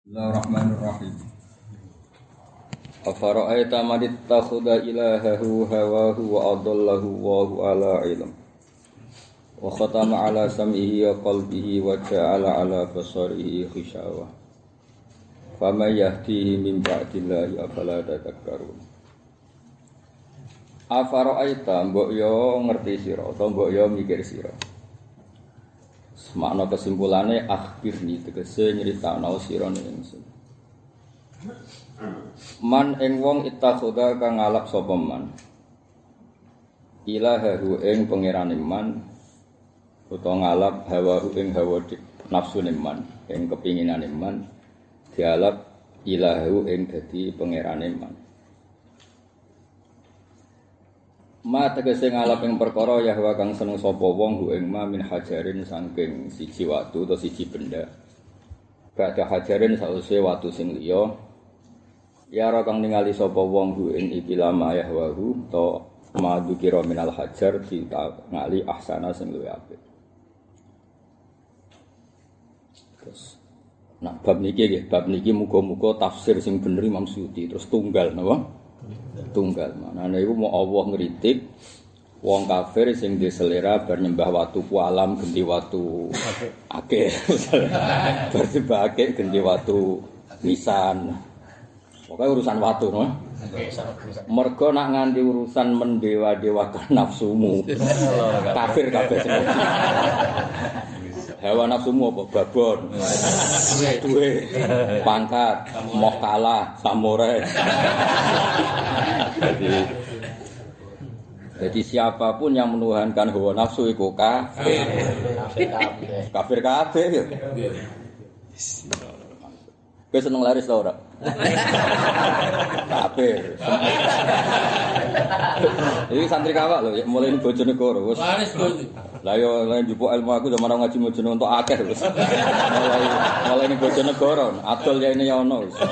Bismillahirrahmanirrahim. Afara'aita man ittakhadha ilahahu hawahu wa adallahu Allahu ala ilm. Wa khatama ala sam'ihi wa qalbihi wa ja'ala ala basarihi ghishawa. Faman yahdihi min ba'dillahi afala tadhakkarun. Afara'aita mbok yo ngerti sira utawa mbok yo mikir sira. Makna kesimpulannya akhirni tegese nyritakno sira ingsun. Man ing wong ittakhadha kang ngalap sapa man. Ilahahu ing pangerane man utawa ngalap hawahu ing hawa nafsune man, ing kepinginane man dialap ilahu ing dadi pangerane man. Ma tegese ngalap ing perkara Yahwa kang seneng sapa wong hu ing ma min hajarin saking siji watu utawa siji benda. Badha hajarin sause watu sing liya. Ya ora kang ningali sapa wong hu ing ikilama Yahwa hu ta madukira minal hajar ditangali ahsana sing luwih apik. Terus bab niki muga-muga tafsir sing bener Imam Suyuti terus tunggal napa? Tunggal manane iku mau Allah ngritik wong kafir sing duwe selera bar nyembah watu kualam genti watu akeh bar nyembah akeh genti watu lisan pokoke urusan watu no mergo nak nganti urusan mendewa-dewakan nafsumu kafir kabeh semua hawa nafsumu apa babon duwe pangkat moh kalah samurai jadi siapapun yang menuhankan hawa nafsu iku kafir kabeh ya kowe seneng laris ta ora kafir iki santri kawak lho mulai bojone karo wis laris lah yo lain jupuk ilmu aku zaman ngaji mojone untuk akeh wis. Mulai ning Bojonegoro, adol ya ini ya ono wis.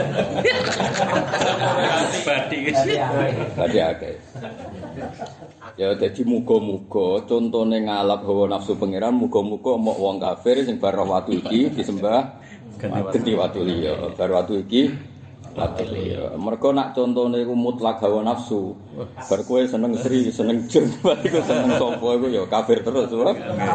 Badi akeh. Ya dadi muga-muga contone ngalap hawa nafsu pangeran muga-muga mok wong kafir sing bar watu iki disembah ganti watu liya. Bar watu iki mereka nak contohnya itu mutlak hawa nafsu bar kowe seneng Sri, seneng Jun iku seneng sapa iku ya kafir terus ora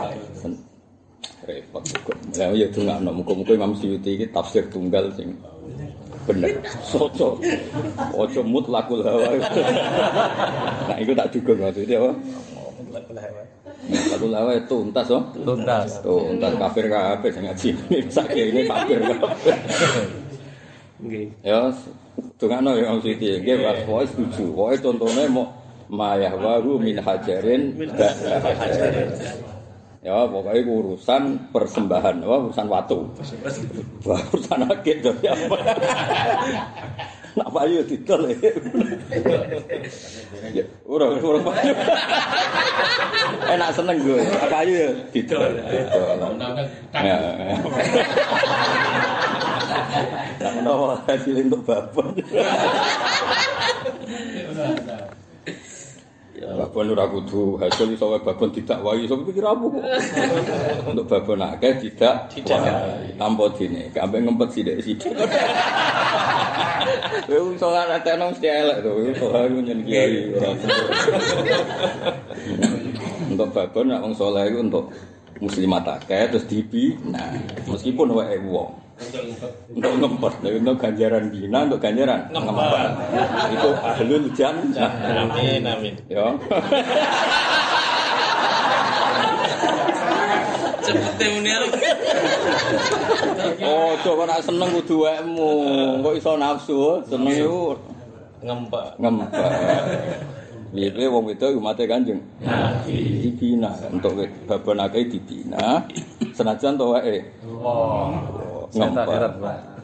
repot kok lha ya dongakno muga-muga Imam Suyuti iki tafsir tunggal sing bener soco ojo mutlakul hawa nah iku tak dugong maksudnya apa mutlakul hawa itu tuntas oh tuntas kafir kabeh sing ngaji sakjane kafir kabeh nggih. Ya, dongakno ya Om Siti. Nggih, Pak, pokoke setuju. Pokoke contone mau mayahwahu min hajarin hajarin. Ya, pokoke urusan persembahan, urusan watu. Urusan akeh to ya. Nak payu didol. Ya, ora payu. Enak seneng gue. Payu ya didol. Ya. Tak menawa hasil untuk babon. Babon ora kudu hasil iso wae babon didakwahi iso pikir apa kok. Untuk babon akeh tidak tanpa dene, gak ambek ngempet sithik-sithik. Kowe iso ngatekno mesti elek to, iso nyen kiai ora. Untuk babon nek wong saleh iku untuk muslimat akeh terus dibina meskipun wae wong. Untuk ngempet, untuk ganjaran bina, untuk ganjaran ngempet. Itu ahlul jannah. Amin. Ya. Cepete muni arep. Oh, coba nak seneng kudu wekmu. Kok iso nafsu, seneng iku ngempet. Piye wong itu umate Kanjeng Nabi dibina untuk babon akeh dibina. Senajan to wae. Ngempet.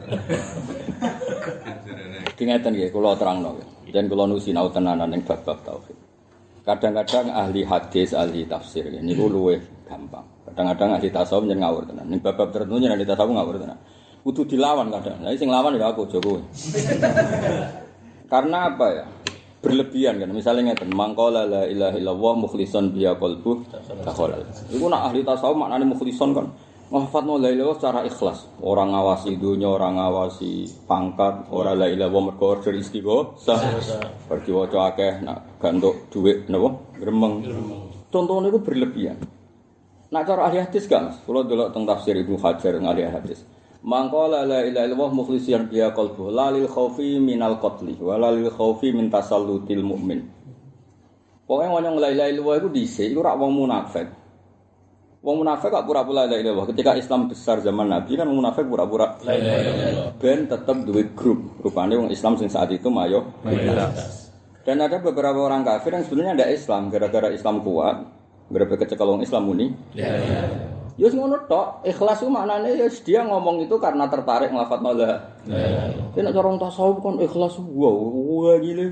Dingeten nggih kula terangno. Dan kula nusinau tenanan ning bab-bab tauhid. Kadang-kadang ahli hadis, ahli tafsir niku luwih gampang. Kadang-kadang ahli tasawuf nyen ngawur tenan. Ning bab-bab tertentu nyen ahli tasawuf ngawur tenan. Kudu dilawan kadang. Lah sing lawan ya aku Jokowi. Karena apa ya? Berlebihan kan. Misalnya ngeten, mangqala la ilaha illallah mukhlishon biya qalbuh dakhala. Iku nak ahli tasawuf maknane mukhlishon kan Nglafatno la ilaha illallah secara ikhlas. Orang ngawasi dunya, orang ngawasi pangkat, ora la ilaha illallah mergo order istighosah. Pergi waca akeh nak gantuk dhuwit napa? Gremeng. Contohnya itu berlebihan. Nak cara ahli hadis kan, kalau delok teng tafsir Ibnu Hajar ahli hadis. Mangqala la ilaha illallah mukhlisiyan biha qalbuhu la lil khaufi minal qatli wa la lil khaufi min tasallutil mu'min. Pokoke wong la ilaha illallah iku dhisik iku ora wong munafik. Wong munafik kok pura-pura la ilaha illallah. Ketika Islam besar zaman Nabi kan wong munafik pura-pura la ilaha illallah. Ben tetep duwe grup. Rupane wong Islam sing saat itu mayoritas. Dan ada beberapa orang kafir yang sebenarnya tidak Islam, gara-gara Islam kuat, gara-gara kecekel orang Islam muni. Ya ngono tok, ikhlas itu maknanya ya dia ngomong itu karena tertarik nglafadzna la. Nek cara tasawuf kan ikhlas wah gile.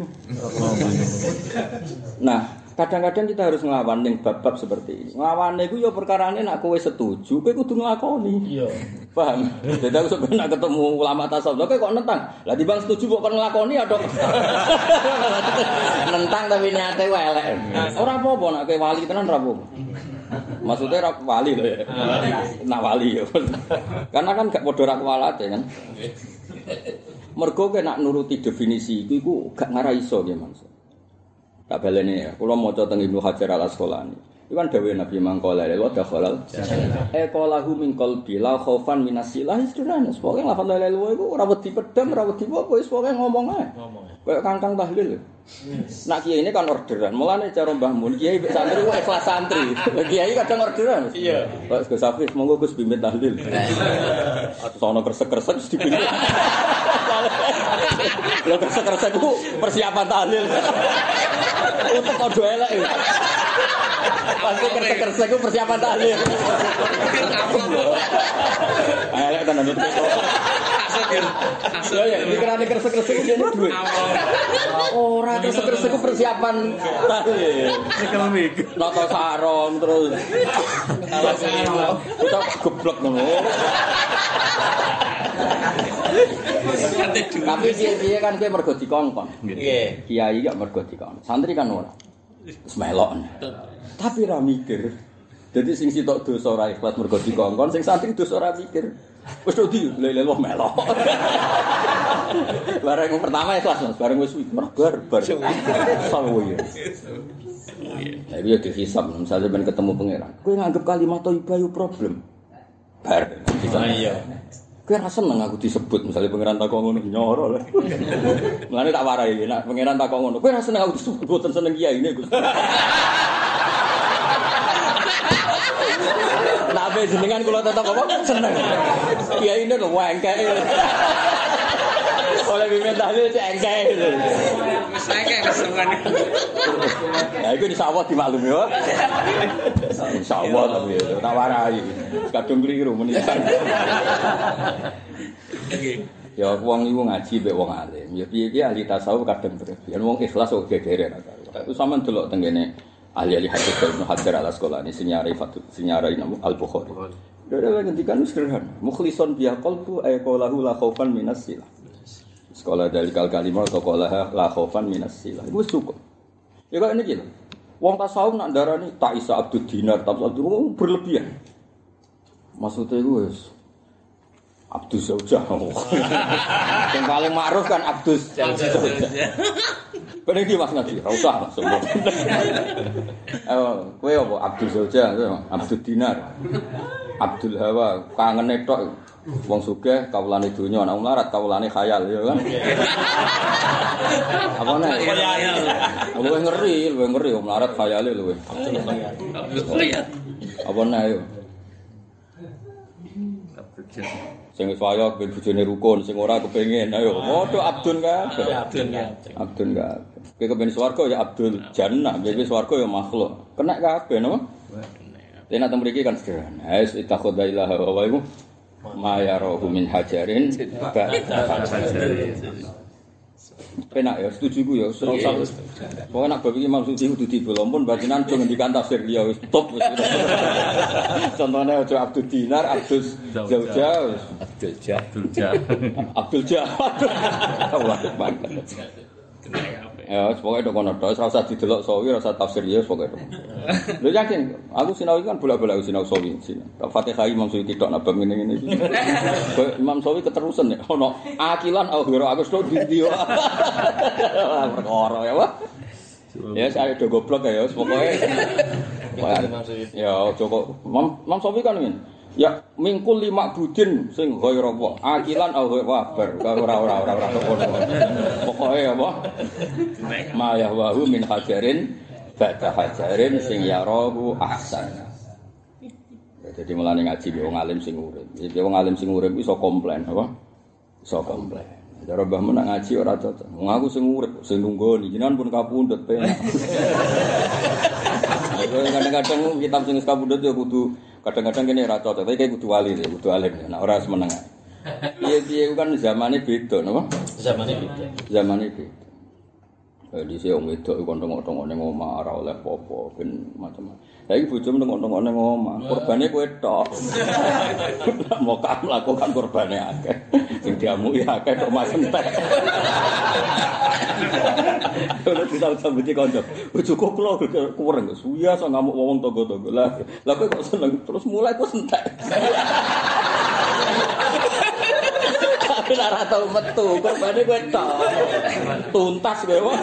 Nah, kadang-kadang kita harus nglawan ning bab-bab seperti ini. Nglawane iku ya perkarane nek kowe setuju, kowe kudu nglakoni. Iya. Paham? Dadi aku sampe nek ketemu ulama tasawuf, kowe kok nentang. Lah timbang setuju kok kon nglakoni ya, Dok. Nentang tapi niate wae elek. Ora apa-apa nek kowe wali tenan ora apa-apa. Maksudnya ora wali lho ya. Nah wali ya. Karena kan gak padha ra kuwalate kan. Mergo kowe nek nuruti definisi iku gak ngara iso nggih Mas. Tak baleni ya, kula maca teng Ibnu Hajar Al-Asqalani. Iku kan dawuh Nabi mangkola wa dakhalal. Qalahu min qalbi la khaufan minasilah istilahnya. Pokoke lafal la ilaha illallah iku ora wedi pedang, ora wedi apa wis pokoke ngomong ae. Kayak kangkang tahlil. Nak kiai ini kan orderan. Mulane cara Mbah Mun kiai santri ku ikhlas santri. Kiai kadang orderan. Iya. Pak Gus Hafiz monggo Gus bimbing tahlil. Sono kresek-kresek mesti bimbing. Lha kresek-kresek ku persiapan tahlil. Untuk kode elek. Pasti kresek-kresek ku persiapan tahlil. Elek tenan itu. Hasil ya, dikirane kresek-kresek iki dene duit. Ora kresek-kresek ku persiapan tahlil. Ekonomik. Nata sarong terus. Kita geblek ngono. Tapi piye kan kowe mergo dikongkon. Nggih. Kiai gak mergo dikongkon. Santri kan ora. Wis melok. Tapi ra mikir. Dadi sing sitok dosa ora ikhlas mergo dikongkon, sing santri dosa ora mikir. Wis di leleh melok. Bareng pertama ikhlas Mas, bareng wis merbar bar. Sawo ya. Lah iki dihisab misalnya ben ketemu pangeran. Kowe nganggep kalimat thayyibah yo problem. Bar. Iya. Kowe ra seneng aku disebut misalnya pangeran takon ngono nyoro lho. Mulane tak warai nek pangeran takon ngono. Kowe ra seneng aku disebut boten seneng kiai ini Gus. Nabe jenengan kula tetep apa seneng. Kiai ini lho wengkek. Oleh bimbing tahlil cek engkek. Wis engkek kesenengan. Ya iku insyaallah dimaklumi ya. Insyaallah tapi tak warai. Kadung kliru menisan. Ya wong iku ngaji mek wong alim. Ya piye-piye ahli tasawuf kadang berlebihan. Wong ikhlas kok gegere ra karo. Itu sampean delok teng kene ahli hadis Ibnu Hajar Al-Asqalani sinyare Imam Al-Bukhari. Dhewe ngendikan sederhana, mukhlison biha qalbu ay qalahu la khaufan minas silah. Sekolah dari kalimat atau qalah la khaufan minas silah. Iku cukup. Ya kok ini gitu. Wong tasawuf nak darani tak isa abdud dinar, tak abdud berlebihan. Maksudnya iku wis Abdul Zaujah. Yang paling ma'ruf kan Abdul Zaujah. Bener iki Mas Nabi, ora usah langsung. Kowe apa Abdul Zaujah, Abdul Dinar. Abdul Hawa, kangene tok. Wong sugih kawulane donya, nek mlarat kawulane khayal ya kan. Apa nek? Luwih ngeri mlarat khayale luwih. Abdul khayal. Apa nek yo? Sing wis wayah ben bojone rukun, sing ora kepengin. Ayo, padha Abdun kabeh. Abdun kabeh. Kowe kepen swarga ya Abdul Jannah, kowe swarga ya makhluk. Kena kabeh no. Tenan teng mriki kan sederhana. Ais ittakhadha ilaha wa iku ma yarahu min hajarin penak ya, setuju ku ya, ora usah. Pokoke nek bab iki maksud iki kudu dibolompun batinan aja ngendikan tafsir liya wis top wis. Contone aja Abdul Dinar, Abdul Zaujah, Abdul Jah. Allah banget. Ya, pokoke tok kono tok, ora usah didelok sawi, ora usah tafsir ya pokoke tok. Lho yakin, aku sinau kan bola-bola sinau sawi. Fatihah Imam Suyuti tok nabab ngene-ngene iki. Imam Sawi keterusan ya ono akilan akhira aku tok di. Perkara ya, Pak. Ya saya do goblok ya, pokoke. Ya, Joko Imam Sawi kan ngene. Ya mingkul 5 budin sing ghairu wa akilan au wabar ora pokoke apa ma yahwahu min hajarin ba'da hajarin sing yarahu ahsan. Jadi mulane ngaji wong alim sing urip. Iki wong alim sing urip iso komplain apa? Iso komplain. Cara mbah men ngaji ora cocok. Wong aku sing urip sing nunggoni jenengan pun kapundhut penak. Kadang-kadang kitab sing kapundhut ya kudu kadang-kadang kene ra cocok, tapi kudu wali, kudu alim. Nek ora semeneng. Piye-piye kan zamane beda, napa? Zamane beda. Di sing wong wedok iku tongok-tongok ning omah ora oleh apa-apa ben macam-macam. Saiki bojomu tongok-tongok ning omah, kurbane kowe tok. Mau kamu lakukan kurbane akeh. Sing diamuki akeh kok mas entek. Ora bisa sambuti kanca. Bojoku kula kurang suya so ngamuk wong tangga-tangga. Lah kowe kok seneng terus mulai kok entek. Tapi ora tau metu, kurbane kowe tok. Tuntas kowe.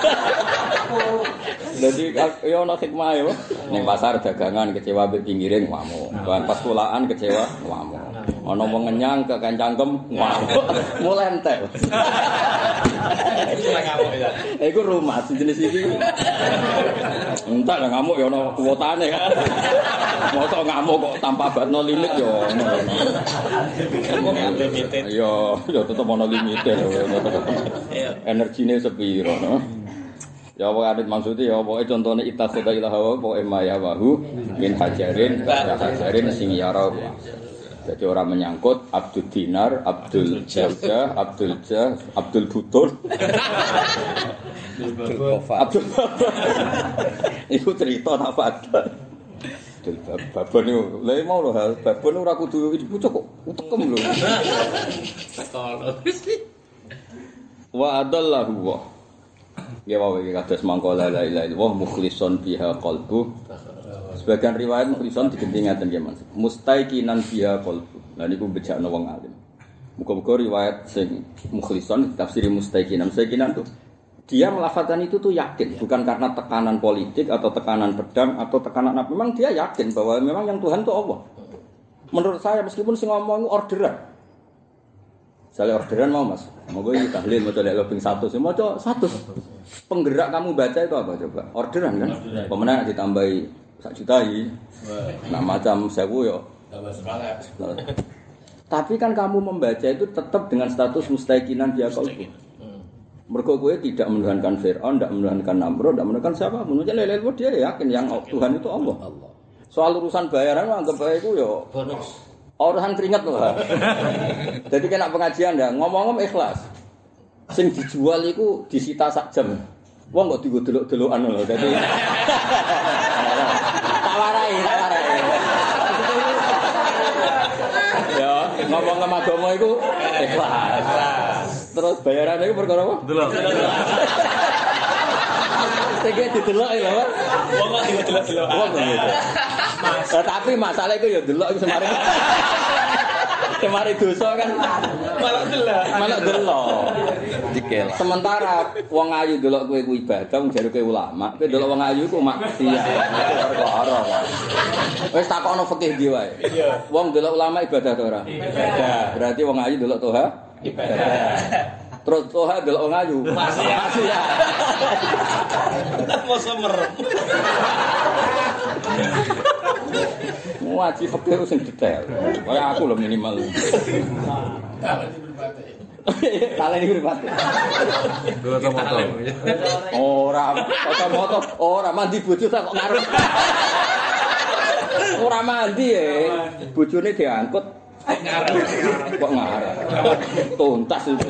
Jadi ya ono hikmah ya. Ning pasar dagangan kecewa mbek pinggire ngamuk. Pas kulaan kecewa ngamuk. Ana wong ngenyang ke kancangkem ngamuk. Mulai entek. Iku rumah jenis iki. Entek lah ngamuk ya ono kuotane kan. Mosok ngamuk kok tanpa batno limit ya ono. Ya tetep ono limite. Energine sepiro no. Ya apa adit maksudnya ya pokoke contone ittakhadha ilaha wa emaya wahu min hajarin sing yara. Jadi orang menyangkut Abdul Dinar, Abdul Jawjah, Abdul Butur. Abdul Iku cerita apa ada. Abdul Babon itu, lha mau lho, Babon ora kudu dibucuk kok, utekem lho. Wa adallahu wa. Ya wae kados mangko la ilaha illallah mukhlishon biha qalbu. Sebagian riwayat mukhlishon diganti ngaten nggih Mas. Mustaiqinan biha qalbu. Lah niku bejakno wong alim. Muga-muga riwayat sing mukhlishon tafsir mustaiqinan. Mustaiqinan tuh dia melafazkan itu tuh yakin, bukan karena tekanan politik atau tekanan pedang atau tekanan apa. Memang dia yakin bahwa memang yang Tuhan itu Allah. Menurut saya meskipun sing ngomong orderan. Saya orderan mau Mas. Moga iki tahlil maca lek lebih 100, maca 100. Penggerak kamu baca itu apa coba? Orderan kan? Pemenang ditambahi 1 juta iki. Nah macam 1000 yo. Tambah semangat. Tapi kan kamu membaca itu tetap dengan status mustaiqinan dia qalbu. Mergo kowe tidak menuhankan Firaun, tidak menuhankan Namrud, tidak menuhankan siapa pun. Jadi dia yakin yang Tuhan itu Allah. Soal urusan bayaran anggap bae iku yo bonus. Urusan keringat loh. Jadi kena pengajian dah, ngomong-ngomong ikhlas. Sing dijual iku disita sak jam. Wong kok digo-delok-delokan lho. Dadi tak warai. Ya, ngomong-ngomong agama iku ikhlas. Terus bayaran iku perkara apa? Delok. Sing didelok ya, Pak. Wong kok digo-delok-delok. Tapi masalah itu ya delok iku semare. Semare dosa kan malah delok. Dikel. Sementara wong ayu delok kowe ku ibadah, wong jare kowe ulama, kowe delok wong ayu ku maksiat. Perkara. Wis takokno fikih ndi wae. Wong delok ulama ibadah ta ora? Ibadah. Berarti wong ayu delok toha ibadah. Terus toha delok wong ayu maksiat. Mau semerem. Ngaji fikih sing detail. Kaya aku lho minimal. Kale iki pripate. Foto-foto. Foto-foto. Ora mandi bojo tak kok ngarep. Ora mandi bojone diangkut kok ngarep. Tuntas itu.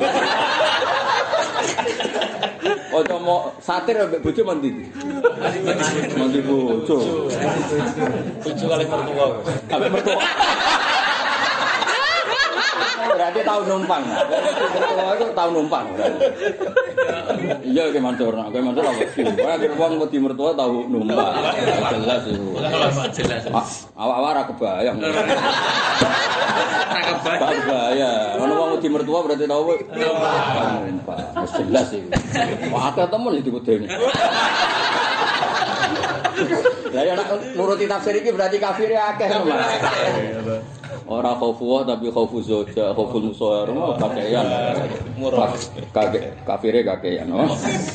Ojo mau satir ambek bojo mandi. Mandi bojo. Bojo kali mertua. Ambek mertua. Berarti tahu numpang. Itu tahu numpang. Iya ke Mansur, kowe Mansur apa sih? Kowe akhir wong wedi mertua tahu numpang. Jelas itu. Jelas. Awak-awak ora kebayang. Kebayang. Ono wong wedi mertua berarti tahu numpang. Jelas itu. Wah, akeh temen itu kudene. Lah ya nuruti tafsir iki berarti kafir akeh lho, Mas. Ora khaufu tapi khaufu zoja, khauful musawar, kakean. Murah. Kafire kakean, no.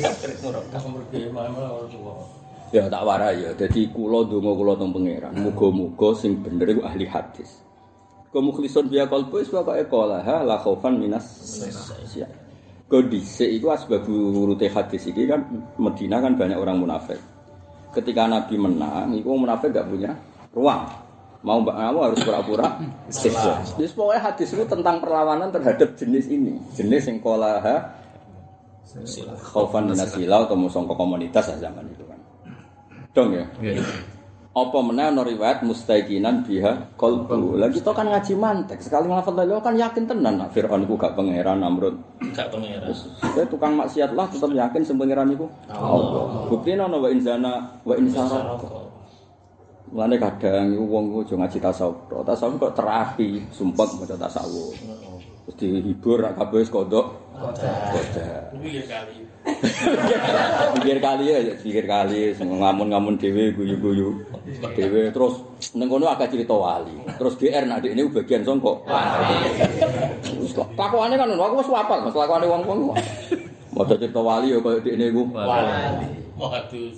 Ya tak warai ya. Dadi kula ndonga kula teng pangeran. Muga-muga sing bener iku ahli hadis. Kemukhlisun biya qalbu wis pokoke qolaha la khaufan minas sia. Kondisi iku asbab urute hadis iki kan Madinah kan banyak orang munafik. Ketika Nabi menang, itu munafik gak punya ruang. Mau mbak kamu harus pura-pura Islam. Jadi pokoknya hadis itu tentang perlawanan terhadap jenis ini. Jenis yang kolaha khaufan minasilau atau musongko komunitas zaman itu kan. Dong ya? Apa meneh ana riwayat mustaiqinan biha qalbu. Lah kita kan ngaji mantek, sekali nglafal la kan yakin tenan nek Firaun iku gak pangeran Namrud. Gak pangeran. Saya tukang maksiat lah tetep yakin sing pangeran iku Allah. Buktine ana wa inzana wa insara. Mane kadang iku wong aja ngaji tasawuf. Tasawuf kok terapi, sumpek maca tasawuf. Terus dihibur rak kabeh wis kodok. Pikir kali ngamun-ngamun dhewe guyu-guyu dhewe terus ning kono akeh cerita wali terus GR nek dekne bagian sangka wis takokane kan ngono aku wis hafal Mas lakone wong-wong maca cerita wali ya koyo dekne iku wali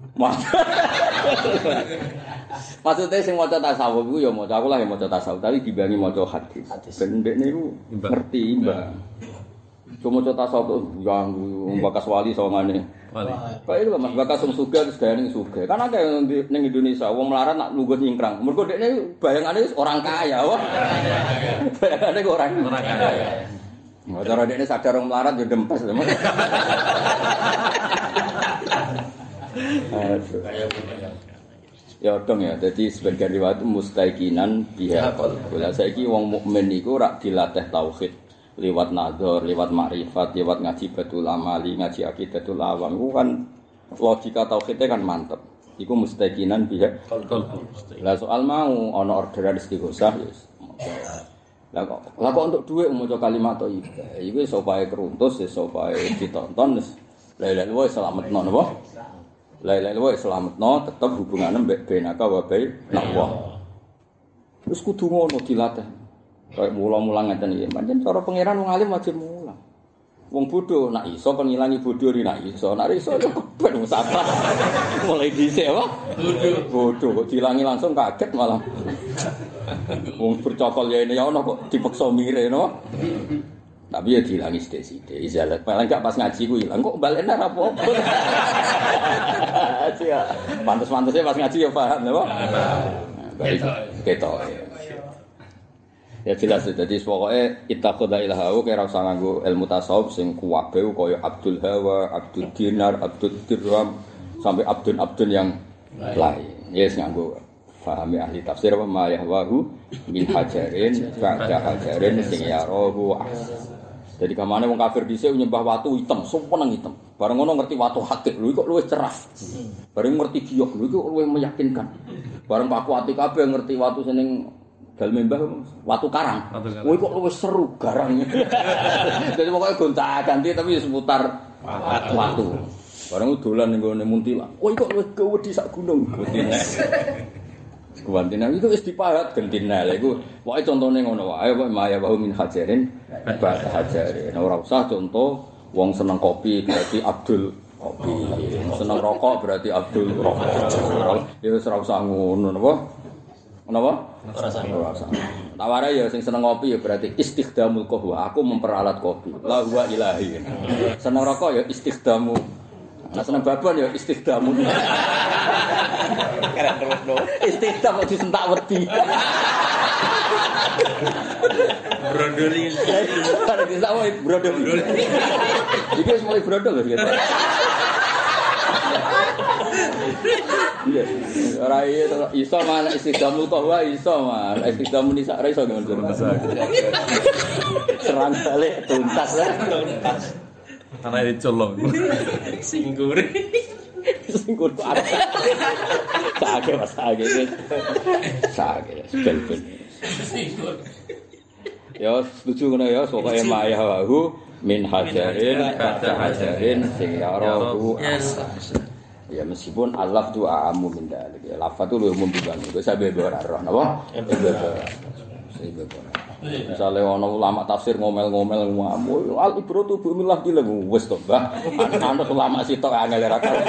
maksudnya sing maca tasawuf iku ya maca aku lah ya maca tasawuf tapi dibangi maca hadis ben dekne iku ngerti imbang. Cuma contoh tasawuf yang bakas wali sawangane. Wali. Kayak itu Mas bakas sing sugih terus gayane sugih. Kan akeh ning Indonesia wong melarat nak lungguh nyingkrang. Mergo dekne bayangane orang kaya, wah. Bayangane orang kaya. Mau cara dekne sadar wong melarat yo dempes lho. Ya dong ya, jadi sebagian riwayat mustaiqinan biha qalbu. Lah saiki wong mukmin iku rak dilatih tauhid. Lewat nazar, lewat makrifat, lewat ngaji batul amali, ngaji akidatul awam. Itu kan logika tauhidnya kan mantep. Iku mustaqinan biha qalbu. Lah soal mau ana orderan istighosah ya. Lah kok untuk dhuwit maca kalimat thayyibah. Iku iso bae keruntus, iso bae ditonton wis. La ilaha illallah selametno napa? La ilaha illallah selametno tetep hubungane mbek benaka wa bae napa. Terus kudu ngono dilatih. Kayak mulang-mulang ngeten iki. Pancen cara pangeran wong alim wajib mulang. Wong bodho nak iso kon ngilangi bodho ri nak iso. Nak iso keben wis apa. Mulai dhisik wae. Bodho kok dilangi langsung kaget malah. Wong bercokol ya ini ya ono kok dipaksa mire no. Tapi ya dilangi sithik-sithik. Izalat paling gak pas ngaji ku ilang kok balene ora apa-apa. Sia. Pantes-pantese pas ngaji ya paham napa? Ketok. Ya jelas jadi pokoke ittaqudha ilahahu kaya ora usah nganggo ilmu tasawuf sing kuwabe kaya Abdul Hawa, Abdul Dinar, Abdul Dirham sampai abdun yang lain. Yes nganggo pahami ahli tafsir apa ma yahwahu min hajarin ba'da hajarin sing yarahu. Jadi kamane wong kafir dhisik nyembah watu hitam, sumpeng hitam. Bareng ngono ngerti watu hakik, lho kok luwih cerah. Bareng ngerti giok, lho kok luwih meyakinkan. Bareng Pak Kuati kabeh ngerti watu seneng dal membah watu karang. Kowe kok luwih seru garang. Jadi pokoke gonta-ganti tapi seputar watu. Bareng dolan ning gone Muntila. Kowe kok luwih gawedi sak gunung. Kuwantina itu wis dipahat gentina. Lha iku pokoke contone ngono wae kok maya wa min hajarin ba'da hajarin. Ora usah contoh wong seneng kopi berarti Abdul kopi. Seneng rokok berarti Abdul rokok. Ya wis ora usah ngono napa? Kenapa? Ora usah. Taware ya sing seneng kopi ya berarti istighdamul qahwa. Aku memperalat kopi. La huwa ilahi. Seneng rokok ya istighdamu. Nah seneng babon ya istighdamu. Keren terus lho. Istighdam kok disentak wedi. Brodoli. Kare disentak wae brodoli. Iki wis mulai brodol lho gitu. Ora iso mana istiqamul qahwa iso man. Istiqamul nisa ora iso ngono. Serang balik tuntas lah. Tuntas. Ana dicolong. Singgur. Singgur apa? Sage Mas sage. Sage bel-bel. Singgur. Ya setuju ngono ya pokoke mayahu min hajarin kata hajarin sing yarahu ya meskipun alaf tu aamu min dalik ya lafaz tu lu umum bukan itu sampe ora roh napa misale ana ulama tafsir ngomel-ngomel ngamu al ibratu bi millah dile wis to Mbah ana ulama sitok angel ra karo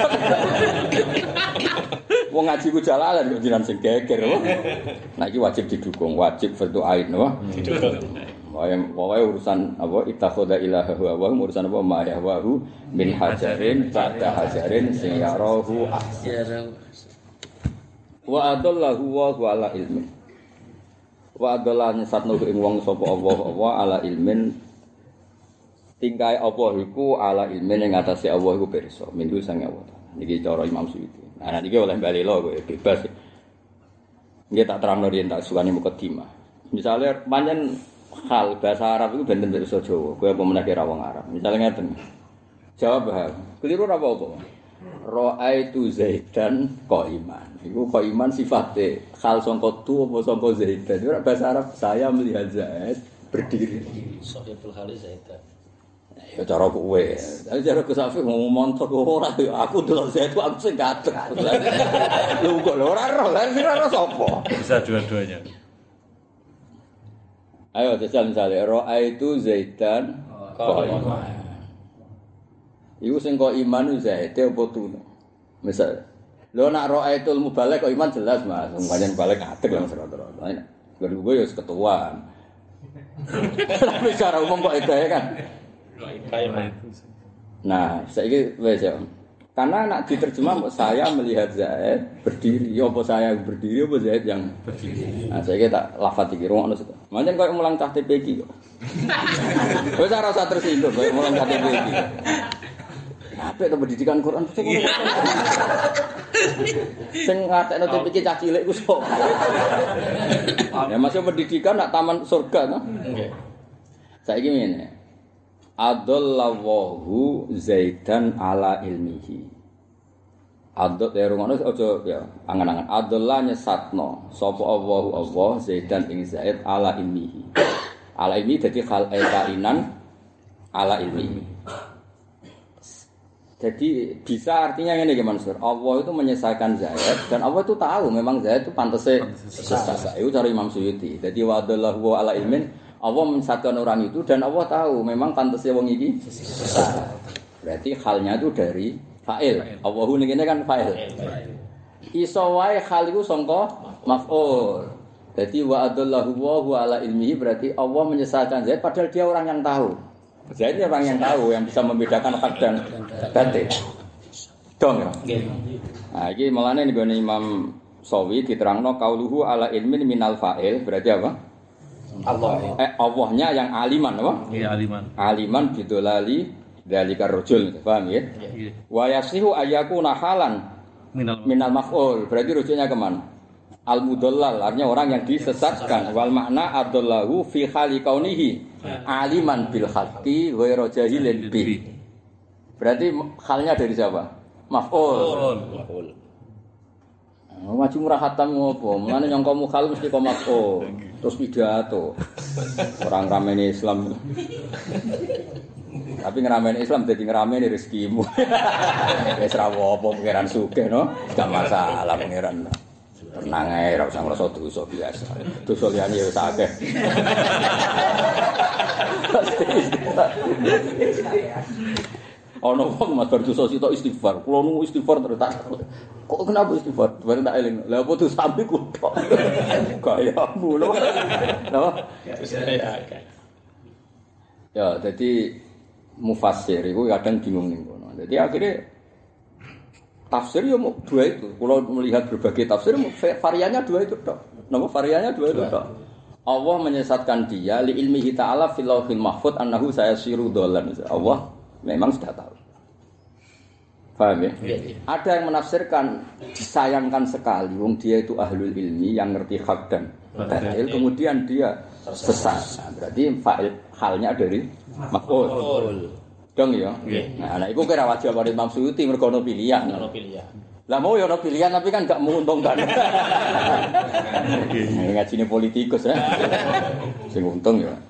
wong ngaji ku jalalan kok jiran sing geger nah iki wajib didukung wajib fardu ain napa Wae urusan apa ittakhadha ilaha wa urusan apa ma yahwahu min hajarin ba'da hajarin sing yarahu ahsan wa adallahu wa ala ilmin wa adallan satno ing wong sapa Allah ala ilmin tingkae apa iku ala ilmin ing atase Allah iku pirsa minggu sang Allah niki cara Imam Suyuti nah niki oleh bali lho kowe bebas nggih tak terangno yen tak sukani mukadimah misale pancen hal bahasa Arab itu benten bahasa Jawa. Kowe apa meneh kira wong Arab. Misalnya ngeten. Jawab hal. Keliru apa-apa. Ra'aitu Zaidan qaiman. Iku qaiman sifate hal sangka tu apa sangka Zaidan. Ora bahasa Arab saya melihat Zaid berdiri. Sahibul Khalil Zaidan. Ya cara kowe. Tapi cara kesafi ngomong montor ora ya aku delok Zaid aku sing gatek. Lho kok ora roh, lan ora sapa. Bisa dua-duanya. Ayo jajal misale ra'aitu Zaidan qaiman. Iku sing kok iman Zaid apa tu? Misal lho nak ra'aitul mubalagh kok iman jelas Mas, pancen balik adeg lah serata-rata. Gue ya ketuaan. Tapi secara umum kok itu ya kan. Nah, saiki wis ya. Karena nak diterjemah saya melihat Zaid berdiri, ya apa saya berdiri apa Zaid yang berdiri. Nah, saya tak lafaz iki rungokno sik. Mancen koyo mulang cah TP iki kok. Wis ora usah tersinggung koyo mulang cah TP iki. Apik to pendidikan Quran sing ngatekno TP iki cah cilik ku sok. Ya masuk pendidikan nak taman surga to. Nggih. Saiki ngene. Adallahu Zaidan ala ilmihi. Adot ya rungono aja ya angan-angan. Adallah nyesatno sapa Allah Zaidan ing Zaid ala ilmihi. Ala ilmi dadi hal kainan ala ilmihi. Jadi bisa artinya ngene iki Mansur. Allah itu menyesatkan Zaid dan Allah itu tahu memang Zaid itu pantese sesat. Itu cara Imam Suyuti. Jadi wadallahu ala ilmin Allah menyesatkan orang itu dan Allah tahu memang pantasnya wong iki sesat. Berarti halnya itu dari fa'il. Allahu niki kan fa'il. Iso wae hal iku sangka maf'ul. Jadi wa adallahu wa ala ilmihi berarti Allah menyesatkan Zaid padahal dia orang yang tahu. Zaid ini orang yang tahu yang bisa membedakan hak dan batil. Dong ya. Nah, iki malane nggone Imam Sawi diterangno qauluhu ala ilmin minal fa'il berarti apa? Allah. Allahnya yang aliman apa? Iya, aliman. Aliman bidolali dzalika rajul, paham ya? Iya. Wa yasihu ayyakuna halan minal maf'ul. Berarti rujuknya ke mana? Al mudallal, artinya orang yang disesatkan. Wal makna adallahu fi hali kaunihi aliman bil haqqi ghairu jahilin bi. Berarti halnya dari siapa? Maf'ul. Wajib murah hatam ngopo? Mulane nyangka mukhal mesti kok maf'ul. Terus pidato. Orang ramene Islam. Tapi ngerameni Islam dadi ngerameni rezekimu. Wis ra apa pangeran sugih no, gak masalah pangeran. Tenang ae ora usah ngrasa dosa biasa. Dosa liyane wis akeh. Ono wong mas berdosa sitok istighfar. Kulo nu istighfar terus tak. Kok kenapa istighfar? Bareng tak eling. Lah apa dosa sampe kutok. Gayamu lho. Napa? Ya, jadi mufassir itu kadang bingung ning kono. Jadi akhirnya tafsir ya mau dua itu. Kalau melihat berbagai tafsir variannya dua itu tok. Napa variannya dua itu tok. Allah menyesatkan dia li ilmihi ta'ala fil lauhil mahfuz annahu sayasiru dhallan. Allah memang sudah tahu. Paham ya? Ada yang menafsirkan disayangkan sekali wong dia itu ahlul ilmi yang ngerti hak dan batil kemudian dia sesat. Nah, berarti fa'il halnya dari maf'ul. Dong ya. Nah, iku kira wajib karo Imam Suyuti mergo ono pilihan. Ono pilihan. Lah mau ya ono pilihan tapi kan gak menguntungkan. Ngajine politikus ya. Sing untung ya.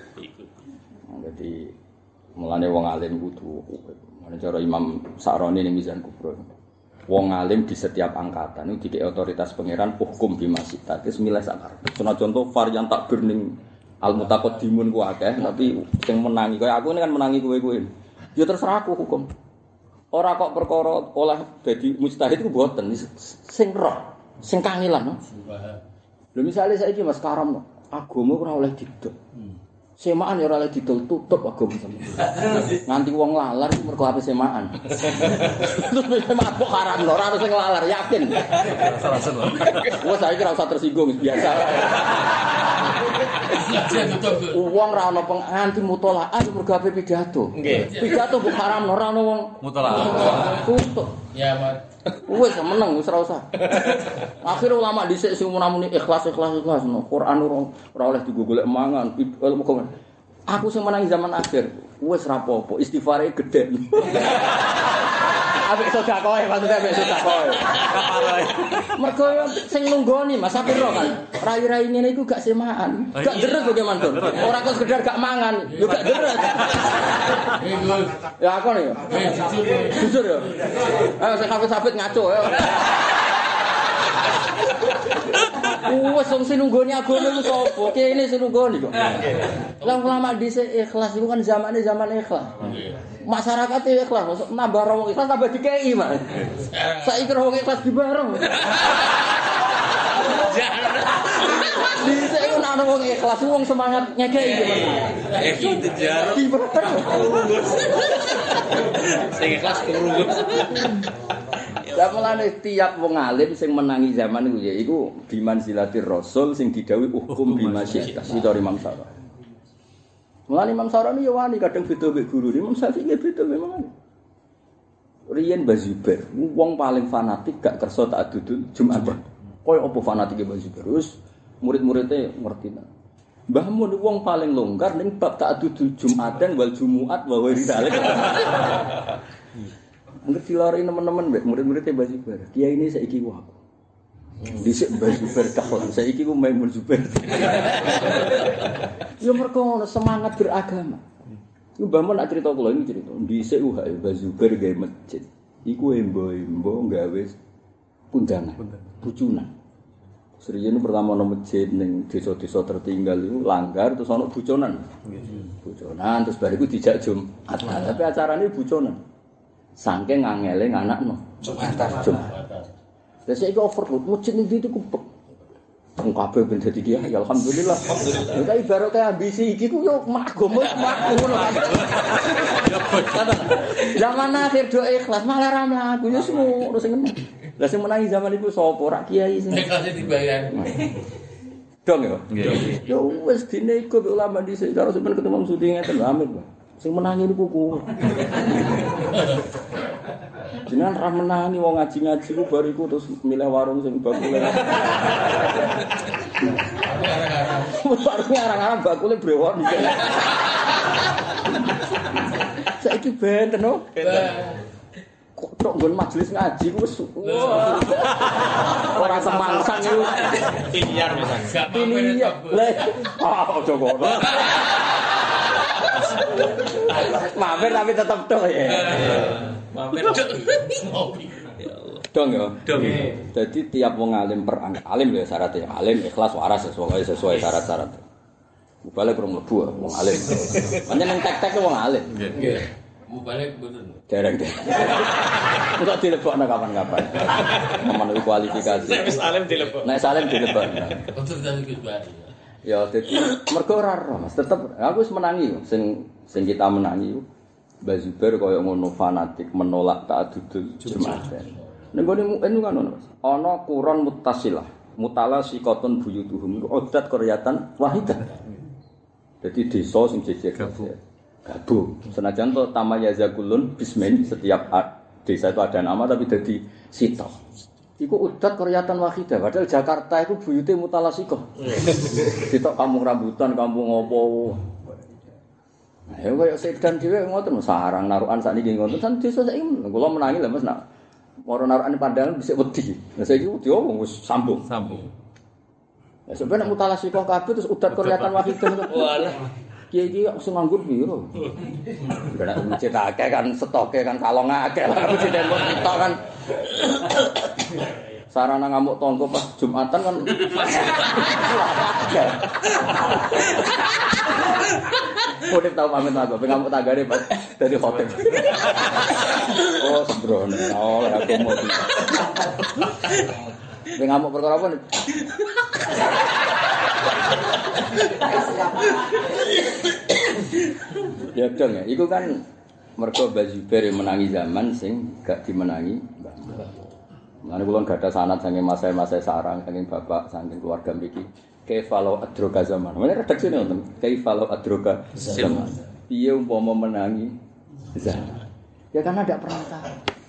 Jadi mulane wong alim kudu ana cara Imam Sa'roni ning Mizan Kubra. Wong alim di setiap angkatan itu dikek otoritas pangeran hukum bimasita. Wis milih sakar. Contoh varian takbir ning al-mutaqaddimun ku akeh tapi sing menangi kaya aku ini kan menangi kowe-kowe. Ya terserah aku hukum. Ora kok perkara oleh dadi mujtahid ku mboten sing roh, sing kangelan. Lho misale saiki Mas Karam agama ora oleh didol. Semaan ya ora oleh didol tutup agama sampeyan. Nganti wong lalar mergo ape semaan. Terus semaan kok haram lho ora harus sing lalar yakin. Salah-salah. Wes saiki ora usah tersinggung biasa. Wong ra ono nganti mutolaah mergo ape pidato. Pidato kok haram ora ono wong Mutolaah. tutup. Ya, Mat. Wes meneng wis ora usah. Akhire ulama dhisik sing muni ikhlas. Quran ora oleh digolek mangan. Aku sing menangi zaman akhir. Wis ra apa-apa, istighfare gedhe. Apik sedekah maksudnya apik sedekah. Mergo sing nunggoni Mas Sapiro kan. Rai-rai ngene iku gak semaan. Gak deres bagaimana tuh. Ora kok sekedar gak mangan, yo gak deres. Ya aku nih. Jujur ya. Ayo sing hafid ngaco ya. Wes wong sing nunggoni agama iku sapa? Kene sing nunggoni kok. Lah ulama dhisik ikhlas iku kan zaman ikhlas. Masyarakat ikhlas, masuk nambah wong ikhlas tambah dikei, Mas. Saiki wong ikhlas dibareng. Dhisik iku ana wong ikhlas, wong semangat ngekei iki, Mas. Itu jarang. Dibareng. Sing ikhlas kurungus. Mulane tiap wong alim sing menangi zaman iku ya iku bimanzilatir rasul sing didhawuhi hukum bimasyiah sitor Imam Sa'roni. Mulane Imam Sa'roni ya wani kadang beda mek guru Imam Syafi'i beda memang. Riyen Bazubair wong paling fanatik gak kersa ta'addudul Jumatan. Koyo apa fanatike Bazubair? Wis murid-muridé ngerti. Mbah Mun wong paling longgar ning bab ta'addudul Jumatan wal Jumu'at wa ghairi dzalik. Ngerti lari teman-teman mbek murid-muridé Mbah Zubair. Kiai ini saiki ku aku. Dhisik Mbah Zubair kahon, saiki ku Maimun Zubair. Ya mergo semangat beragama. Iku Mbah Mun nak crita kula ini crita. Dhisik Mbah Zubair gawe masjid. Iku embo-embo gawe kundangan. Bucunan. Seriene pertama ana masjid ning desa-desa tertinggal iku langgar terus ana buconan. Buconan terus bariku dijak Jumat. Tapi acarane buconan. Saking ngangele nganakno Jumatan. Lah saiki overload masjid ndi itu kubek. Wong kabeh ben dadi kiai alhamdulillah. Ya ibarat kaya ambisi iki ku yo magama ngono. Zaman akhir do ikhlas malah ra mlaku yo ngono sing ngene. Lah sing menangi zaman iku sapa ora kiai sing Ikhlas dibayar. dong ya. Yo wis dine iku ulama dhisik karo sampeyan ketemu syuting ngeten amit, Pak. Sing menangi niku ku. Jenengan ra menangi wong ngaji-ngaji ku bariku terus milih warung sing bakule. Warung arang-arang bakule brewon iki. Saiki benten no. Kok tok nggon majelis ngaji ku wis ora semangsang iku. Miliar misalnya. Miliar. Lah, ojo ngono. Mampir tapi tetap tok ya. Mampir. Dong ya. Dong. Jadi tiap wong alim alim ya syaratnya alim ikhlas waras sesuai syarat-syarat. Balik rong mlebu wong alim. Pancen nang tek-tek wong alim. Nggih. Balik bener. Dereng. Enggak dilebokno kapan-kapan. Memenuhi kualifikasi. Wis alim dilebok. Nek salim dilebokno. Untuk dari Gus Bari. Ya dadi mergo ora roh Mas, tetep aku wis menangi sing kita menangi Mbah Zubair kaya ngono fanatik menolak ta'addudul Jumatan. Ning gone mukmin kan ono Mas. Ana quron muttasilah, mutala sikotun buyutuhum odat qaryatan wahidah. Dadi desa sing jejer gabung. Senajan to tamayazakulun bismin setiap desa itu ada nama tapi jadi sito. Iku udat koryatan wahidah. Padahal Jakarta itu buyute mutalasikoh. Sito kampung rambutan, kampung opo. Nah, ya kaya sedan dhewe ngoten sarang narukan sakniki ngoten kan desa saiki kula menangi lho Mas nak moro narukan pandangan bisa wedi. Lah saiki wedi wis sambung. Ya sebenarnya mutalasikoh kabeh terus udat koryatan wahidah. Walah. Kiai sing nganggur piro? Ora mencetake kan stoke kan kalong akeh lah presiden kok sitok kan. Sarana ngamuk tonggo pas Jumatan kan. Kodep tau pamit aku, ngamuk tanggane pas dari hotel. Oh, sembrono. Oh, aku mau. Ngamuk perkara apa? Ya dong ya, itu kan mergo Mbah Zubair menangi zaman sing gak dimenangi Mbah. Mane kula gak ada sanad saking masa-masa sarang saking bapak saking keluarga mriki. Kaifalau adroga zaman. Mane redaksine wonten. Kaifalau adroga zaman. Piye umpama menangi zaman. Ya karena ada perantara.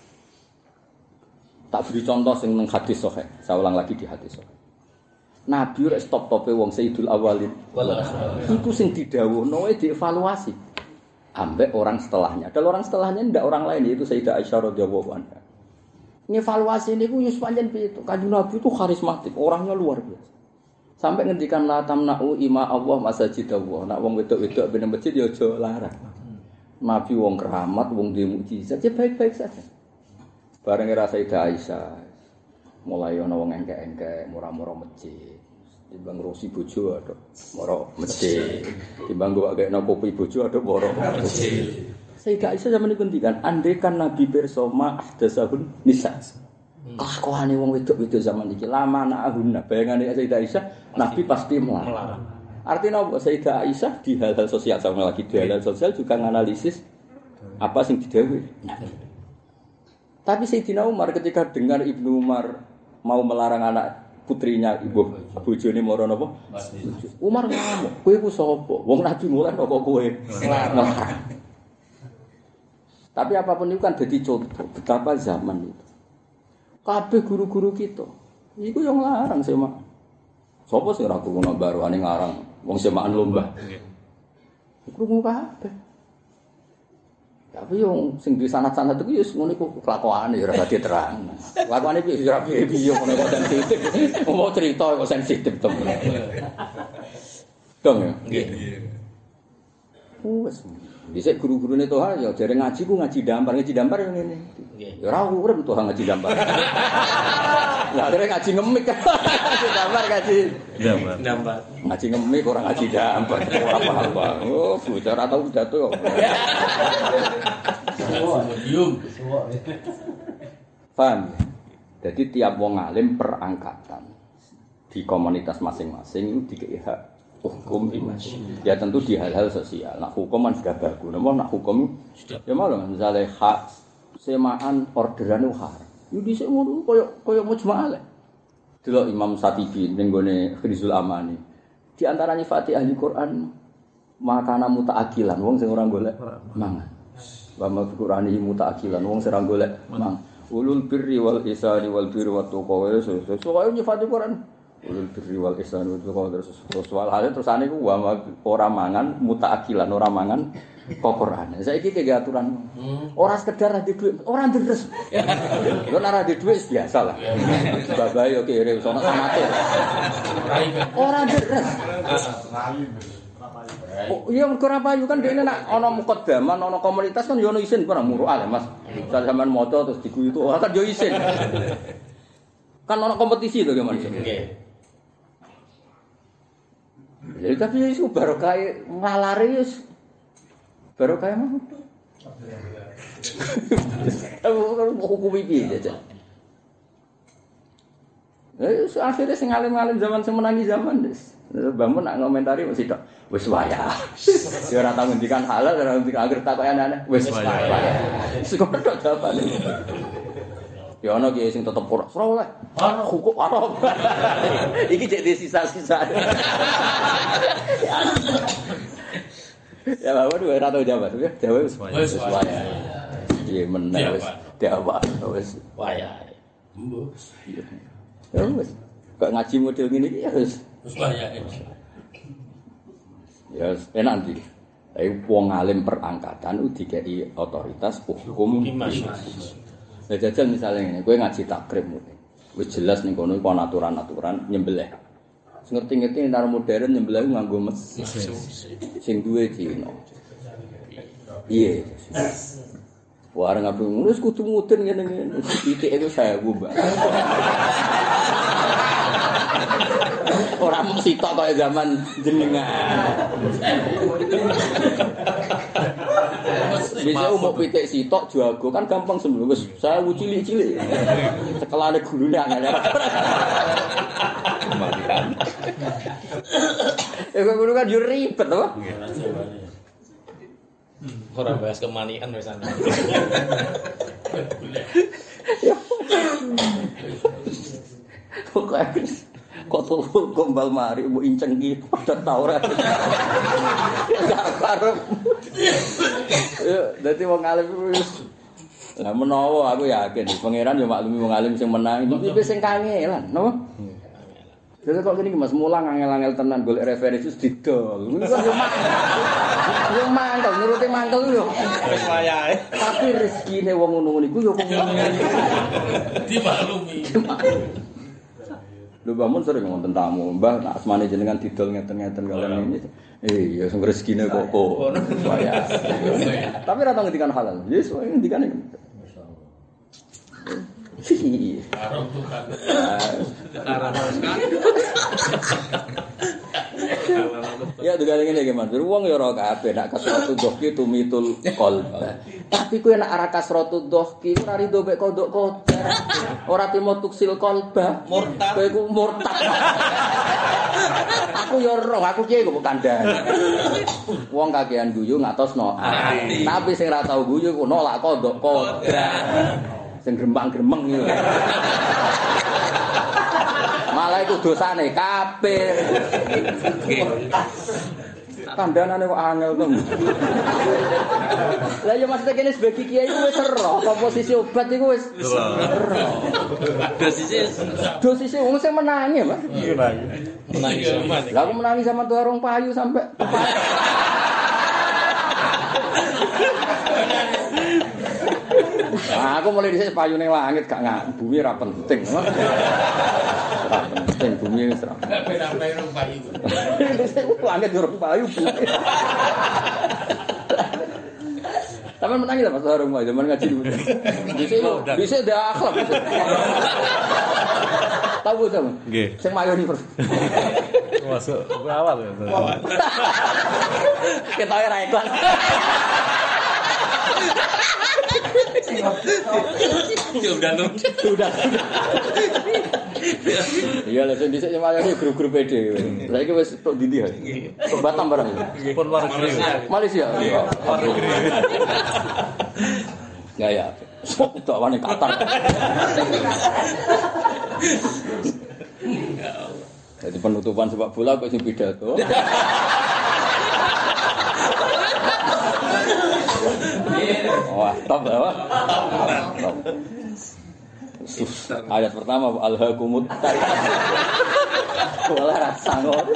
Tak beri contoh sing nang hadis sahih. Saya ulang lagi di hadis sahih. Nabi rek stop-tope wong Sayyidul Awwalin. Iku sing didhawuhno dievaluasi. Ambek orang setelahnya. Dan orang setelahnya ndak orang lain yaitu Sayyidah Aisyah radhiyallahu anha. Ngevaluasi niku yo pancen piye to? Kanjeng Nabi itu karismatik, orangnya luar biasa. Sampai ngendikan la tamna'u ima Allah masajidallah. Nak wong wedok-wedok ben masjid yo aja larang. Nabi wong keramat, wong duwe mukjizat, ya baik-baik saja. Bareng era Sayyidah Aisyah mulai ana wong engke-engke murah-murah masjid. Timbang rosi bojo ada moro masjid. Timbang gua kekno kopi bojo ada moro masjid. Sayyidah Aisyah zaman niku ngendikan, andaikan Nabi pirsa ma ahdasahun nisa. Kelakuane wong wedok-wedok zaman iki lama na'ahunna. Bayangane Sayyidah Aisyah, Nabi pasti melarang. Artinya apa? Sayyidah Aisyah di hal-hal sosial sama lagi di hal-hal sosial juga nganalisis apa sing didhawuhi. Tapi Sayyidina Umar ketika dengar Ibnu Umar mau melarang anak putrinya ibu bojone moro napa? Umar ngamuk, kowe ku sapa? Wong Nabi mulai kok kowe larang. Tapi apapun itu kan jadi contoh betapa zaman itu. Kabeh guru-guru kita iku yang larang sema. Sapa sing ora krungu baruane ngarang wong semaan lomba. Krungu kabeh. Tapi yang sing di sanad-sanad iku ya ngono iku kelakuane ya ora diterang. Kelakuane piye ya piye ngono kok sensitif. Mau cerita kok sensitif to. Dong ya. Nggih. Wes. Dhisik guru-gurune Toha ya jare ngaji ku ngaji dampar yang ngene. Ya ora urip Toha ngaji dampar. Lah jare ngaji ngemik. Ngaji dampar. Ngaji ngemik ora ngaji dampar. Ora paham. Oh, bocah ora tau pidato kok. Paham? Jadi tiap wong alim perangkatan di komunitas masing-masing itu dikei hak hukum ya tentu di hal-hal sosial. Nak hukum kan sudah bagus. Namun nak hukum ya malah misalnya hak semaan orderan haram. Yo dhisik ngono koyo mujma'ah. Delok Imam Satibi ning gone Khrizul Amani. Di antaranya Fatih ahli Quran makana mutaakilan wong sing ora golek mangan. Wa ma Qur'ani mutaakilan wong sing ora golek mangan. Ulul birri wal ihsani wal birri wat taqwa. So koyo nyifati Quran. Ulul birri wal ihsani wal terus soal hal terusane ku ora mangan mutaakilan ora mangan Quran. Saiki iki aturan. Ora sekedar adi dhuwit, ora ndres. Yo nek adi dhuwit biasa lah. Babae yo kere sono amatir. Ora ndres. Oh, iya mergo ora payu kan dene nek ana mukaddaman ana komunitas kan yo ono isin ora muru'al Mas. Misal sampean maca terus diguyu itu kan yo isin. Kan ana kompetisi to gimana? Nggih. Jadi tapi isu barokah ngalare wis barokah mah. Hukum iki aja. Akhirnya sing alim-alim zaman sing menangi zaman wis. Bangun nak ngomentari mesti tok. Wis wayah. Ya ora tau ngendikan halal, ora ngendikan agar takoke aneh-aneh. Wis wayah. Wis kok tok jawabane. Ya ana ki sing tetep ora oleh. Ana hukum haram. Iki cek di sisa-sisa. Ya bawa dua ora tau jawab. Jawab wis wayah. Iya meneh wis. Dewa wis. Wayahe. Mbus. Ya wis. Kok ngaji model ngene iki ya wis. Wis wayahe. Ya enak ndi. Tapi wong alim perangkatan dikei otoritas hukum. Nah, jajal misalnya ngene, kowe ngaji takrib wis jelas ning kono iku ana aturan-aturan nyembelih. Sing ngerti-ngerti ntar modern nyembelih nganggo mesin. Sing duwe Cina. Iya. Wah, arep ngono wis kudu mudun ngene-ngene. Titik iku 1000, Mbak. Ora mung sitok kaya zaman jenengan. Bisa umuk pitik sitok jago kan gampang sembuh. Wis 1000 cilik-cilik. Sekelane gulune angel. Kematian. Ngono kan yo ribet to. Orang bahas kemanian wis ana. Kok tulul gombal mari mbok inceng iki padha ta ora. Enggak karep. Ya, dadi wong alim wis. Lah menawa aku yakin pangeran yo maklumi wong alim sing menang iki sing kangelan, napa? Jadi kok gini Mas mulang angel-angel tenan golek referensi didol. Ngono kan yo mangkel, nuruti mangkel yo. Wis wayahe. Tapi rezekine wong ngono-ngono iku yo kok Dimaklumi. Lho bangun sering wonten tamu, Mbah nak asmane jenengan didol ngeten-ngeten kalian ini. Ya sing rezekine kok. Waya. Tapi ra tau ngendikan halal. Yes, ngendikane. Arang tukang. Ya dengan ngene iki Mas, wong ya ora kabeh nak kasratu dhahki tumitul qalba. Tapi kowe nek ora kasratu dhahki ora rido mek kodok kodar. Ora timo tuksil qalba. Murtad. Kowe ku murtad. Aku ya ora, aku kiye kok kandhane. Wong kakean guyu ngatosno ati. Tapi sing ora tau guyu ku nolak kodok kodar. Sing grembang-gremeng iki. Malah iku dosane kafir. Kandhanane kok angel to. Lah ya maksudnya kene sebagai kiai iku wis ero, komposisi obat iku wis ero. Dosise wong sing menangi, Mas. Iya, menangi sama. Lah aku menangi sama tuh arung payu sampai Nah, aku mulai dhisik payu ning langit gak bumi ora penting. Ora penting bumi wis ora. Sampai rong payu. Dhisik langit yo payu. Sampe menangi lah Mas Harung zaman ngaji dulu. Dhisik ndak akhlak. Tahu sama? Nggih. Sing mayu ni. Masuk awal ya. Kita ora iklan. Sudah. Iya lah sing dhisik semayane grup-grup PD. Saiki wis tok ndi ha? Tok Batam barang. Pun luar negeri. Malaysia. Luar negeri. Ya. Tok wane Qatar. Jadi penutupan sepak bola kok sing pidato. Wah, top ya, Pak. Top. Ayat pertama alhaqumut taqwa. Wala rasa ngono.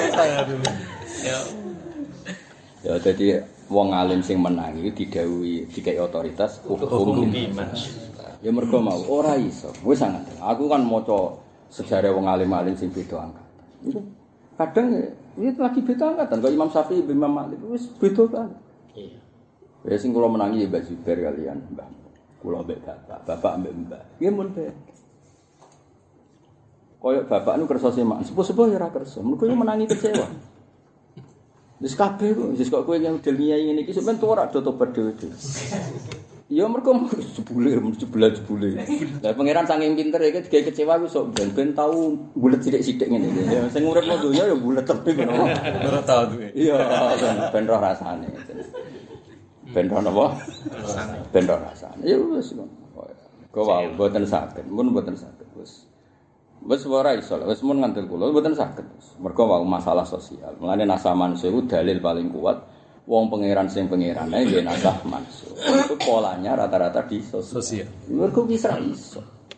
Ya jadi wong alim sing menang iki didhawuhi dikai otoritas hukum iman. Ya mergo mau ora iso. Wis sangat. Aku kan maca sejarah wong alim-alim sing beda angkatan. Itu kadang itu lagi beda angkatan. Kalau Imam Syafi'i, Imam Malik wis beda banget. Iya. Ya sing kula menangi ya Mbak Zubair kalian, Mbah. Kula mbek bapak mbek Mbah. Nggih mun be. Koyok bapak nu kersa semak, sepuh-sepuh ya ora kersa. Mergo yo menangi kecewa. Wis kabeh kok kowe yang model nyai ngene iki sampean tuwa ora do tobat dhewe-dhewe. Ya mergo jebule. Lah pangeran saking pinter iki digawe kecewa ku sok ben tau bulet sithik-sithik ngene. Ya sing urip nang donya ya bulet tepi ngono. Ora tau duwe. Iya, ben roh rasane. Ben roh napa? Rasane. Ben roh rasane. Ya wis ngono. Kok wae mboten saged, mboten saged wis. Wis ora iso, wis mun ngandel kula mboten saged. Mergo wae masalah sosial. Mulane nasah mansuh dalil paling kuat. Wong pangeran sing pangerane nggih nasah mansuh. Itu polanya rata-rata di sosial. Mergo wis ra iso.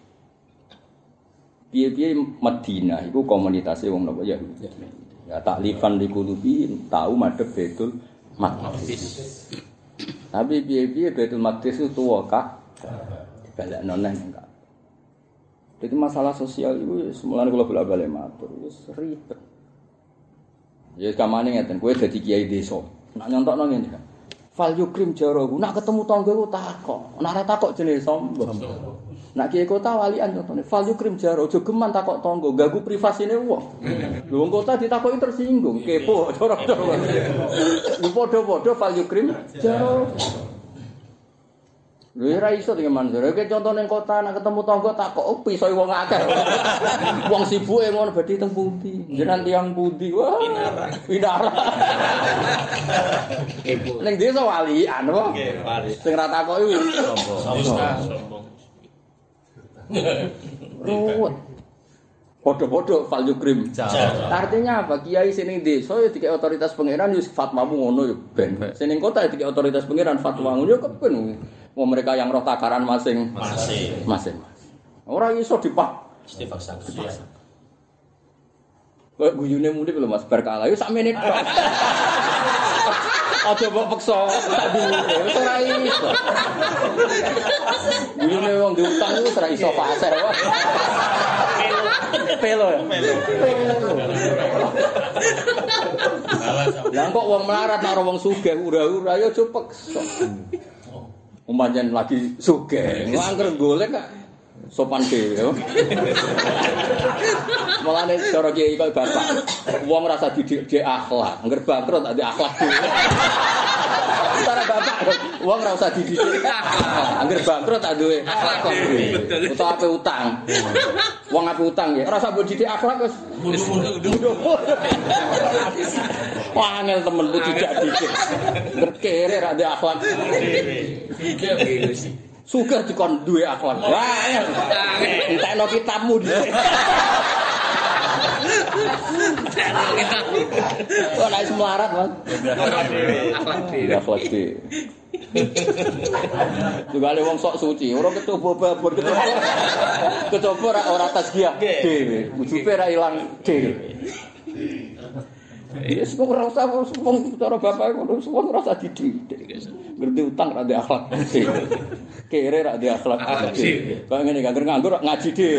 Piye-piye Madinah iku komunitasé wong napa ya. Ya taklifan di kulubi tahu madhep Baitul Maqdis. Tapi piye-piye Baitul Maqdis itu tuwa Kak. Dibalekno nang Kak. Jadi masalah sosial itu semulane kula bolak-balik matur wis ribet. Ya kamane ngeten kowe dadi kiai desa. Nak nyontokno ngene. Fal yukrim jarahu. Nak ketemu tanggaku takok. Nak ora takok jenenge sombong. Nak kiai kota walian contone fal yukrim jarahu. Aja geman takok tangga, ganggu privasine wong. Lho wong kota ditakoki tersinggung, kepo cara-cara. Lho padha-padha fal yukrim jarahu. Lho ora iso dengan Mansur. Oke contoh ning kota nak ketemu tangga takok piso wong akeh. Wong sibuke ngono badhe teng pundi? Jenengan tiyang pundi? Wah. Pinara. Ning desa walian wae. Nggih, wali. Sing ra takoki sombong. Ruwet. Podo-podo fal yukrim. Artinya apa? Kiai sing desa ya dikek otoritas pangeran ya fatwamu ngono ya ben. Sing ning kota ya dikek otoritas pangeran fatwa ngono ya kepen. Wong mereka yang roh takaran masing-masing. Ora iso dipaksa. Kok guyune muni lho Mas berkala yo sakmene tok. Aja mbok peksa tak dhuwure wis ora iso. Guyune wong diutang wis ora iso pasar wae. Pelo. Lah kok wong melarat karo wong sugih ura-ura ya aja peksa. Umpamane lagi sugih, ngangger golek kok sopan dhewe. Mulane cara kiai kok bapak, wong rasa didik akhlak, ngger bangkrut tak akhlak dhewe. Cara bapak, wong ora usah didik akhlak, ngger bangkrut tak duwe akhlak dhewe. Utawa ape utang. Wong ape utang ya, ora usah mbok didik akhlak wis mundur. Wah, angel temen ku tidak didik. Ngger kere ra duwe akhlak dhewe. Suka dikon duwe akhlak. Wah, entekno kitabmu dhisik. Kok nek melarat, Mas? Akhlak dhewe. Tugale wong sok suci, ora kecoba babon kecoba ora tasbih dhewe. Ujube ra ilang dhewe. Yes, kok ora usah wong cara bapak ngono, wong ora usah dididik. Ngerti utang ra ndek akhlak. Kere ra ndek akhlak. Kok ngene nganggur ngaji dhewe.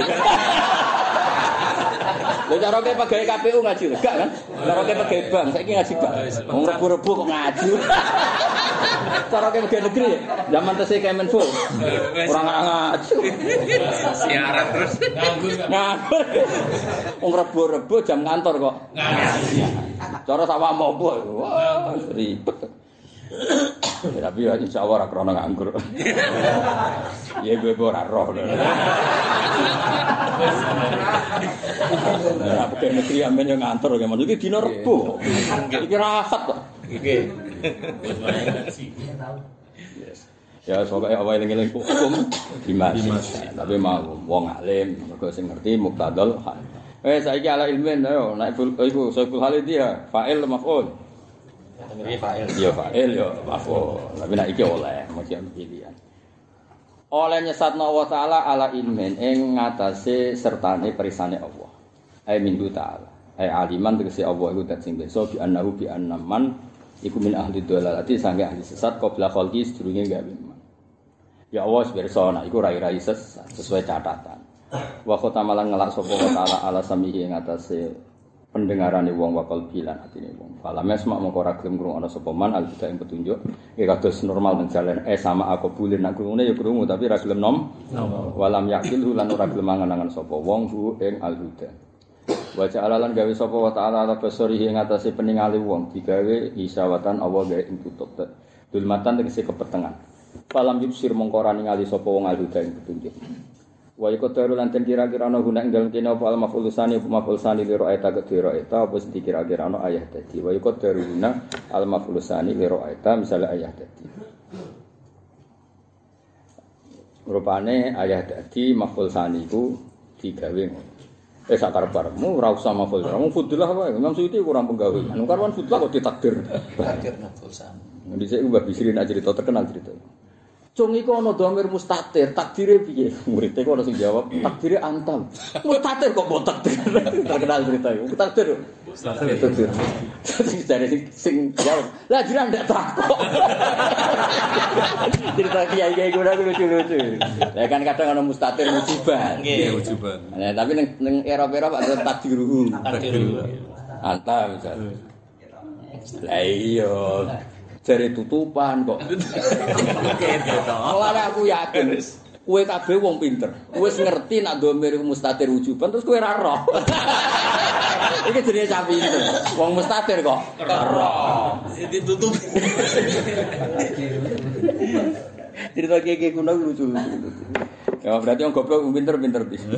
Lha cara ke pegawai KPU ngaji gak kan? Cara ke pegawai bank saiki ngaji gak? Wong rebu-rebu kok ngaji. Cara ke pegawai negeri zaman tesih Kemenfo. Ora ngaji. Siaran terus nganggur. Wong rebu-rebu jam kantor kok ngaji. Cara sawah mopo. Wah, ribet. Ya, tapi ya insyaallah ora krana nganggur. Ya gue ora roh. Nah, pegawai negeri amen yang ngantor ya, maksudnya dina Rebo. Iki rahat kok. Iki. Ya soalnya awal eling-eling hukum dimas. Tapi mau wong alim, mergo sing ngerti muqtadal hal. Saiki ala ilmen ayo nek iku Saiful Halid ya fa'il maf'ul. Iki fa'il. Ya fa'il ya maf'ul. Tapi nek iki oleh mesti pilihan. Oleh nyesatna Allah Ta'ala ala ilmen ing ngatasé sertane perisane Allah. Ai minggu ta'ala. Ai aliman tegese Allah iku dat sing beso bi annahu bi annaman iku min ahli dhalalati sange ahli sesat qabla khalqi sedurunge gawe iman. Ya Allah pirsa nek iku rai-rai sesuai catatan. Wa khotamalan ngelak sapa wa ta'ala ala samihi ing ngatasé pendengarane wong wakal bilan atine wong. Falames mak mengko ora gelem ngrungokno sapa man al-huda ing petunjuk. Ya kados normal menjalan sama aku bulin nak krungune ya krungu tapi ora gelem nom. Walam yakil lan ora gelem mangan-angan sapa wong hu ing al-huda. Wa ja'alalan gawe sapa wa ta'ala ala basarihi ing atase peningale wong digawe isawatan Allah gawe ing tutup. Dulmatan tegese kepetengan. Falam yusir mengko ora ningali sapa wong al-huda ing petunjuk. Wa yaqdaru lan kira-kira ana guna ing dalem kene apa al-maf'ul sani li ra'aita kedira eta apa sing dikira-kira ana ayah dadi. Wa yaqdaru guna al-maf'ul sani li ra'aita misale ayah dadi. Rupane ayah dadi maf'ul sani iku digawe ngono. Sakar-karmu ora usah maf'ul. Wong fudullah wae, Imam Suyuti kurang penggawean. Karwan fudullah kok ditakdir. Takdir maf'ul sani. Dhisik Mbah Bisri nak cerita terkenal cerita. Cung iku ana dhamir mustatir, takdire piye? Murid iku ana sing jawab, takdire antam. Mustatir kok mbok takdir. Terkenal cerita iku. Takdir. Mustatir. Dari sing jawab. Lah jiran ndak takok. Cerita kiai-kiai kuwi lucu-lucu. Lah kan kadang ana mustatir musibah. Nggih, ujuban. Nah, tapi ning era-era Pak ada takdiruhu. Antam misal. Lah iya. Jare tutupan kok. Mulane aku yakin kowe kabeh wong pinter. Kowe wis ngerti nek dhamir mustatir wujuban terus kowe ora roh. Iki jenenge cah pinter. Wong mustatir kok roh. Ditutup. Cerita kiye kuno lucu. Ya berarti wong goblok pinter-pinter bis.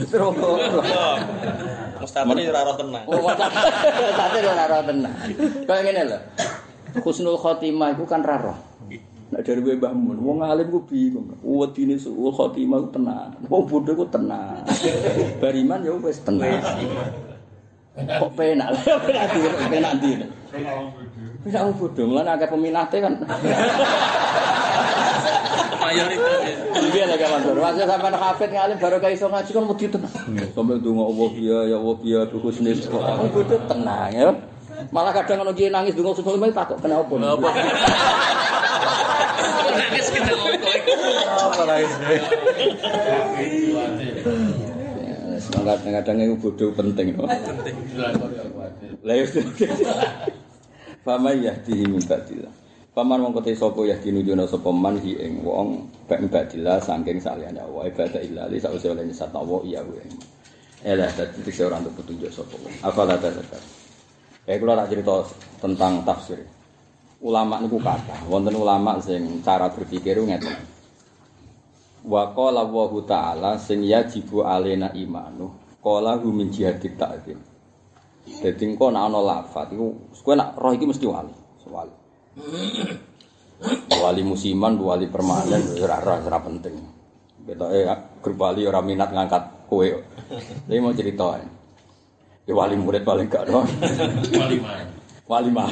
Mustatir ora roh tenang. Oh, mustatir ora roh tenang. Kayak ngene lho. Husnul khotimah iku kan ra roh. Nek dari Mbah Mun, wong alim ku bingung. Wedine husnul khotimah ku tenang. Wong bodho ku tenang. Bariman ya wis tenang. Kok penak. Penak ndi. Penak wong bodho, mulane akeh peminate kan. Mayoritas. Iya lagi Mansur. Masih sampai hafid ngalim baru kayak iso ngaji kan mesti tenang. Sampai donga Allah ya Allah ya husnul khotimah. Wong bodho tenang ya. Malah kadang ono kiye nangis donga Husnul Khotimah takok kenapa. Nangis kita ngomong. Apa lain? Semangat kadang itu bodoh penting. Penting. Lah yo. Fama yahdihi min ba'dillah. Paman wong kote sapa yahdinu jono sapa man hi ing wong ba'dillah saking saliyane Allah ibadah ilali sawise oleh nyesat Allah iya kuwi. Elah dadi sing ora untuk petunjuk sapa wong. Afala tadzakar. Kula tak cerita tentang tafsir. Ulama niku kathah, wonten ulama sing cara berpikir ngeten. Wa qala wa ta'ala sing yajibu alaina imanu. Qala hu min jihadit ta'zim. Dadi engko nek ana lafaz iku kowe nek roh iki mesti wali. Wali musiman, wali permanen ora penting. Ketoke grup wali ora minat ngangkat kowe. Iki mau cerita. Ya wali murid paling gak no. Wali mah.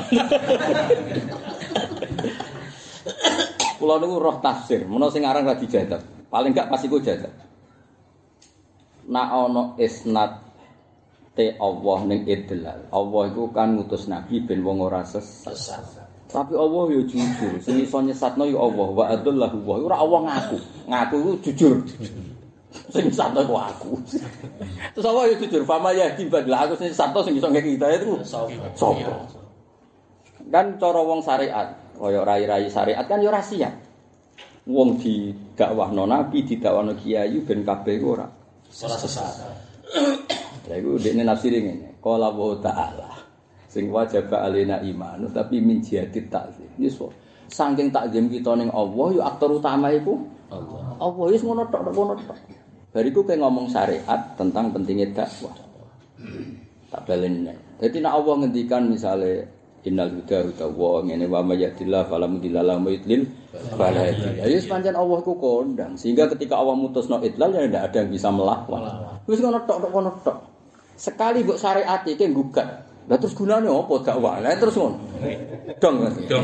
Kula niku roh tafsir, menawa sing aran ra dijadat. Paling gak pas iku jadat. Nek ana isnad te Allah ning idlal. Allah iku kan ngutus nabi ben wong ora sesat. Tapi Allah ya jujur, sing iso nyesatno ya Allah. Wa adallahu wa ora Allah ngaku. Ngaku iku jujur. Sing santo ku aku. Terus apa ya jujur, fama ya dibadlah aku sing santo sing iso ngeki hidayah itu sapa? Kan cara wong syariat, kaya rai-rai syariat kan ya ora siap. Wong didakwahno nabi, didakwahno kiai ben kabeh ora sesat. Lha iku dekne nafsire ngene. Qala wa ta'ala. Sing wajib alena iman, tapi min jihadit takzim. Yes, saking takzim kita ning Allah ya aktor utama iku Allah. Allah wis ngono tok. Bariku kayak ngomong syariat tentang pentingnya dakwah. Tak baleni. Dadi nek Allah ngendikan misale innal huda wa ngene wa may yahdillah fala mudilla lahu yudlil fala hadiya. Ya pancen Allah ku kondang sehingga ketika Allah mutusno idlal ya ndak ada yang bisa melawan. Wis ngono tok. Sekali mbok syariat iki nggugat. Lah terus gunane apa dakwah? Lah terus ngono. Dong.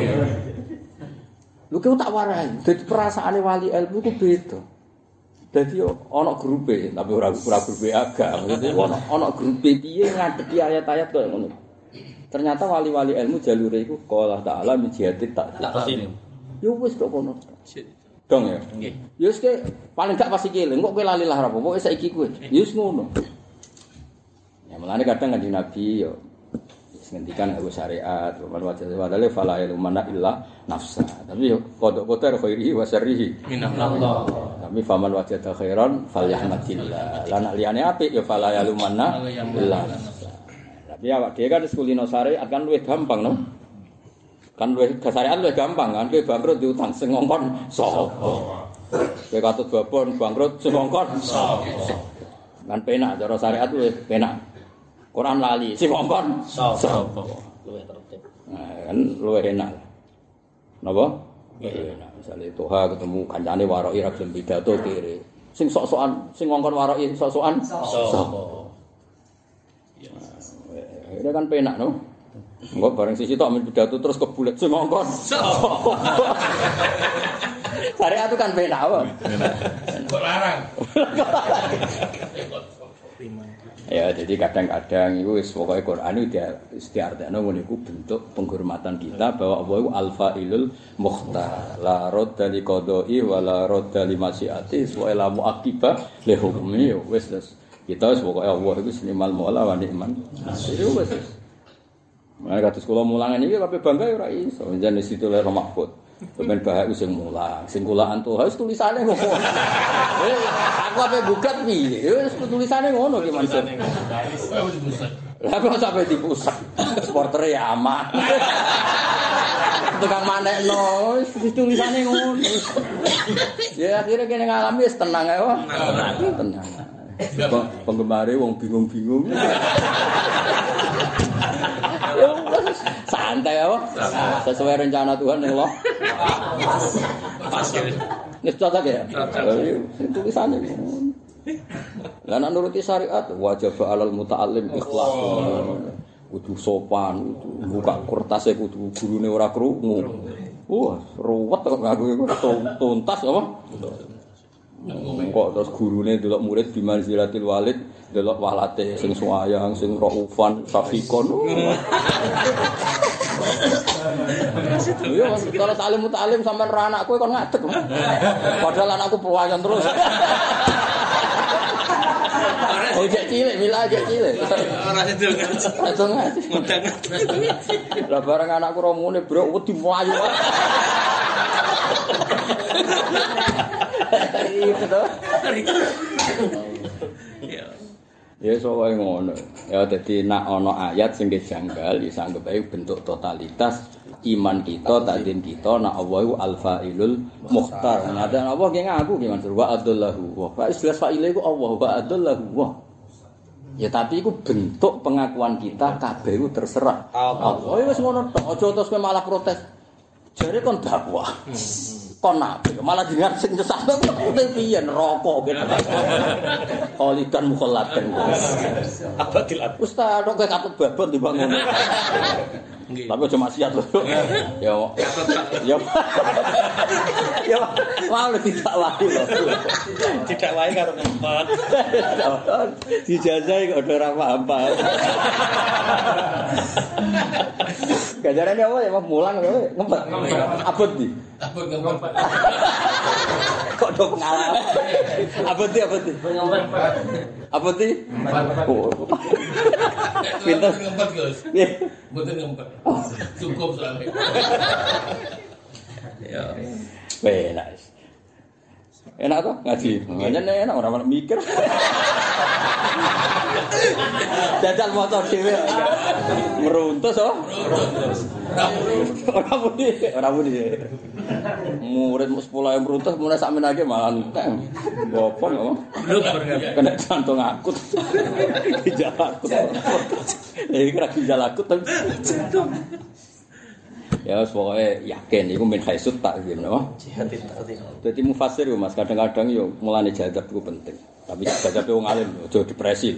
Lho kok tak warai. Dadi perasaane wali ilmu ku beda. Dadi ana grupe, tapi ora grupe agak. Maksudnya ana grupe piye ngadepi ayat-ayat kaya ngono. Ternyata wali-wali ilmu jalure iku qala ta'ala min jihadit takzim. Yo wis kok ngono. Dong ya. Nggih. Ya wis paling gak pasti keling, kok kowe lali lah apa. Pokoke saiki kowe. Ya wis ngono. Ya mulane kadang kanjeng Nabi yo ngendikan aku syariat, man wajah wadale fala yalumana illa nafsa. Tapi yo kodok-kodok khairihi wa syarrihi minallah. Tapi faman wajah khairan falyahmadillah. Lah nek liyane apik yo fala yalumana illa nafsa. Tapi awak dhewe kan kulino syariat kan luwih gampang no. Kan luwih syariat luwih gampang kan kowe bangkrut diutang sing ngongkon sapa. Kowe katut babon bangkrut sing ngongkon sapa. Kan penak cara syariat luwih penak. Quran lali, sing ngongkon sapa? Luwih tertib. Nah, kan luwih enak. Napa? Luwih enak. Misale Toha ketemu kancane waroki ra gelem pidato kere. Sing sok-sokan, sing ngongkon waroki sok-sokan sapa? Ya. Ini kan penak no. Engko bareng sisi tok men pidato terus kebulet sing ngongkon sapa? Syariat itu kan penak apa? Kok larang? Ya, jadi kadang-kadang itu pokoknya Quran itu diartikan itu bentuk penghormatan kita bahwa Allah itu al-fa'ilul mukhtar la radda li qada'i wa la radda li masyiati wa la mu'aqibah li hukmi wis kita pokoknya Allah itu senimal mu'ala wa ni'man itu wis. Mereka kados kula mulangan iki kabeh bangga ya ora iso jenenge situ le Mahfud. Sampeyan bahak sing mulang, sing kulaan tuh harus tulisane ngono. Aku ape gugat piye? Wis tulisane ngono ki Mas. Lah kok sampe dipusat. Supporter ya aman. Tukang manekno, wis tulisane ngono. Ya akhirnya kene ngalami wis tenang ae wae. Tenang. Penggemare wong bingung-bingung. Santai ya, sesuai rencana Tuhan yang Allah. Pas ya. Nih cocok ya. Tulisannya. Lah nek nuruti syariat wajib alal muta'allim ikhlas. Kudu sopan, buka kertasnya kudu gurune ora krungu. Wah, ruwet kok aku iku tuntas apa? Kok terus gurune delok murid bimanzilatil walid, delok walate sing suwayang, sing raufan, safikon. Iya, kalau talim sampean ra anakku kon ngadeg. Padahal anakku pewayan terus. Oh, cek cilik, mila cek cilik. Ora sido ngaji. Langsung ngaji. Ngundang. Lah bareng anakku romune, Bro, wedi mlayu. Itu toh. Ya soalnya ngono. Ya dadi nak ana ayat sing janggal ya anggap ae bentuk totalitas iman kita, takdim kita nak Allahu al-fa'ilul mukhtar. Nah, dan Allah ki ngaku ki Mansur wa adallahu. Wa fa istilah fa'ile iku Allah wa adallahu. Ya tapi iku bentuk pengakuan kita kabeh iku terserah Allah. Ya wis ngono tok. Aja terus kowe malah protes. Jare kon dakwah. Kon nabi malah jenengan sing nyesatno kok piye neraka gitu. Khalidan mukhalladan. Abadil ab. Ustaz kok katut babon timbang ngono. Nggih. Tapi aja maksiat lho. Ya. Ya. Ya. Wah tidak wae lho. Tidak wae karo ngempet. Dijajahi kok ora paham-paham. Gajarane apa ya mulang ngempet. Abot di. Abot ngempet. Kok do pengalaman. Abot di. Abot di. Pinter ngempet, Gus. Nggih. Mboten ngempet. Cukup soalnya. Ya. Enak. Enak toh ngaji. Enak ora mikir. Jajal motor dhewe. Meruntus oh. Ora muni. Murid 10 yang meruntus mulai sak menake malah entek. Bopong apa? Kena jantung akut. Dijalakut. Iki kira dijalakut tapi ya pokoknya yakin iku min haisut takzim napa Jihadit takzim. dadi mufassir yo Mas kadang-kadang yo mulane jadab iku penting tapi jadab wong alim aja depresi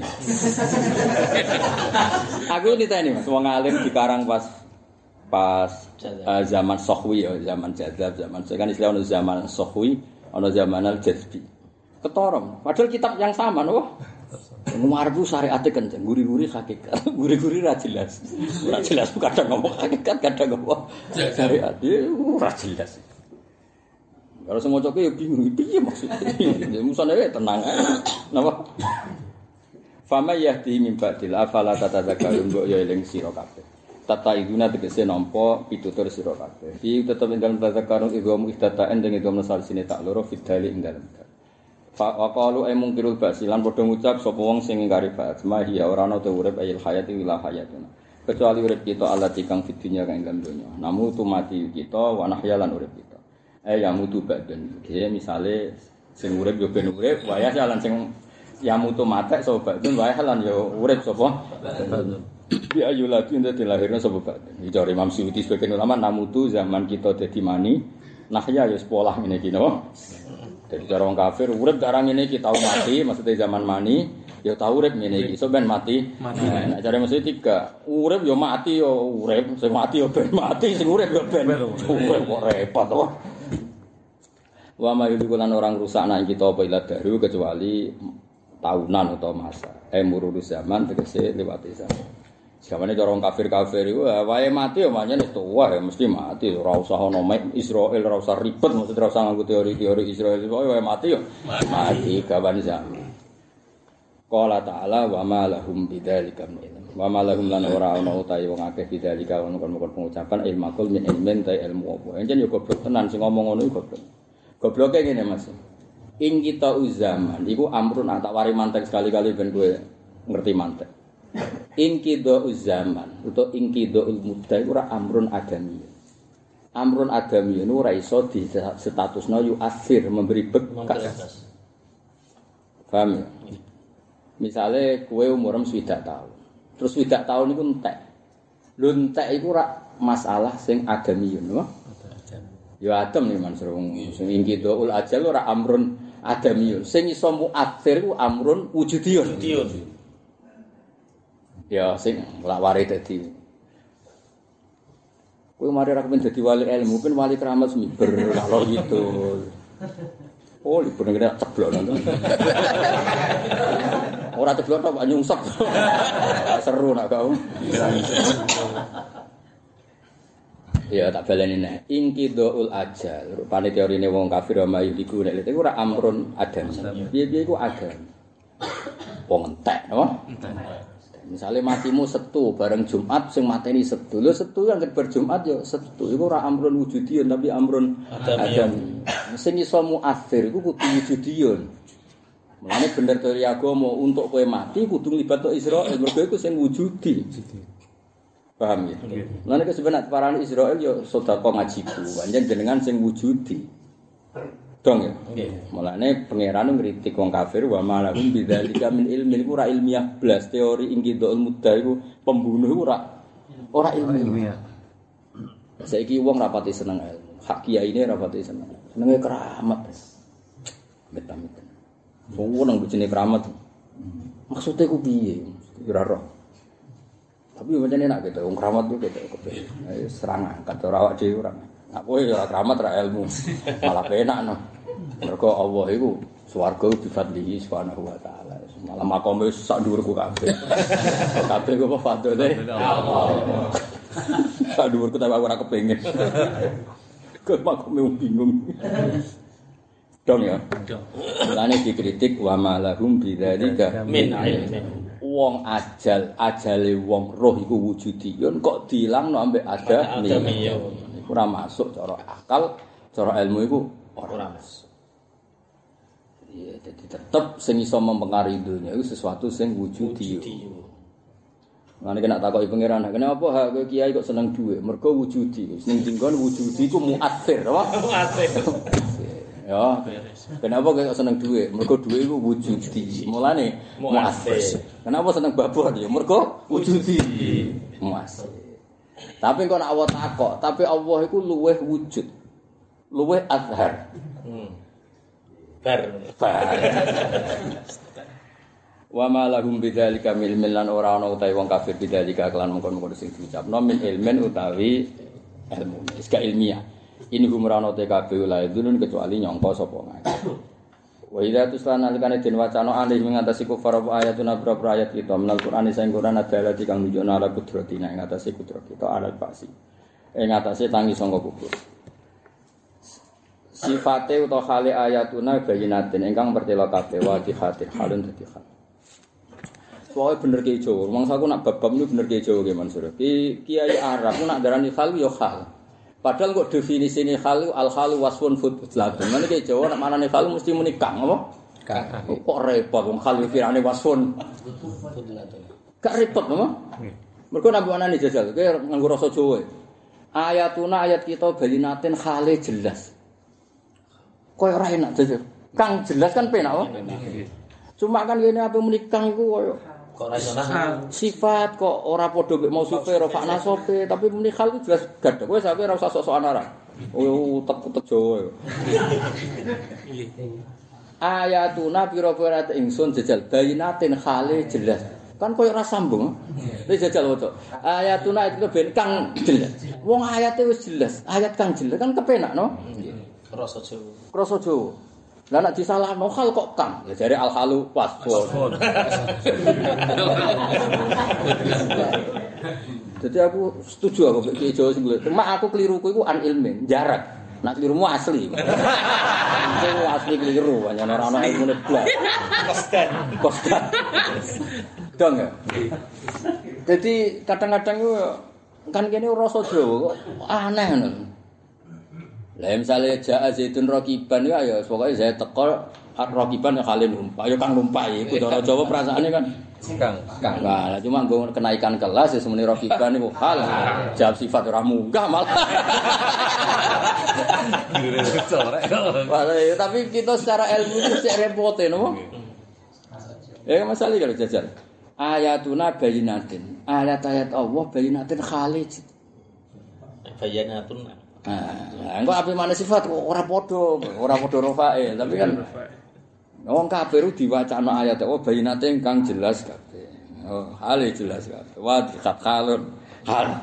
aku ditanya Mas wong alim dikarang pas zaman Sohwi ya zaman jadab zaman kan istilah ono zaman Sohwi ono zaman al-jazbi ketorong padahal kitab yang sama napa Mumarbu syariate kenceng, guri-guri hakikat. Guri-guri ra jelas. Ora jelas kadang ngomong hakikat, kadang ngomong syariat. Ora jelas. Kalau sing maca ya bingung, piye maksudnya? Musane tenang ae. Napa? Fama yahdi min ba'dil afala tatadzakkarun mbok ya eling sira kabeh. Tata iduna tegese nampa pitutur sira kabeh. Fi tetep ing dalem tadzakkarun idhum ihdataan ing idhum nasalisine tak loro fidali ing dalem. Faqalu ay mungkirul basilan padha ngucap sapa wong sing ingkari ba'ats mahiya ora ana te urip ayil hayati ila hayatuna kecuali urip kita alati kang fid dunya kang ing donya namu tu mati kita wa nahyalan urip kita ya mutu badan iki misale sing urip yo ben urip waya jalan sing ya mutu matek sapa badan waya lan yo urip sapa bi ayu lagi ente dilahirna sapa badan iki Imam Suyuti sebagian ulama namutu zaman kita dadi mani nahya ya sekolah ngene iki napa. Jadi cara orang kafir urip darang ini kita tahu mati maksudnya zaman mani ya tahu urip ngene iki so ben mati. Nah cara mesti tiga urip ya mati ya urip sing mati ya ben mati sing urip ya ben urip kok repot to. Wa ma yulikulan orang rusak nak kita apa ila daru kecuali tahunan atau masa. Mururu zaman tegese lewati zaman. Samane cara kafir-kafir iku wae mati ya pancen wis tuwa ya mesti mati ora usah ono Israil ora usah ribet mesti ora usah nganggo teori-teori Israil wae mati ya mati gawan zaman. Qala ta'ala wa ma lahum bidzalika min ilm. Wa ma lahum lan ora ana utahe wong akeh bidzalika ono kon pengucapan ilmakul min ilmin ta ilmu apa. Encen yo goblok tenan sing ngomong ngono iku goblok. Gobloke ngene Mas. In kita uzaman iku amrun tak wari mantek sekali-kali ben kowe ngerti mantek. Inqido zaman utawa inqido mudda iku ora amrun adami. Amrun adami itu ora iso di statusna yu asir memberi bekas. Paham ya? Misale kowe umur 20 tahun. Terus 20 tahun iku entek. Lho entek iku ora masalah sing adami no? Ya adam nih Mansur sing inqido ajal ora amrun adami. Sing iso muathir ku amrun wujudiyun. Ya sing lak wari dadi. Kowe mari ra kepen dadi wali ilmu, mungkin wali keramat semiber kalau gitu. Oh, libur ngene ceblok nonton. Ora ceblok tok nyungsep. Seru nak kau. Ya tak baleni nek. Inqidaul ajal. Rupane teorine wong kafir wa iku nek iku ora amrun adam. Piye-piye iku adam. Wong entek, napa? Entek. Misalnya matimu Setu bareng Jumat sing mateni Setu. Lho Setu yang berjumat ya Setu. Iku ora amrun wujudiyun tapi amrun adam. Sing iso muathir iku kudu wujudiyun. Mulane bener teori agama untuk kowe mati kudu nglibatno Israil mergo iku sing wujudi. Paham ya? Mulane sebenarnya parane Israil ya sedekah ngajiku. Panjen jenengan sing wujudi. Dong ya. Mulane pangeran ngritik wong kafir wa malahum bidzalika min ilmin iku ora ilmiah blas teori inqidul mudda iku pembunuh iku ora ilmiah. Saiki wong rapati seneng ilmu. Hak kiyaine rapati seneng. Senenge keramat. Amit-amit. Wong nang bojone keramat. Maksude ku piye? Ora roh. Tapi pancen enak gitu wong keramat ku gitu kepengin. Serang angkat ora awak dhewe ora. Aku ya ora keramat ora ilmu. Malah penak no. Mergo Allah iku swarga bifadlihi subhanahu wa taala. Malah makome sak dhuwurku kabeh. Kabeh ku fadhole Allah. Sak dhuwurku tapi ora kepengin. Kok makome bingung. Dong ya. Mulane dikritik wa malahum bidzalika min ilmin. Wong ajale wong roh iku wujudiyun kok dilangno ambek adami. Ora masuk cara akal, cara ilmu iku ora masuk. Ya, jadi tetap sing iso mempengaruhi dunia itu sesuatu sing wujudi. Mane kena takoki pangeran, kenapa hak kowe kiai kok seneng dhuwit? Mergo wujudi. Ning dinggon wujudi iku muathir, apa? Muathir. Ya, kenapa kowe kok seneng dhuwit? Mergo dhuwit iku wujudi. Mulane muathir. Kenapa seneng babon? Ya mergo wujudi. Muathir. Tapi kok nek Allah takok, tapi Allah iku luweh wujud. Luweh azhar. Bar. Wa ma lahum bidzalika min ilmin lan ora ana utahe wong kafir bidzalika kelan mongkon-mongkon sing diucapno min ilmin utawi ilmu. Iska ilmiah. Ini humrano te kabeh la idun kecuali nyangka sapa ngake. Wa idza tusana alikane den wacana alih ngatasi kufar ayatuna berapa ayat kita menal Quran sing Quran adalah kang nunjukna ala kudratina ing atase kudrat kita alal fasi. Ing atase tangi sangka kubur. Sifate utawa hale ayatuna bayinatin ingkang pertela kabeh wa dihatir halun dadi hal. Pokoke bener ki Jawa. Mangsaku nak bab-bab niku bener ki Jawa ki Mansur. Kiai Arab nak darani hal yo hal. Padahal kok definisine hal al-halu wasfun fudlatun. Mane ki Jawa nak manane hal mesti muni kang apa? Kang. Kok repot wong hal firane wasfun fudlatun. Gak repot apa? Mergo nang anane jajal kowe nganggo rasa Jawa. Ayatuna ayat kita bayinatin hale jelas. Koyo ora enak jajal. Kang jelas kan penak wae. Cuma kan ngene apa menikah iku koyo kok ora iso sifat kok ora padha mek mausufe ora fakna sope tapi menikah iku jelas gadhek. Kowe sampe ora usah sok-sokan ora. Utek-utek Jawa. Ayatuna pira-pira ingsun jajal bayinatin khale jelas. Kan koyo ora sambung. Nek jajal waca. Ayatuna itu ben kang jelas. Wong ayate wis jelas, ayat kang jelas kan kepenak no. Rasa Jawa. Krasa Jawa. Lah nek disalahno hal kok Kang. Ya jare al halu wasfun. Jadi aku setuju aku mek Jawa sing lho. Cuma aku keliruku iku an ilmin, jarak. Nak kelirumu asli. Itu asli keliru, hanya ora ana ilmune blas. Kostan. Dong ya. Jadi kadang-kadang itu kan kene rasa Jawa kok aneh ngono. Lah misale jaa zaitun rakiban ya pokoke saya teko rakiban ya kali numpak ya kang numpai iku cara Jawa perasaane kan kang. Nah, cuma nggo kenaikan kelas ya semene rakiban niku hal jawab sifat ora munggah malah. Tapi kita secara ilmu itu cek repote napa? Ya masalah kalau jajar. Ayatuna bayinatin. Ayat-ayat Allah bayinatin khalid. Bayanatun. Nah, engko ape maneh sifat ora padha rofae, tapi kan wong kafir diwacana ayat Allah bayinatin kang jelas kabeh. Oh, hale jelas kabeh. Wa khalun hal.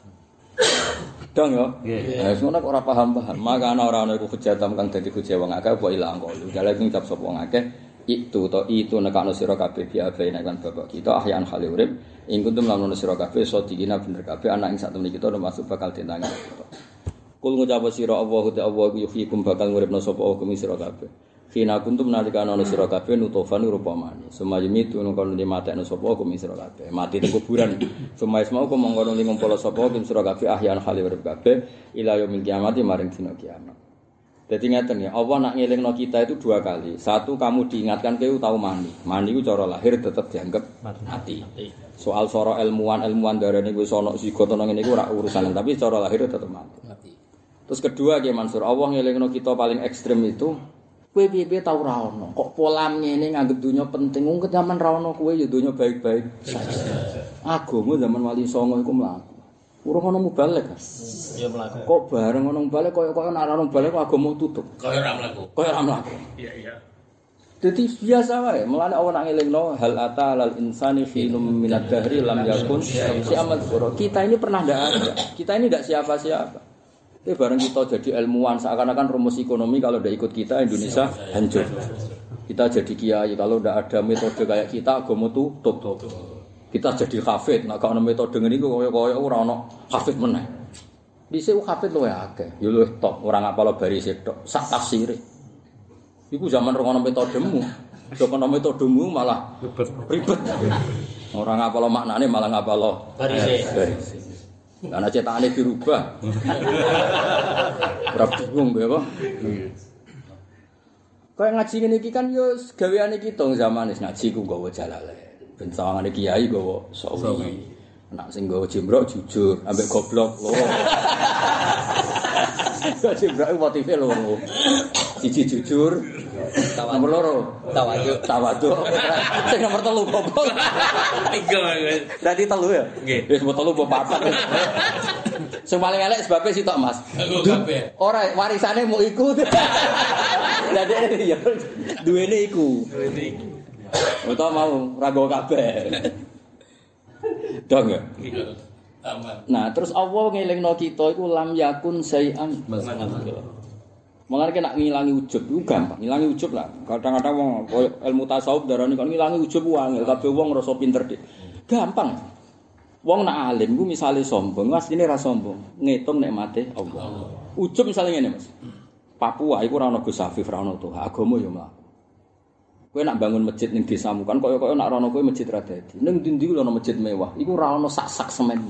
Dong yo. Nggih. Ngono kok ora paham-paham. Maka ana iku hujatan kang dadi hujah wong akeh apa ilang kok. Jale sing cap sapa wong akeh itu nekakno sira kabeh biabe nek kan bapak kita ahyan khali urip ing kuntum lamun sira kabeh sodikina bener kabeh anak ing sak temene kita termasuk bakal ditangi. Kul ngucap sira Allah yuhyikum bakal nguripno sapa hukum sira kabeh. Kina kuntum nalika ana sira kabeh nutofan rupa mani. Semayemi tunu kono dimatekno sapa hukum sira kabeh. Mati teng kuburan. Semais mau kok mongko ning ngumpul sapa hukum sira kabeh ahyan khali urip kabeh ila yaumil kiamat maring dina kiamat. Jadi ngeten ya, Allah nak ngelingno kita itu 2 kali. Satu kamu diingatkan kowe tahu mani. Mani ku cara lahir tetap dianggap mati. Soal soro ilmuwan darane wis ana zigot ana ngene iku ora urusan, tapi cara lahir tetap mati. Terus kedua Ki Mansur, Allah ngelingno kita paling ekstrem itu kowe piye-piye tau ra ono. Kok pola ngene nganggep dunya penting, wong zaman ra ono kowe ya dunya baik-baik saja. Agama zaman Wali Songo iku mlaku. Urung ono mubalek. Ya mlaku. Kok bareng ono mubalek koyo nek ono mubalek agama tutup. Kaya ora mlaku. Iya. Dadi biasa wae, mulane Allah nak ngelingno hal ata lal insani hinum minad dahri lam yakun syai'an dzura. Kita ini pernah ndak ada. Kita ini ndak siapa-siapa. Bareng kita jadi ilmuwan seakan-akan rumus ekonomi kalau ndak ikut kita Indonesia hancur. Kita jadi kiai kalau ndak ada metode kayak kita agama tutup. Kita jadi hafid, nek ana metode ngene iku kaya ora ana hafid meneh. Dhisik hafid luwih akeh, ya luwih top, ora ngapal barise tok, sak tafsire. Iku zaman ora ana metodemu. Sok ana metodemu malah ribet. Ora ngapal maknane malah ngapal barise. Karena cetakane dirubah. Ora bingung ya apa? Kayak ngaji ngene iki kan yo gaweane kita zaman wis ngaji ku nggawa jalale. Ben sawangane kiai gawa sawi. Nek sing gawa jembrok jujur, ambek goblok loro. Jembrok motive loro. Siji jujur, nomor loro tawadhu. Sing nomor 3 goblok. 3 Berarti 3 ya? Nggih. Wis 3 mbok 4. Sing paling elek sebabe sitok Mas. Aku kabeh. Ora warisane mau iku. Lah dek ya duwene iku. Utawa mau rago kabeh. Dong ya. Aman. Nah, terus Allah ngelingno kita iku lam yakun syai'an. Mulane nek ngilangi ujub iku gampang, ngilangi ujub lah. Kadang-kadang wong ilmu tasawuf darani kan ngilangi ujub wae, kabeh wong ngrasa pinter dik. Gampang. Wong nak alim ku misale sombong, asline ra sombong, ngitung nikmate Allah. Ujub misale ngene, Mas. Papua iku ora ana Gus Afif, ora ana Tuhan, agama ya mlaku. Kowe nak bangun masjid ning desamu kan kaya-kaya nak rono kowe masjid ra dadi. Ning ndi-ndi ku ana masjid mewah, iku ora ana sak-sak semen.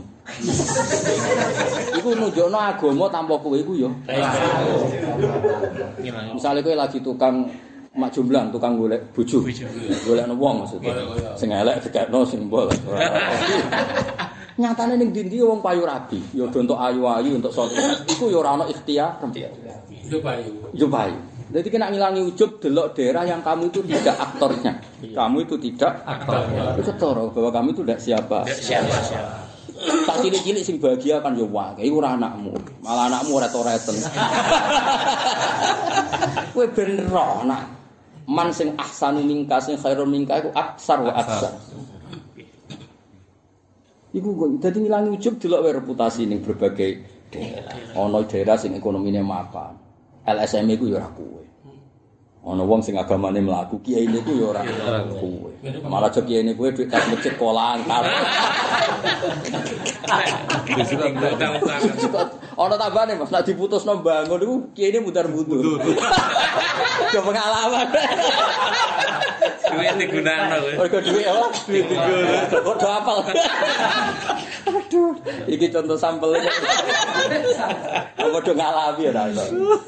Iku nunjukno agama tanpa kowe iku ya. Misale kowe lagi tukang mak jomblang, tukang golek bojo. Golekno wong maksudnya. Sing elek dikekno sing mbol. Nyatane ning ndi-ndi wong payu rabi, ya do entuk ayu-ayu, entuk saleh. Iku ya ora ana ikhtiar. Yo payu. Jadi kena ngilangi ujub delok daerah yang kamu itu tidak aktornya. Kamu itu tidak aktornya. Itu ketara bahwa kamu itu tidak siapa. Tak cilik-cilik sing bahagia kan yo wae. Iku ora anakmu. Malah anakmu ora toreten. Kowe ben ro nak man sing ahsanu mingka sing khairun mingka iku aksar wa aksar. Iku kok dadi ngilangi ujub delok wae reputasi ning berbagai daerah. Ana daerah sing ekonomine mapan. LSM iku ya ora kowe. Ana wong sing agamane mlaku, kiai niku ya ora kowe. Malah jek kiai niku duit kas masjid kolang karo. Ana tambane Mas, nek diputusno bangun niku kiai mutar-mutur. Yo pengalaman. Duit digunakno kowe. Mergo duit apa? Duit digunakno. Kok do apal. Aduh, iki contoh sampelnya. Apa do ngalami ora iso.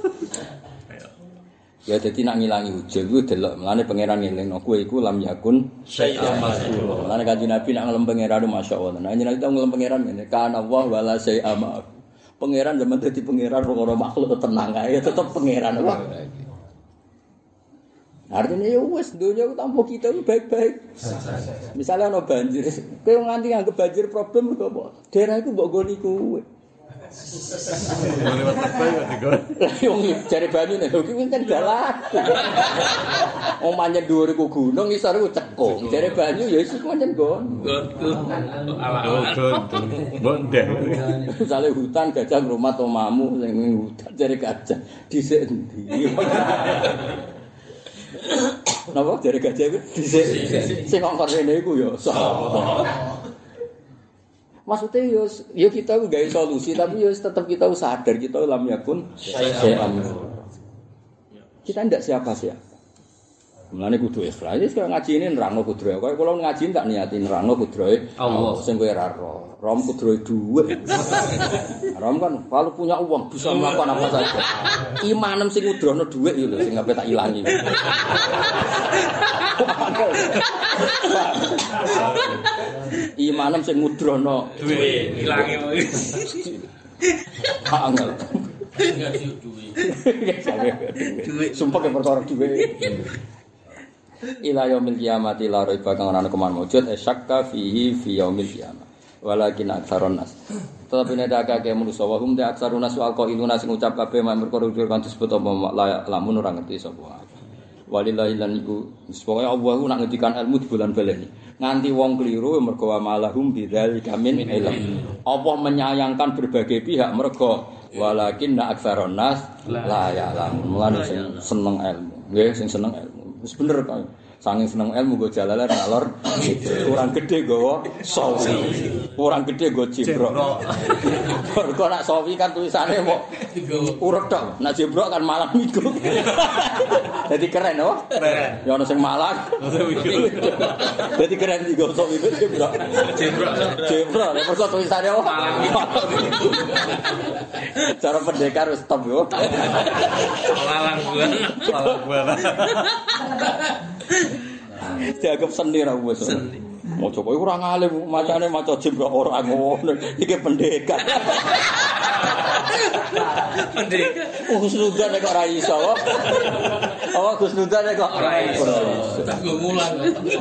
Ya dadi nak ngilangi ujug ku delok mlane pangeran ngelingno kowe iku lam yakun syai'an mazkur. Mlane kanjeng Nabi nak ngelem pangeran masyaallah. Nah jenenge tau ngelem pangeran ngene, kana wa wala syai'a ma. Pangeran zaman dadi pangeran ora makhluk tenang ae tetep pangeran apa. Artinya ya wis dunia tanpa kita itu baik-baik. Misalnya ana banjir, kowe nganti nganggep banjir problem kok apa? Daerah iku mbok goni kowe. Lewat apa ya digoreng. Wong jare banyune lho kuwi kan dalan. Wong manjen dhuwur iku gunung isor iku cekung. Jare banyu ya iku manjen gon. Bondeh. Misale hutan gajah ngrumat omamu sing hutan jare gajah dhisik endi. Napa jare gajah iku dhisik sing ngongkon rene iku ya sapa. Maksudnya yo kita gawe solusi tapi yo tetap kita sadar kita lam yakun syai'an. Kita ndak siapa-siapa. Mulane kudu ikhlas. Wis kaya ngaji ini nerangno kudrohe. Kaya kula ngaji tak niati nerangno kudrohe Allah sing kowe ora ro. Rom kudrohe dhuwit. Rom kan kalau punya uang bisa melakukan apa saja. Imanem sing ngudrono dhuwit yo lho sing ape tak ilangi. Imanem sing ngudrono duit ilange angel. Enggak sih duit. Sumpah ke perkara duit. Ila yaumil qiyamati la raiba kang ana keman wujud syakka fihi fi yaumil qiyamah. Walakin aktsarun nas. Tetapi nek akeh manusa wa hum ta aktsarun nas wal qailuna sing ngucap kabeh mak perkara kan disebut apa lamun ora ngerti sapa. Walillahi lan iku supaya Allah nak ngendikan ilmu di bulan baleni. Nganti wong keliru mergo amalahum bidzalika min ilm. Allah menyayangkan berbagai pihak mergo walakin na aktsarun nas la ya'lamun. Mulane sing seneng ilmu. Nggih sing seneng ilmu. Wis bener kok. Saking seneng ilmu go jalalan ngalor. Kurang gede gowo sawi. Kurang gede go jebrok. Kok nak sawi kan tulisane mok urut tok. Nak jebrok kan malang iku. Dadi keren oh. Keren. Ya ono sing malang. Dadi keren digo sawi jebrok. Jebrok. Nek perso tulisane oh. Malang iku. Cara pendekar wis stop yo. malang buana. Dianggap seni ra wis. Mau coba iku ora ngalim, macane maca jebrok ora ngono. Iki pendekar. Pendekar. Gus Nudan nek ora iso. Oh, Gus Nudan nek ora iso. Tak go mulang.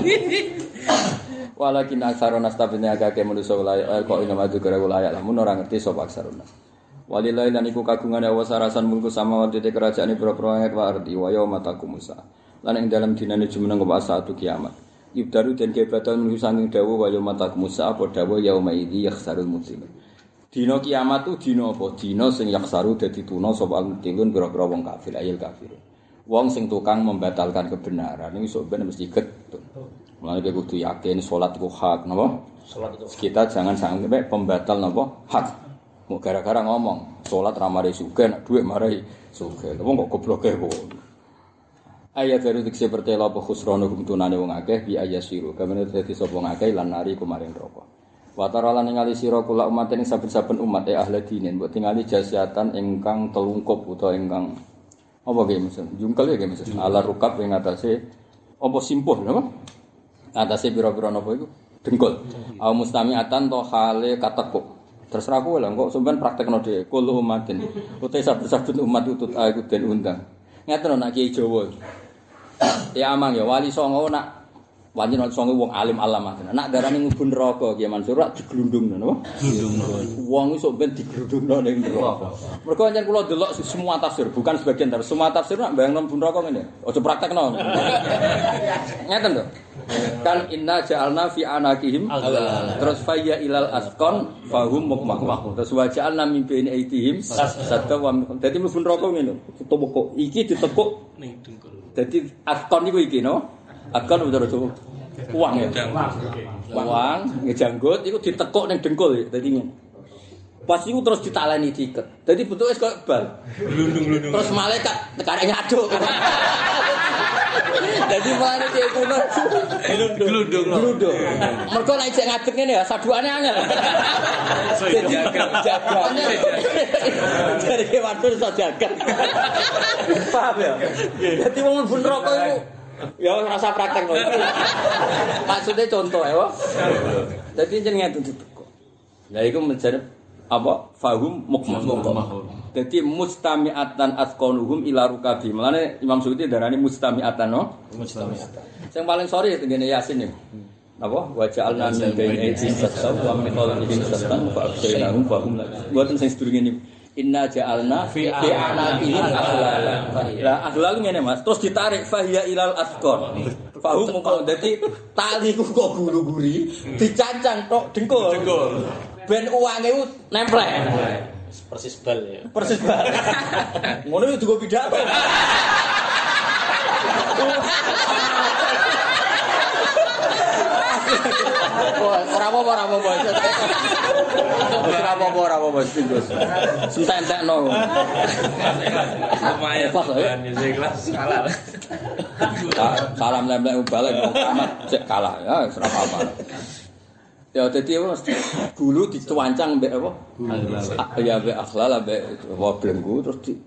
Walakin aksarun nas tabine agake manusa wilayah kok ina madu gara wilayah lamun ora ngerti sapa aksarun nas. Walillahi lan iku kagungane Allah sarasan mulku samawati te kerajaane pira-pira ayat wa ardi wa yauma taqumusa. Lan ing dalam dinane jumeneng apa saatu kiamat. Ibdaru den kebatan menuju sanging dawuh wa yauma taqumusa apa dawuh yauma idzi yakhsarul mubtilun. Dina kiamat tu dina apa? Dina sing yakhsaru dadi tuna sapa mubtilun pira-pira wong kafir ayil kafir. Wong sing tukang membatalkan kebenaran iki sok ben mesti getun. Mulane kudu yakin salat iku hak napa? Salat itu. Kita jangan sampai pembatal napa? Hak. Mau gara-gara ngomong salat ra mari sugih nek dhuwit mari sugih. Wong kok gobloke kok. Ayat baru dikse pertela apa khusranu tunane wong akeh bi ayasiru. Kamane dadi sapa akeh lan nari kumaring neraka. Wa taralan ningali sira kula umat ing saben-saben umat ahli dinen mbok tingali jasiatan ingkang telungkup utawa ingkang apa nggih mesen jungkel ya nggih mesen ala rukab ing atase apa simpuh napa atase pira-pira napa iku dengkul au mustamiatan to hale katekuk terserah kowe lho kok sampean praktekno dhewe kulo umatin utahe saben-saben umat utut aku den undang ngeten nek Kiai Jawa ya amang ya wali songo nak Pancen songe wong alim alamah. Nak darani mlebu neraka Ki Mansur rak diglundungno napa? Glundungno. Wong iso ben diglundungno ning neraka. Mergo pancen kula delok semua tafsir, bukan sebagian tafsir. Semua tafsir nak bayangno mlebu neraka ngene. Aja praktekno. Ngeten lho. Kan inna ja'alna fi anakihim terus fayya ilal asqan fahum mukmah. Terus wa ja'alna min baini aitihim sadda wa dadi mlebu neraka ngene. Ditekuk iki ditekuk ning dengkul. Dadi asqan niku iki no. Akan udah itu uang ya, uang ngejanggut, itu ditekuk neng dengkul, jadi ngene. Pas itu terus ditaleni diiket, jadi bentuknya kayak bal. Terus malaikat tekannya aduk. Jadi malah dia kuno gelundung. Mereka naik cek ngadeg ngene ya, saduane angel. Jaga. Jadi kewatur iso jaga. Paham ya? Jadi wong mlebu neraka iku ya rasa praktek lho. Maksudnya contoh ya. Jadi jenenge ditekuk. Lah iku menjadi apa? Fahum mukmah. Jadi mustami'atan asqanuhum ila rukabi. Mulane Imam Suyuti darani mustami'atan no? Mustami'atan. Sing paling sore tengene Yasin niku. Napa? Wa ja'alna min baini aydihim saddan wa min khalfihim saddan fa abshaynahum fa hum la. Mboten sing sedurunge niku. Inna ja'alna fi anaqihim aghlalan. Lah aghlal ngene Mas, terus ditarik fahiya ilal asqar. Fahum mongko dadi tali ku kok guru-guri dicancang tok dengkul. Ben uange nemplek. Persis bal ya. Persis bal. Ngono yo digo pidato. Ora apa-apa. Ora apa-apa singgus. Sentek-entekno. Lumayan. Pas ya. Kelas kalah. Salam lempel balik amat cek kalah ya ora apa-apa. Ya dadi dulu dicuancang mbek apa? Ya mbek akhlal mbek belenggu terus di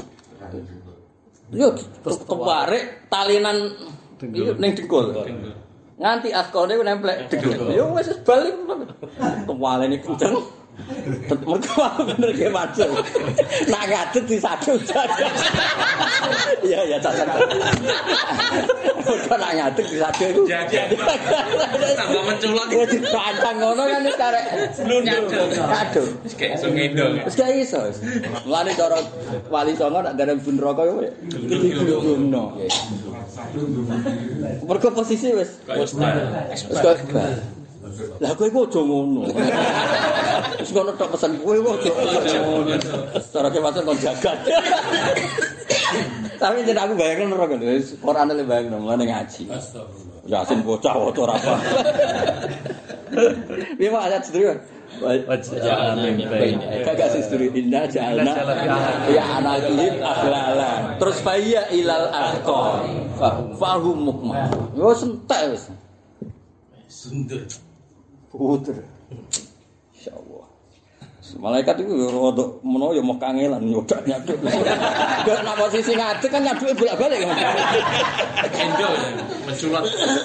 yo terus kewarik talinan ning dengkul. Nganti askone nemplek dengkul. Yo wis balik tuwalene kenceng. Mergo bener ge macul. Nak ngadeg disadu. Iya cacat. Mergo nak ngadeg disadu iku. Tambah menculot. Wis dipancang ngono kan wis karek nyadul. Wis kayak iso ngendong. Wis gak iso. Mulane cara Wali Songo nak darani bun neraka yo diglundungno. Mergo posisi wis kok lah kowe kok aja ngono. Wis ngono tok pesen kowe kok aja ngono. Cara kewasan kon jagat. Tapi yen aku bayangno neraka lho, Qur'ane le bayangno ngene ngaji. Astagfirullah. Yasin bocah waca ora apa. Piye wae ayat sedurunge? Wajah min baini. Kagak sedurunge inna ja'alna ya anakihim aghlalan. Terus fayya ilal asqar. Fahum mukmah. Yo sentek wis. Sunder. Puter. Insyaallah. Malaikat itu rada menawa ya mau kangelan nyodak-nyaduk. Dek nak posisi ngadeg kan nyaduke bolak-balik kan. Endo menculot.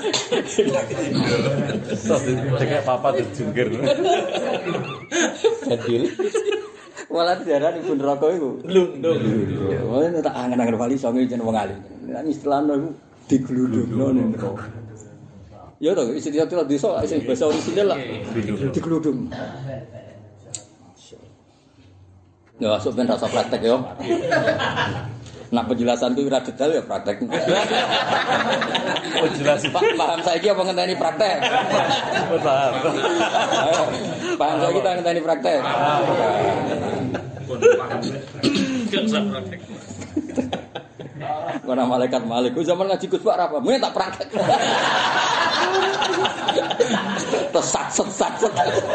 Terus kayak papa dijungkir. Jadil. Walah diarani ibu neraka iku. Glundung. Oh, tak angen-angen Wali Songo jeneng wong alim. Nek istilahno iku diglundungno ning neraka. Ya toh, istilah desa sing bahasa orisinal lah. Diglundung. Ya, sok ben rasa praktek yo. Nak penjelasan ku ora detail ya praktek. Penjelasan Paham saiki apa ngenteni praktek? paham. Paham saiki ta ngenteni praktek? Gak usah praktek. Kono malaikat malik. Ku zaman ngaji Gus Pak ra apa? Mene tak praktek. Sat.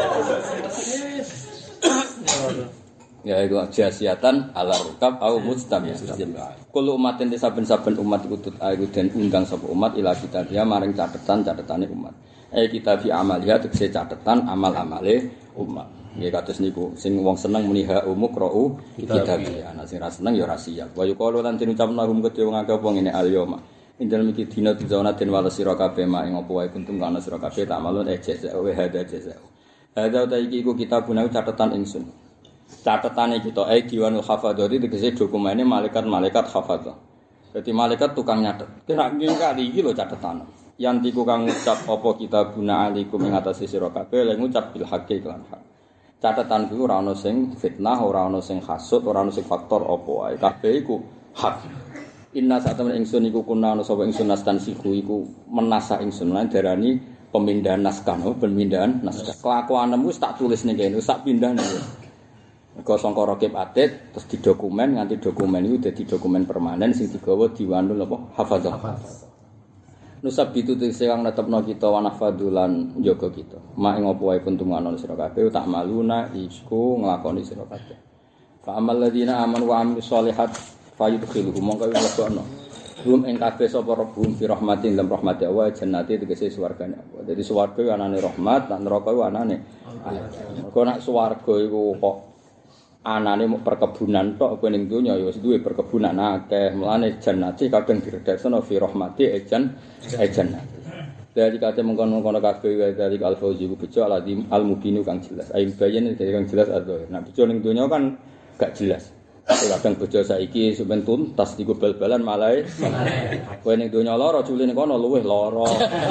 Ya iku jasiatan ala rukab au mustamiyatan. Kulo umaten saben-saben umat iku den undang sapa umat ila kita dia maring catetan-catetane umat. Kitabi amalia tegese catetan amal-amale umat. Nggih kados niku sing wong seneng muni ha umqra'u kitabi. Ana sing ra seneng ya ra siap. Wa yuqalu lan diucapna hum kedhe wong akeh apa ngene al-yauma. Indal miki dina dizona den wala sira kabeh mak ing apa wae kuntum kana sira kabeh tak malun jasa wa hada jasa. Hada ta iki iku kitabuna catetan ingsun. Catetane kita diwanul hafadzati tegese dokumene malaikat-malaikat hafadzah. Dadi malaikat tukang nyatet. Kira kali iki lho catetan. yantiku kang ngucap apa kitabuna alikum ing atase sira kabeh lan ngucap bil haqqi lan hak. Catatan kuwi ora ana sing fitnah, ora ana sing hasud, ora ana sing faktor apa wae. Kabeh iku hak. Inna sa'atam ingsun iku kuna ana sapa ingsun nastan siku iku menasa ingsun lan darani pemindahan naskah, pemindahan naskah. Kelakuanmu wis tak tulis ning kene, sak pindah ning. Mergo sangka rakib atit terus didokumen nganti dokumen iku dadi dokumen permanen sing digawa diwanul apa hafadzah. Nusab itu sing netepno kita wa nahfadulan njaga kita. Mak ing apa wae kuntungan sira kabeh tak maluna iku nglakoni sira kabeh. Fa amal ladina amanu wa amilus sholihat fayudkhiluhum mongko lebokno. Hum ing kabeh sapa rabbum fi rahmatin lam rahmati wa jannati tegese swargane Allah. Dadi swarga iku anane rahmat, lan neraka iku anane. Mergo nek swarga iku kok anane mung perkebunan tok kowe ning donya ya wis duwe perkebunan akeh. Mulane jannati kadang diredaksana fi rahmati jannati. Dari kate mengkono-kono kabeh dari al-fauzi ku bejo al-mubinu kang jelas. Ayo bayen dari kang jelas adzahir. Nah bejo ning donya kan gak jelas. Kadang bojo saiki sampeyan tuntas digo bal-balan malah kowe ning donya lara culine kono luwih lara.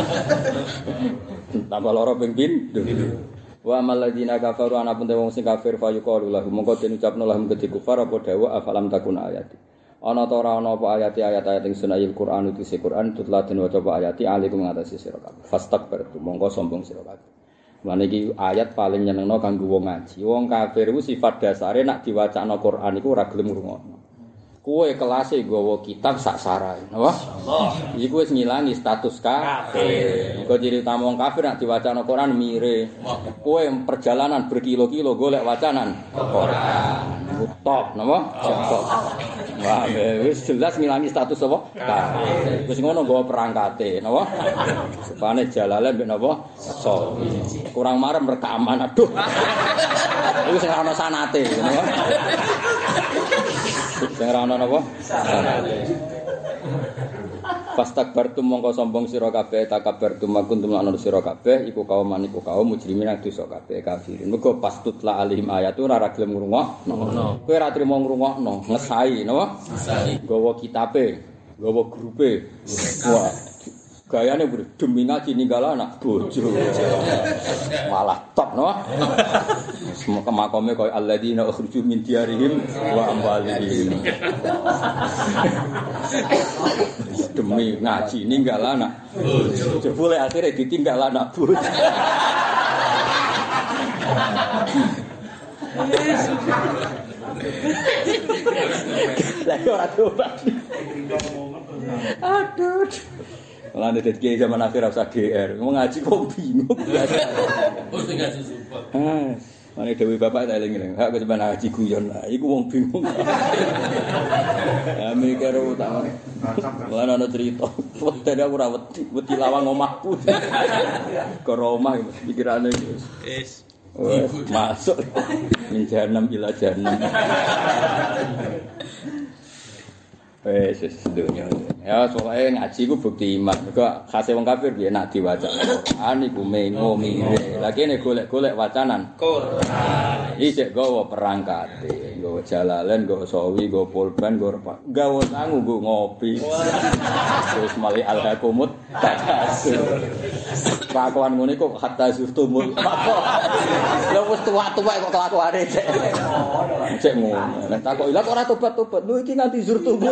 Tambah lara ping pindho. Wa amal ladina kafaru ana pun wong sing kafir fayuqalu lahum mongko den ucapno lahum kedhi kufar apa dawa afalam takun ayati. Ana ta ora ana apa ayat-ayat ing sunahil Quran utus Quran tutla den waca apa ayati alikum ngatasi sira kabeh. Fastakbartu mongko sombong sira kabeh. Mane iki ayat paling nyenengno kanggo wong ngaji. Wong kafir ku sifat dasare nek diwacana Quran iku ora gelem ngrungokno. Kowe kelase nggawa kitab sak sarae, napa? Allah. Iku wis ngilangi status kafir. Engko ciri utama wong kafir nek diwacana Quran mire. Kowe perjalanan berkilo-kilo golek wacanan Quran. Top, napa? Top. Wah, wis jelas ngilangi status apa? Kafir. Wis ngono nggawa perangkate, napa? Supane jalale mbek napa? So. Kurang marem rekaman, aduh. Iku sing ana sanate, napa? Sing ora ana napa? Sanate. Fastakbartum mongko sombong sira kabeh takabbartum makuntum lan sira kabeh iku kaum mujrimin dosa kabeh kafirin. Mergo pas tutla alaihim ayatu ora gelem ngrungokno. Kowe ora trimo ngrungokno, ngesai napa? Ngesai. Gawa kitabe, gawa grupe. Wah. Gayane demi ngaji ninggal anak bojo. Malah top no. Semua kemakome koyo alladzina ukhruju min diyarihim wa amwalihim. Demi ngaji ninggal anak bojo. Jebule akhire ditinggal anak bojo. Lah ora tobat. Aduh. Malah nek dadi zaman akhir rasa GR, ngaji kok bingung. Oh sing ngaji support. Mane dewe bapak tak eling-eling. Hak kesemban ngaji guyon. Iku wong bingung. Ya mikir utang. Lan ana cerita. Wedane aku ora wedi lawang omahku. Karo omah pikirane wis. Masuk min jahanam ila jahanam. Wes dunya. Ya soalnya ngaji ku bukti iman. Mergo khase wong kafir piye nek diwaca Quran iku mengo mire. Lah kene golek-golek wacanan Quran. Iki gawa perangkate, gawa jalalen, gawa sawi, gawa pulpen, gawa sangu nggo ngopi. Terus mali al-hakumut takasur. Kelakuan ngene kok hatta zurtumul. Lah wis tuwa-tuwa kok kelakuane cek. Cek ngono. Nek takok lha kok ora tobat-tobat. Lho iki nganti zurtumul.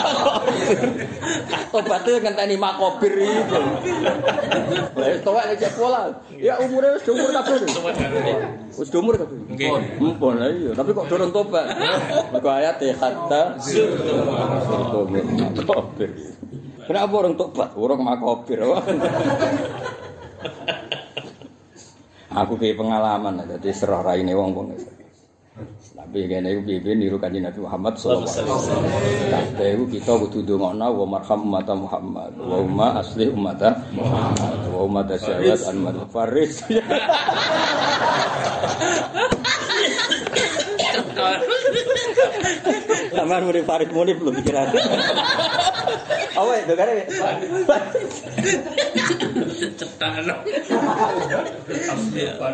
Tobatnya ngenteni makobir itu. Lah towek nek pola. Ya umure wis umur kabeh. Wis umur kabeh. Nggih. Mumpun lah iya, tapi kok durung tobat. Mergo ayat hatta makobir. Kenapa orang tobat? Orang makobir. Aku kayak pengalaman jadi serah raine wong-wong. Tapi kene iku piye niru Kanjeng Nabi Muhammad sallallahu alaihi wasallam. Kabeh iku kita kudu ndongakno wa marham umat Muhammad wa umma asli umat Muhammad wa ummat syariat an faris. Sampeyan murid Farid Munif lho pikiran. Awe dogare. Cetakno.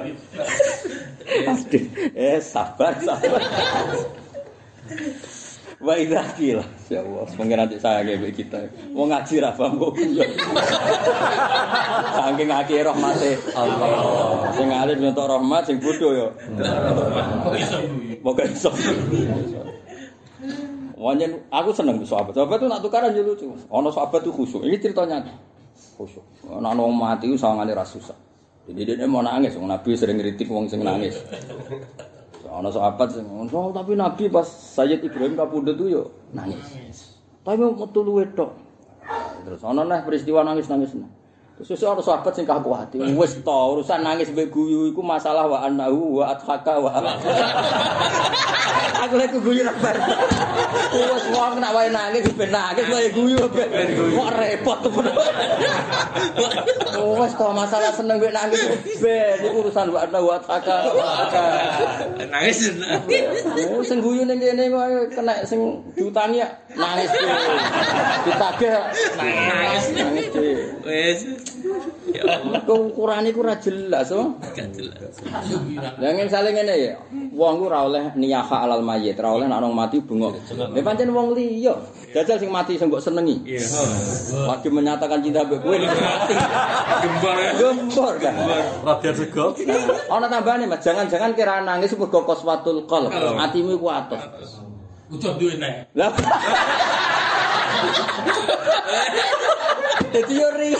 Sabar. Wa idza qila ya Allah pengen nanti saya nggih kita wong ngaji ra paham kok guyu saking akeh rahmate Allah sing alim yo rahmat sing bodho yo kok iso Wanyen aku seneng sahabat. Sahabat itu nak tukaran yo lucu. Ana sahabat itu khusyuk. Ini ceritanya khusyuk. Ana wong mati ku sawangane ra susah. Jadi dia mau nangis, Nabi sering ngritik wong sing nangis. Ana sahabat sing ngono, tapi Nabi pas Sayyid Ibrahim kapundhut yo nangis. Tapi metu luwe tok. Terus ana neh peristiwa nangis-nangis. Terus ana sahabat sing kaku ati. Wis to, urusan nangis mbek guyu iku masalah wa annahu wa athaka wa. Aku lek guyu ra bar. Wes wong nak wae nangis ben nangis wae guyu ben. Kok repot to. Wes to masalah seneng mbek nangis ben iku urusan wa annahu wa athaka. Nangis. Sing guyu ning kene kok kena sing diutangi nangis. Ditagih Nangis. Wes. Ya Allah. Ukurane iku ora jelas, oh. Gak jelas. Lah misale ngene ya, wong ku ora oleh niyaha alal mayit, ora oleh nek wong mati bengok. Nek pancen wong liya, jajal sing mati sing mbok senengi. Iya. Lagi menyatakan cinta mbek kowe nek mati. Gembor kan. Radian sego. Ana tambahane, Mas, jangan-jangan kira nangis mergo qaswatul qalb. Atimu iku atos. Udah duwe nek. Lah. Teori.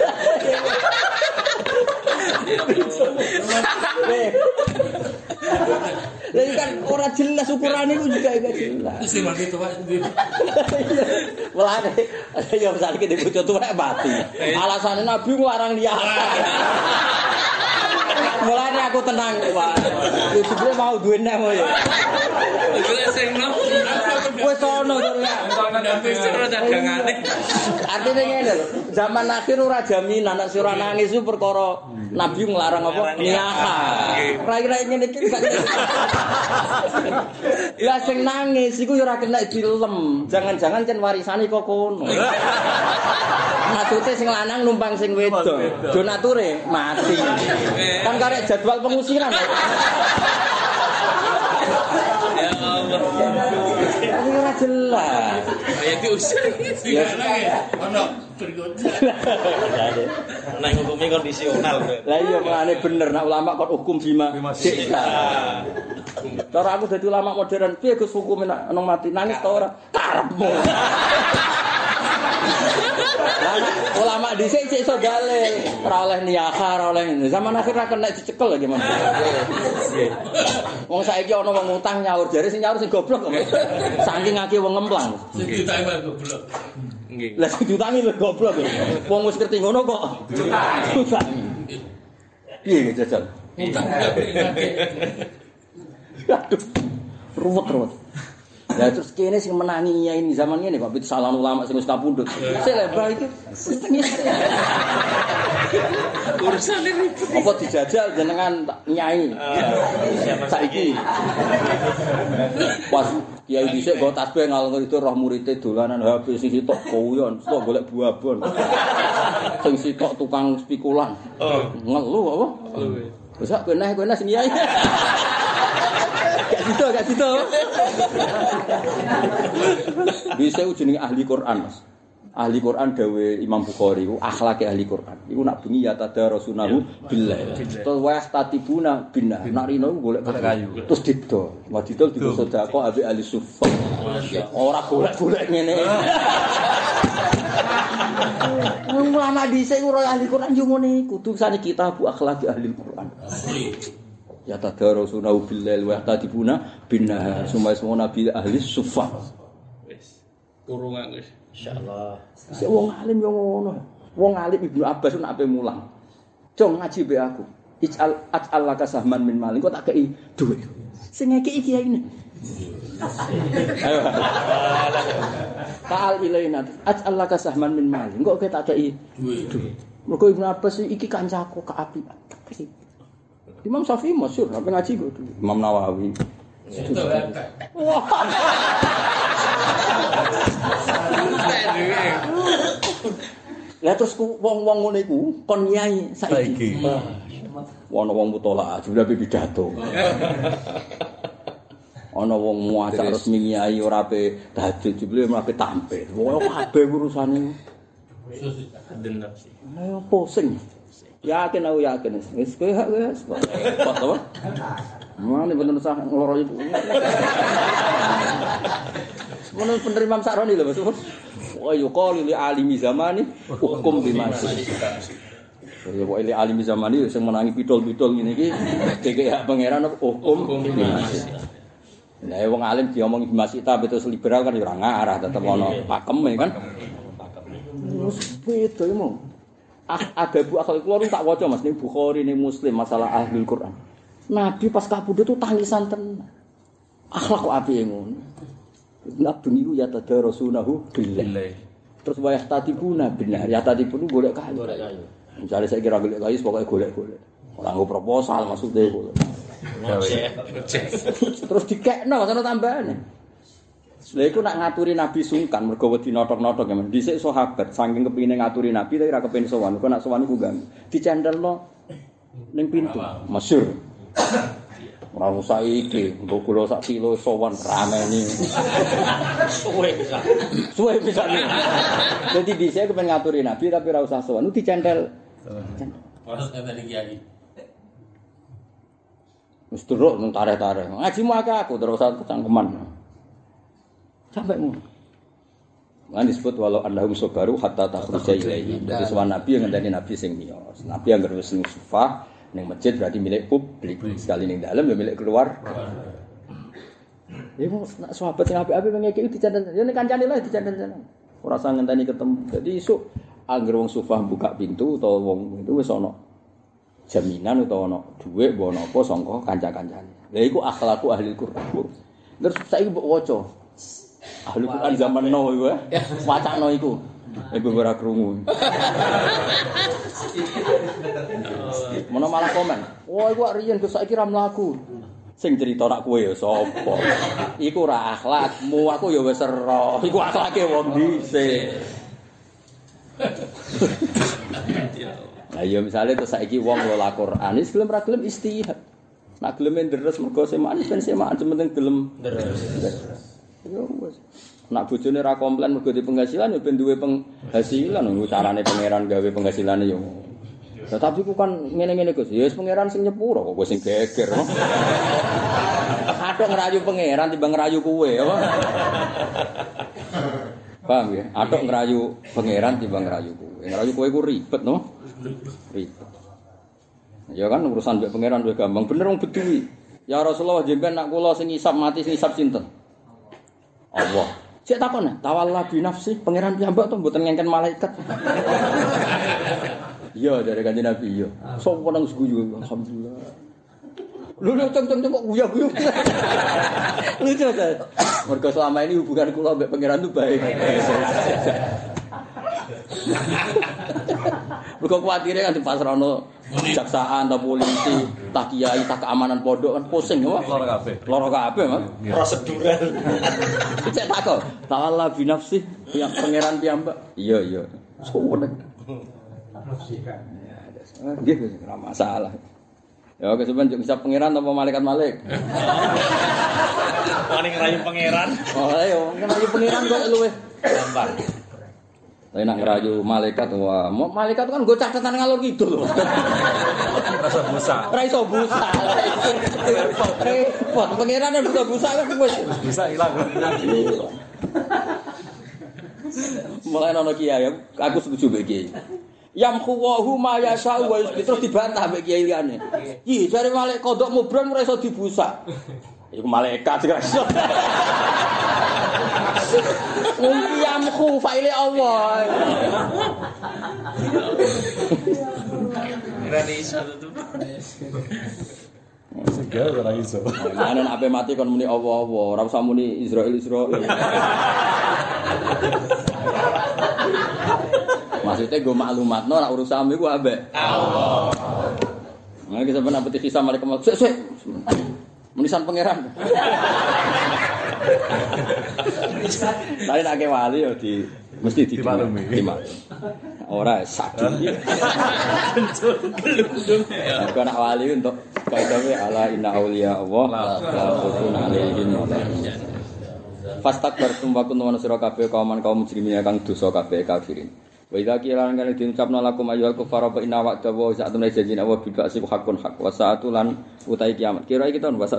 Jadi kan orang jelas ukurannya itu juga enggak jelas. Terus sing mati tuwa. Mulane ya misalnya kita bojo tuwa mati. Alasannya Nabi nglarang dia. Mulane aku tenang, Pak. Yo jebule mau duwe nek ya. Iki sing no. Wis ono to ya. Artinya ngene lho, zaman akhir ora jaminan nek sira nangis itu perkara Nabi nglarang apa? Niyaha. Rai-rai ngene iki gak. Lah sing nangis iku yo ora kena dilem. Jangan-jangan cen warisane kok kono. Maksudnya sing lanang numpang sing wedok. Donature mati. Kan karek jadwal pengusiran. Ya Allah. Ini ora jelas. Ya diusir. Ya Ono bergoda. Nek hukumi kondisional. Lah iya mulane bener nek ulama kok hukum bima. Cara aku dadi ulama modern, piye Gus hukume nek nang mati nangis ta ora? Karepmu. Ulama dhisik sik iso dalil, ora oleh niyaha, ora oleh zaman akhir ra kena dicekel lagi Mas. Wong saiki ana wong utang nyaur jare sing nyaur sing goblok kok. Saking akeh wong ngemplang. Sing ditangi goblok. Nggih. Lah sing diutangi lho goblok. Wong wis ngerti ngono kok. Utangi. Piye jajal? Utang. Aduh. Ruwet. Lah terus kene sing menangi ini zaman ngene Pak, salah ulama sing wis kapundhut. Sik lebar iki. Urusan ini. Apa dijajal jenengan nyai? Saiki. Pas kiai dhisik nggo tasbih ngalor itu roh murid dolanan HP sing sitok koyon, sitok golek buabon. Sing sitok tukang spikulan. Ngelu apa? Wis kowe neh sing nyai. Gak situ. Bisa jenenge ahli Quran, Mas. Ahli Quran dawe Imam Bukhari ku akhlake ahli Quran. Iku nak bengi ya tadarasunahu billah. Terus wa tatibuna binah. Nak rino golek kayu. Terus didol. Wa didol digo sedekah ambek ahli sufa. Ora golek-golek ngene. Ulama dhisik ora ahli Quran yo ngene iku. Tulisane kitab akhlaki ahli Quran. Ya tadarasunahu billail wa tatibuna binah. Semua nabi ahli sufa. Wis. Kurungan wis. Insyaallah. Sik wong alim yo ngono. Wong alim Ibnu Abbas nak ape mulang. Jong ngaji be aku. Ij'al laka sahman min malin kok tak kei dhuwit. Sing ngeki iki ini. Ayo. Ta'al ilaina. Ij'al laka sahman min malin kok tak kei dhuwit. Mergo Ibnu Abbas iki kancaku keapian. Imam Syafi'i masyhur, apa ngaji kok Imam Nawawi. Wah. Lah terus wong-wong ngono iku kon nyai saiki. Ono wong mutolak juga pidato. Ana wong muacak resmi nyai ora ape tahajud jebule ape tampil. Wong kabeh urusane. Dendam sih. Ayo pusing. Yakin aku yakin. Wis kowe hak wis. Pas apa? Mana bener sah ngeloro itu. Semono bener Imam Sa'roni lho Mas. Wa yuqalu li alimi zamani hukum bimasi. Ya kok li alimi zamani sing menangi pidol-pidol ngene iki dikek hak pangeran hukum bimasi. Lah wong alim diomongi bimasi ta betul liberal kan ya ora ngarah tetep ono pakeme kan. Wis beda iki. Ada bu akal keluar tak waca Mas ning Bukhari ning Muslim masalah ahlul Quran. Nabi pas kabudut itu tangisan tenan. Akhlak kok apike ngono. Nabi niku ya tadarasunahu billah. Terus wayah tatibuna benar. Ya tatibun golek kayu. Misale saya kira golek kayu pokoke golek-golek. Ora nggo proposal maksudnya golek. Terus dikekno sono tambahane. Lha iku nak ngaturi Nabi sungkan mergo wedi notok-notok ya. Dhisik sahabat saking kepengine ngaturi Nabi tapi ora kepengin sowan. Kok nak sowan iku ganggu. Dicendelno ning pintu. Masyhur. Ora usah iki, mbok kula sak kilo sowan rameni. Suwe bisa. Suwe bisa. Dadi dhisik kepen ngaturi Nabi tapi ora usah sowan. Dicentel. Harus kata di kiai. Wis terus nang tareh-tareh. Ngajimu akeh aku terus cangkeman. Sampai mu. Lan disebut walau annahum sabaru hatta takhruja ilaihi. Dadi sowan Nabi yang ngandani Nabi sing miyos. Nabi yang wis ning sufah ning masjid berarti milik publik. Sekali ning dalam ya milik keluar. Iku nak sahabat sing apik-apik ngeki dicandel. Ya ning kancane lah dicandel. Ora usah ngenteni ketemu. Dadi isuk anggere wong sufah buka pintu utawa wong itu wis ana jaminan utawa ana dhuwit apa napa sangka kanca-kancane. Lha iku akhlakku ahli Quran. Terus saiki mbok waca. Ahli Quran zaman now iku wacana iku. Ibu ora krungu. Mana malah komen. Wah, iku riyen Gus saiki ra mlaku. Sing cerita nak kowe ya sapa? Iku ora akhlakmu, aku ya wis ero. Iku akhlake wong dhisik. Lah ya misale terus saiki wong lola Quran, wis gelem ra gelem istihad. Nak gelem ndres mergo semaan ben semaan penting gelem ndres. Ya wis. Nak bojone ra komplain mergo di penghasilan ya ben duwe penghasilan lho carane pangeran gawe penghasilane yo. Lah tapi ku kan ngene-ngene Gus. Ya wis pangeran sing nyepuro kok sing geger. Atok ngerayu pangeran timbang ngerayu kowe apa? Paham ya? Atok ngerayu pangeran timbang ngerayu kowe. Ngerayu kowe ku ribet no? Ribet. Ya kan urusan mbek pangeran wis gampang. Bener wong beduwi. Ya Rasulullah jenengan nak kula sing ngisap mati sing ngisap sinten? Allah. Cek takon tawalla bi nafsi pangeran piyambak to mboten ngengken malaikat. Iya dari kanjeng Nabi iya. Sopo nang guyu alhamdulillah. Lu ceng-ceng kok guyu-guyu. Lucu ta. Mergo selama ini hubungan kula mbek pangeran itu baik. Mergo kuwatire kan dipasrahno jaksaan ta polisi, tak kiai, tak keamanan pondok kan pusing apa? Loro kabeh, Mas. Prosedural. Cek takon, ta'ala bi nafsi yang pangeran piyambak. Iya. Suwene. Nggih, ora masalah. Ya kesuwen bisa pangeran apa malaikat-malaikat. Wani ngerayu pangeran. Oh, ayo ngerayu pangeran kok luwih Gampang. Tapi nak ngerayu malaikat, wah, malaikat kan gue catatan ngalor gitu loh. Rasa busa. Ora iso busa. Repot. Pangeran yang busa kan wis Bisa hilang. mulai ana kiai, aku setuju mbek kiai. Yamkhuwahu ma yasa'u wa yusbit terus dibantah mbek kiai liyane. Iki jare malaikat kodok mubran ora iso dibusa. Iku malaikat sing iso. Yamkhu fa'ile Allah. Rani iso tuh. Segala ora iso. Ana nek ape mati kon muni Allah-Allah, ora usah muni Israil. Maksudnya gue maklumatno nek urusanmu iku ambek Allah. Nah, kita sampeyan apeti kisah mereka mau sik. Munisan pangeran. Tadi nak ke wali yo di mesti dimaklumi. Ora sadun. Kalau nak wali untuk Kaidawe ala inna auliya Allah la khaufun alaihim wa la hum yahzanun. Fastakbartum wa kuntum sira kabeh kaum mujrimin kang dosa kabeh kafirin. Wa idza qila lan kana diucapna lakum ayyuhal kuffara fa inna wa'da wa sa'atun janjina wa bil ba'si haqqun haqq wa sa'atu lan utai kiamat. Kira iki tahun wa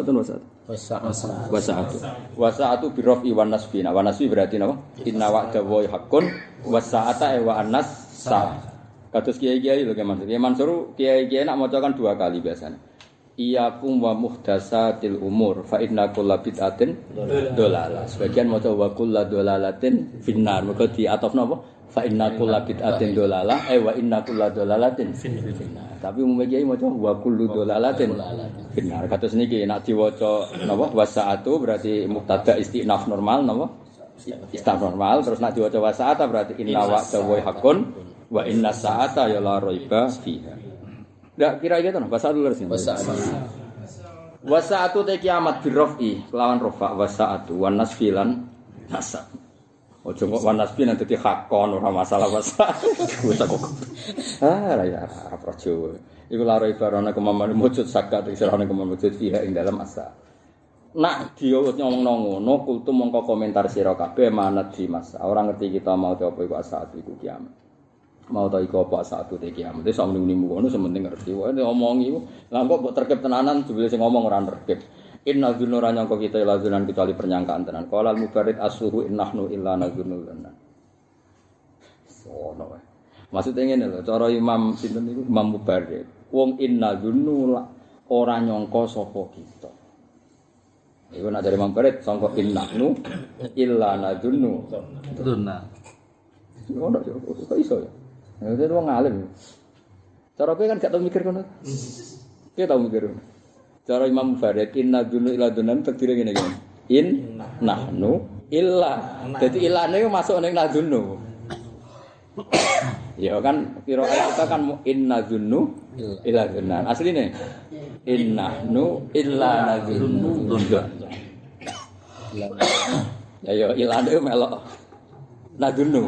sa'atu bi rafi wan nasbi. Wa nasbi berarti napa? Inna wa'da wa haqqun wa sa'ata wa annas sa. Kados kiai-kiai lho Mansur. Kiai Mansur kiai-kiai nak maca kan 2 kali biasanya. Iyakum wa muhdatsatil umur fa inna kulla bid'atin dolalah. Sebagian maca wa kullu dolalatin finnar. Mergo diatofna apa? Fa inna kulla bid'atin dolalah wa inna kulla dolalatin finnar. Tapi umum kiai maca wa kullu dolalatin finnar. Kados niki nek diwaca napa wasaatu berarti mubtada istinaf normal napa? Istinaf normal terus nek diwaca wasaata berarti inna wa'da wa haqqun wa inna sa'ata ya la raiba fiha. Ndak kira-kira to bahasa dulu sih. Wasaatu te kiamat birrafi lawan rafa wasaatu wan nasfilan nasab. Ojo kok wan nasfi nanti hakon ora masalah wasaatu. Ya apa Jawa. Iku la raiba ana kemaman mujud sakat isirane kemaman mujud fiha ing dalam asa. Nak dia ngomong ngono kultum mongko komentar sira kabeh manat di masa. Ora ngerti kita mau apa iku asaat iku kiamat. Mau ta iku apa satu te kiamat. Wis muni-muni ngono sementing ngerti. Wae ngomongi lha kok mbok terkep tenanan jebule sing ngomong ora terkep. Inna dzunura nyangka kita lazunan kecuali penyangkaan tenan. Qala al-mubarid as-suhu innahnu illa nazunnuna. Sono wae. Maksudnya ngene lho, cara Imam sinten niku Imam Mubarid. Wong inna dzunnu ora nyangka sapa kita. Iku nek dari Imam Mubarid sangka innahnu illa nadzunnu. Dunna. Ngono kok iso ya. Ya itu wong alim. Cara kowe kan gak tau mikir ngono. Kowe tau mikir. Cara Imam Mubarid inna dzunnu illa dzunnan takdire ngene iki. In nahnu illa. Dadi ilane masuk ning nadzunnu. Ya kan kira kita kan inna dzunnu illa dzunnan. Asline innahnu illa nadzunnu. Ya yo ilane melok nadzunnu.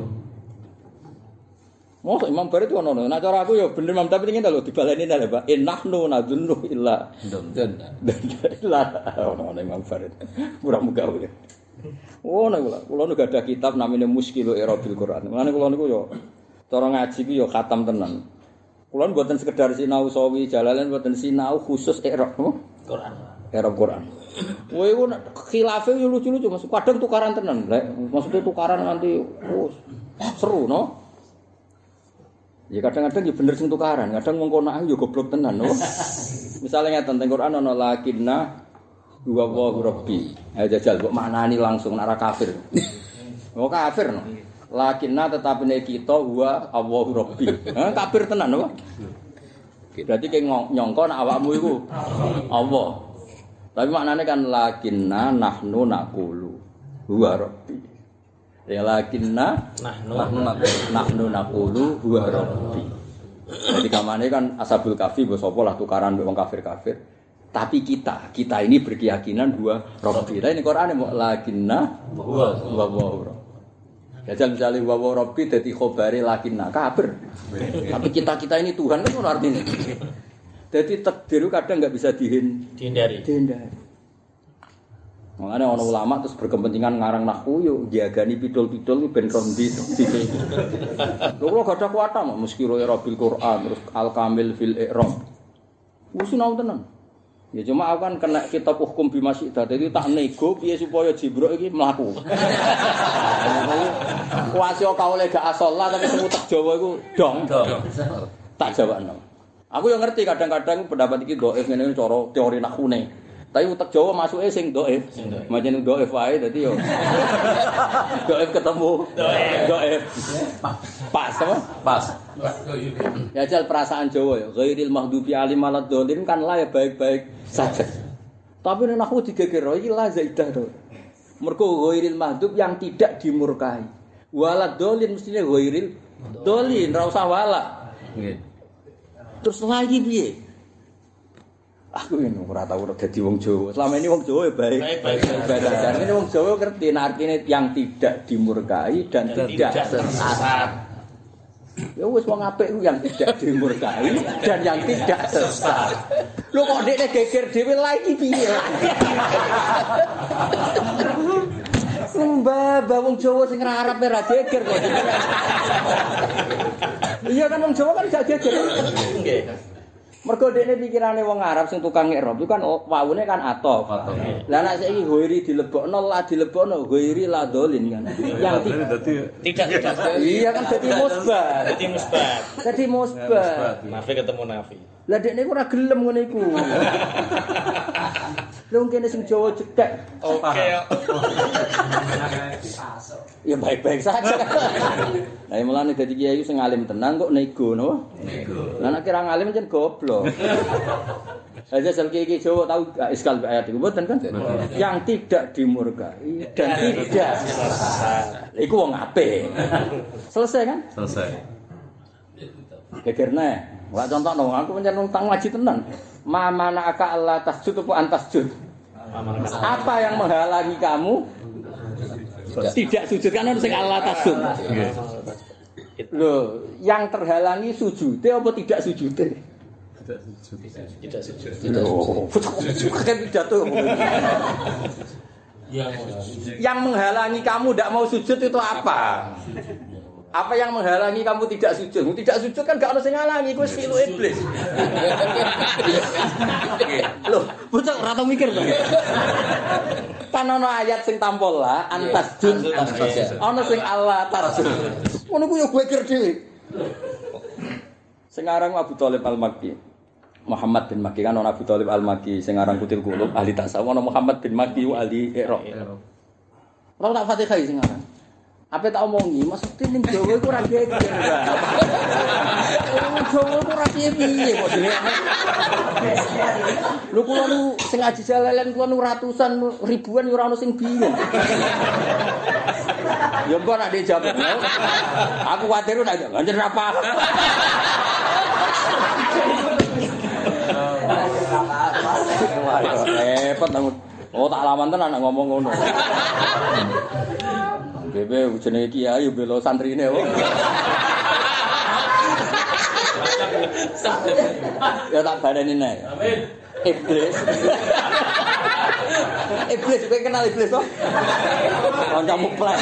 Mau Imam Barid itu ono. Nah cara aku ya bener Imam tapi ingin lho dibaleni lho Pak. Innahnu nadzunnu illa illa ono Imam Barid. Muga-muga ya. Oh nek kula gak ada kitab namanya Muskilu Irabil Quran. Mulane kula niku yo cara ngaji ku yo khatam tenan. Kula mboten sekedar sinau sawi jalalan mboten sinau khusus i'rab Quran. I'rab Quran. Kowe iku khilafe yo lucu-lucu Mas. Kadang tukaran tenan. Maksudnya tukaran nganti seru no. Ya kadang-kadang ya bener sing tukaran, kadang wong kono yo goblok tenan no. Misalnya ngeten teng Quran ana lakinna wa rabbi. Ayo jajal kok maknani langsung nek kafir. Oh kafir no. Lakinna tetapine kita wa Allahu rabbi. Kafir tenan no. Berarti ki nyangka nek awakmu iku Allah. Tapi maknane kan lakinna nahnu naqulu wa rabbi. Ya lakinna nahnu naqulu huwa rabbi. Jadi kamane kan ashabul kafi mbok sapa lah tukaran mbek wong kafir-kafir. Tapi kita ini berkeyakinan huwa rabbi. Lah ini Qur'ane mbok lakinna huwa rabbi. Ya misale huwa rabbi dadi khobare lakinna kafir. Tapi kita ini Tuhan kan ngono artine. Jadi takdir kadang enggak bisa dihindari. Makanya orang ulama terus berkepentingan ngarang nahwu yo diagani pidol-pidol ben rondi. Lho gak ada kuwata mok muskilu irabil Quran terus al-kamil fil i'rab. Wis sinau tenan. Ya cuma aku kan kena kitab hukum bimasyidah. Dadi tak nego piye supaya Jibril iki mlaku. Kuwasi kaule gak asolah tapi semutek Jawa iku dong. Tak jawabno. Aku yo ngerti kadang-kadang pendapat iki dhaif ngene cara teori nahwune. Tapi utek Jawa masuke sing dhaif. Macam dhaif wae dadi yo. Dhaif ketemu. Dhaif. Pas apa? Pas. Ya jal perasaan Jawa ya. Ghairil maghdubi alim waladhdallin kan la ya baik-baik saja. Tapi nek aku digeger iki la zaidah to. Mergo ghairil maghdub yang tidak dimurkai. Waladhdallin mestine ghairil dhalin ra usah wala. Nggih. Terus lagi piye? Aku ini ora tau dadi wong Jawa. Selama ini wong Jawa ya baik. Baik. Ini wong Jawa ngerti artinya yang tidak dimurkai dan tidak sesat. Ya wis wong apik ku yang tidak dimurkai dan yang tidak sesat. Lho kok dekne geger dhewe lagi piye? Mbah wong Jawa sing ngarep ora geger kok. Iya kan wong Jawa kan gak geger. Nggih. Mergo dekne pikirane wong Arab sing tukang ngerop itu kan wawune kan atof. Lah nek saiki ghairi dilebokno la dilebokno ghairi la dolin kan. Yang Tidak. iya kan dadi musbat. Dadi musbat. Nafi ketemu nafi. Lah dekne ora gelem ngene iku. Lha wong kene sing Jawa cekek. Oke. Ya baik-baik saja. Lah mulane dadi kiai sing alim tenan kok nego no. Nego. Lah nek kira ngalim jen goblok. Aja sel kiai Jawa tahu iskal ayat iku mboten kan? Yang tidak dimurkai dan tidak sesat. Iku wong apik. Selesai kan? Selesai. Gegerna. Wah contohno aku pancen wong tang ngaji tenan. Ma mana aka Allah tasjud apa antasjud? Apa yang menghalangi kamu tidak sujud kan sing Allah tasjud. Loh, yang terhalangi sujud apa tidak sujud? Tidak sujud. Kan pidato. Yang menghalangi kamu tidak mau sujud itu apa? Apa yang menghalangi kamu tidak sujud? Tidak sujud kan gak ono sing ngalangi, kuwi fi'lu iblis. Loh, bocah ora tau mikir to. Kan ono ayat sing tampol lah, antasjud. Ono sing Allah tasjud. Ngono ku yo geger dhewe. Sing aran Abu Thalib Al-Makki. Muhammad bin Makki kan ono Abu Thalib Al-Makki sing aran Kutil Qulub ahli tasawuf, ono Muhammad bin Makki ahli Iqra. Ora tak Fatihah sing aran. Apa tak omongi, maksudnya ning Jawa iku ora geger. Jawa iku ora piye-piye kok dhewe. Lho kula nu sing ngaji jalalen kula nu ratusan ribuan ora ono sing bingung. Ya mbok nek dijawab. Aku kuwatir nek anjen ra paham. Repot aku. Oh tak lawan tenan nek ngomong ngono. Bebe jenenge kiai bela santrine kok. Ya tak baleni nek. Amin. Iblis. Iblis kowe kenal iblis kok? Kancamu plek.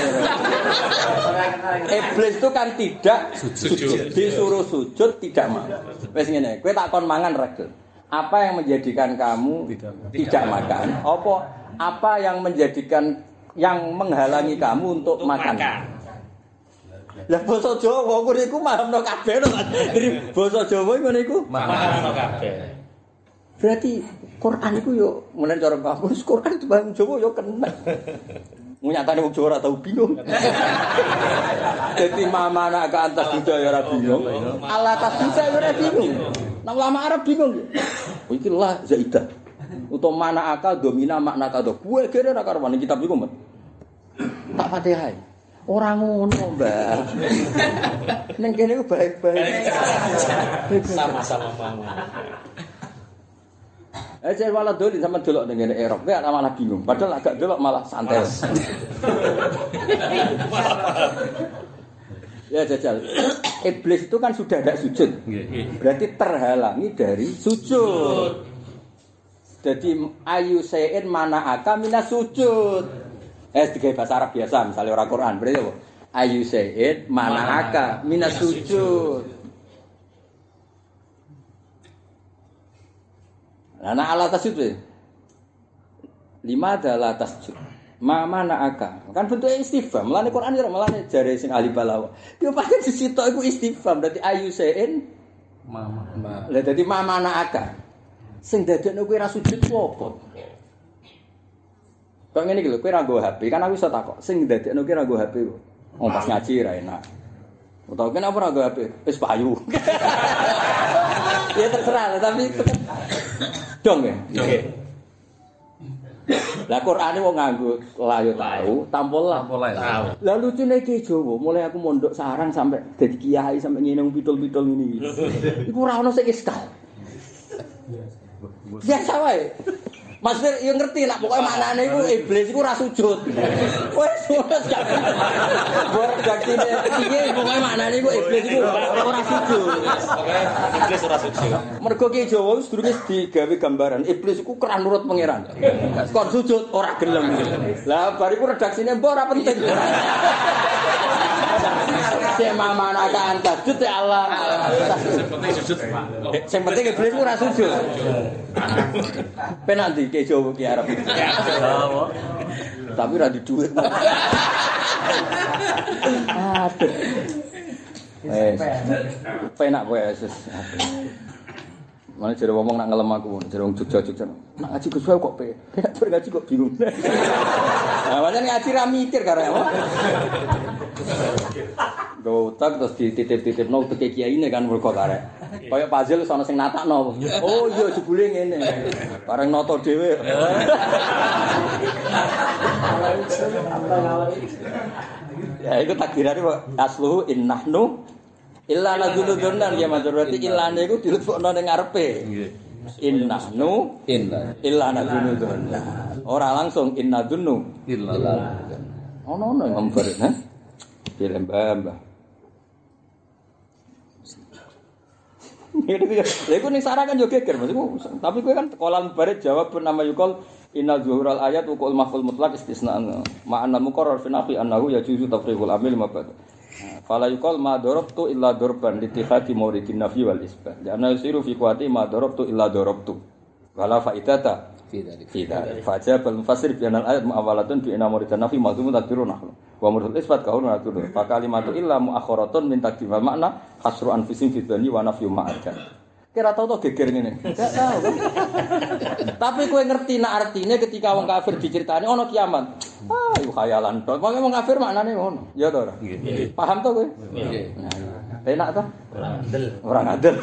Iblis itu kan tidak sujud. Disuruh sujud tidak mau. Wis ngene, kowe tak kon mangan regel. Apa yang menjadikan kamu tidak makan? Apa yang menjadikan yang menghalangi kamu untuk makan? Lah basa Jawa ngono iku mahamno kabeh to. Dari basa Jawa ngono iku mahamno kabeh. Berarti Quran iku yo mulai cara kamu Quran itu bahasa Jawa yo kena. Nyatane wong Jawa ora tau bingung. Dadi mamana ka antas budaya ora bingung. Allah tas budaya ora bingung. Nang ulama Arab bingung. Iki lah zaidah. Utawa mana akal domina makna kado. Kuwe kene ora karuan kitab iku, Mas. Tak Fatihah. Ora ngono, Mbah. Ning kene ku baik-baik. Sama-sama paham. Saya malah dolin sama delok ning ngene Erop. Kowe malah bingung. Padahal agak delok malah santai. Ya jajal. Iblis itu kan sudah tidak sujud. Berarti terhalangi dari sujud. Jadi ayu sayin mana aka minas sujud. Tiga bahasa Arab biasa, misalnya orang Quran berarti apa? Ayu sayin mana aka minas sujud. Nah ala tasjud. 5 adalah tasjud. Mana aka. Kan bentuknya istifham. Mulane Quran ya mulane jare sing ahli balaghah. Yo pancen disitok iku istifham. Dadi ayu sayin mama. Lah dadi mana aka. Sing dadekno kowe ra sujud apa? Kok ngene iki lho, kowe ra nggo HP, kan aku iso takok. Sing dadekno kowe ra nggo HP kok. Wong pas ngaji ra enak. Utawa kenapa ora nggo HP? Wis payu. Ya terserah, tapi dong ya. Oke. Lah Qur'ane wong nganggo la yo tahu, tampol lah. Lah lucune iki Jawa, mulai aku mondok sarang sampai dadi kiai sampai ngene pitul-pitul ngene iki. Iku ora ono sing iskal. Biasa wae. Maksudnya yo ngerti nak pokoke maknane iku iblis iku ora sujud. Wes wes gak. Bor redaksine piye pokoke maknane iku iblis iku ora sujud. Pokoke iblis ora sujud. Mergo ki Jawa wis durunge digawe gambaran iblis iku keran nurut pangeran. Kon sujud ora gelem. Lah bariku redaksine mbok ora penting. Sing mamana kan tajud ya Allah. Sing penting iblis ora sujud. Penak ndi ke Jawa ki arep. Tapi ra di dhuwit. Aduh. Penak kowe wis. Mana jare ngomong nak ngelem aku, jare wong Jogja-Jogja. Nak ngaji Gus wae kok penak, bar ngaji kok bingung. Nah, pancen ngaji ra mikir karo apa. Gotak terus dititip-titipno teke kiyaine kan mergo karek. Kaya puzzle ana sing natakno. Oh iya jebule ngene. Bareng nata dhewe. Ya iku takdirane kok asluhu innahnu illa nadzuludzunnan ya matur berarti illane iku dilebokno ning ngarepe. Nggih. Innahnu illa nadzuludzunnan. Ora langsung innadzunnu illa. Ono yang ngomber ha. Pilih mbah. Ya iku ning sarah kan yo geger maksudku. Tapi kowe kan kolam barit jawab bernama yukol innal zuhural ayat wa qul mahful mutlaq istisna'an. Ma'anna muqarrar fi nafi annahu yajuzu tafriqul amil mabad. Fala yuqal ma darabtu illa darban litihati mauridin nafi wal isbat. Karena yusiru fi quwati ma darabtu illa darabtu. Wala faidata fi dzalik. Fajabal mufassir bi anal ayat mu'awalatun bi inna mauridin nafi mazmumun takdirun nahnu. Wa murul isbat kaulun atur. Fa kalimatu illa muakharatun min takdim makna hasru anfusin fi dzani wa nafyu ma'akan. Kira tau to geger ngene. Enggak tahu kan. Tapi kowe ngerti nak artine ketika wong kafir diceritani ana kiamat. Ah, iku khayalan tok. Wong kafir maknane ngono. Ya to ora? Nggih. Paham to kowe? Nggih. Enak to? Ora ngadel.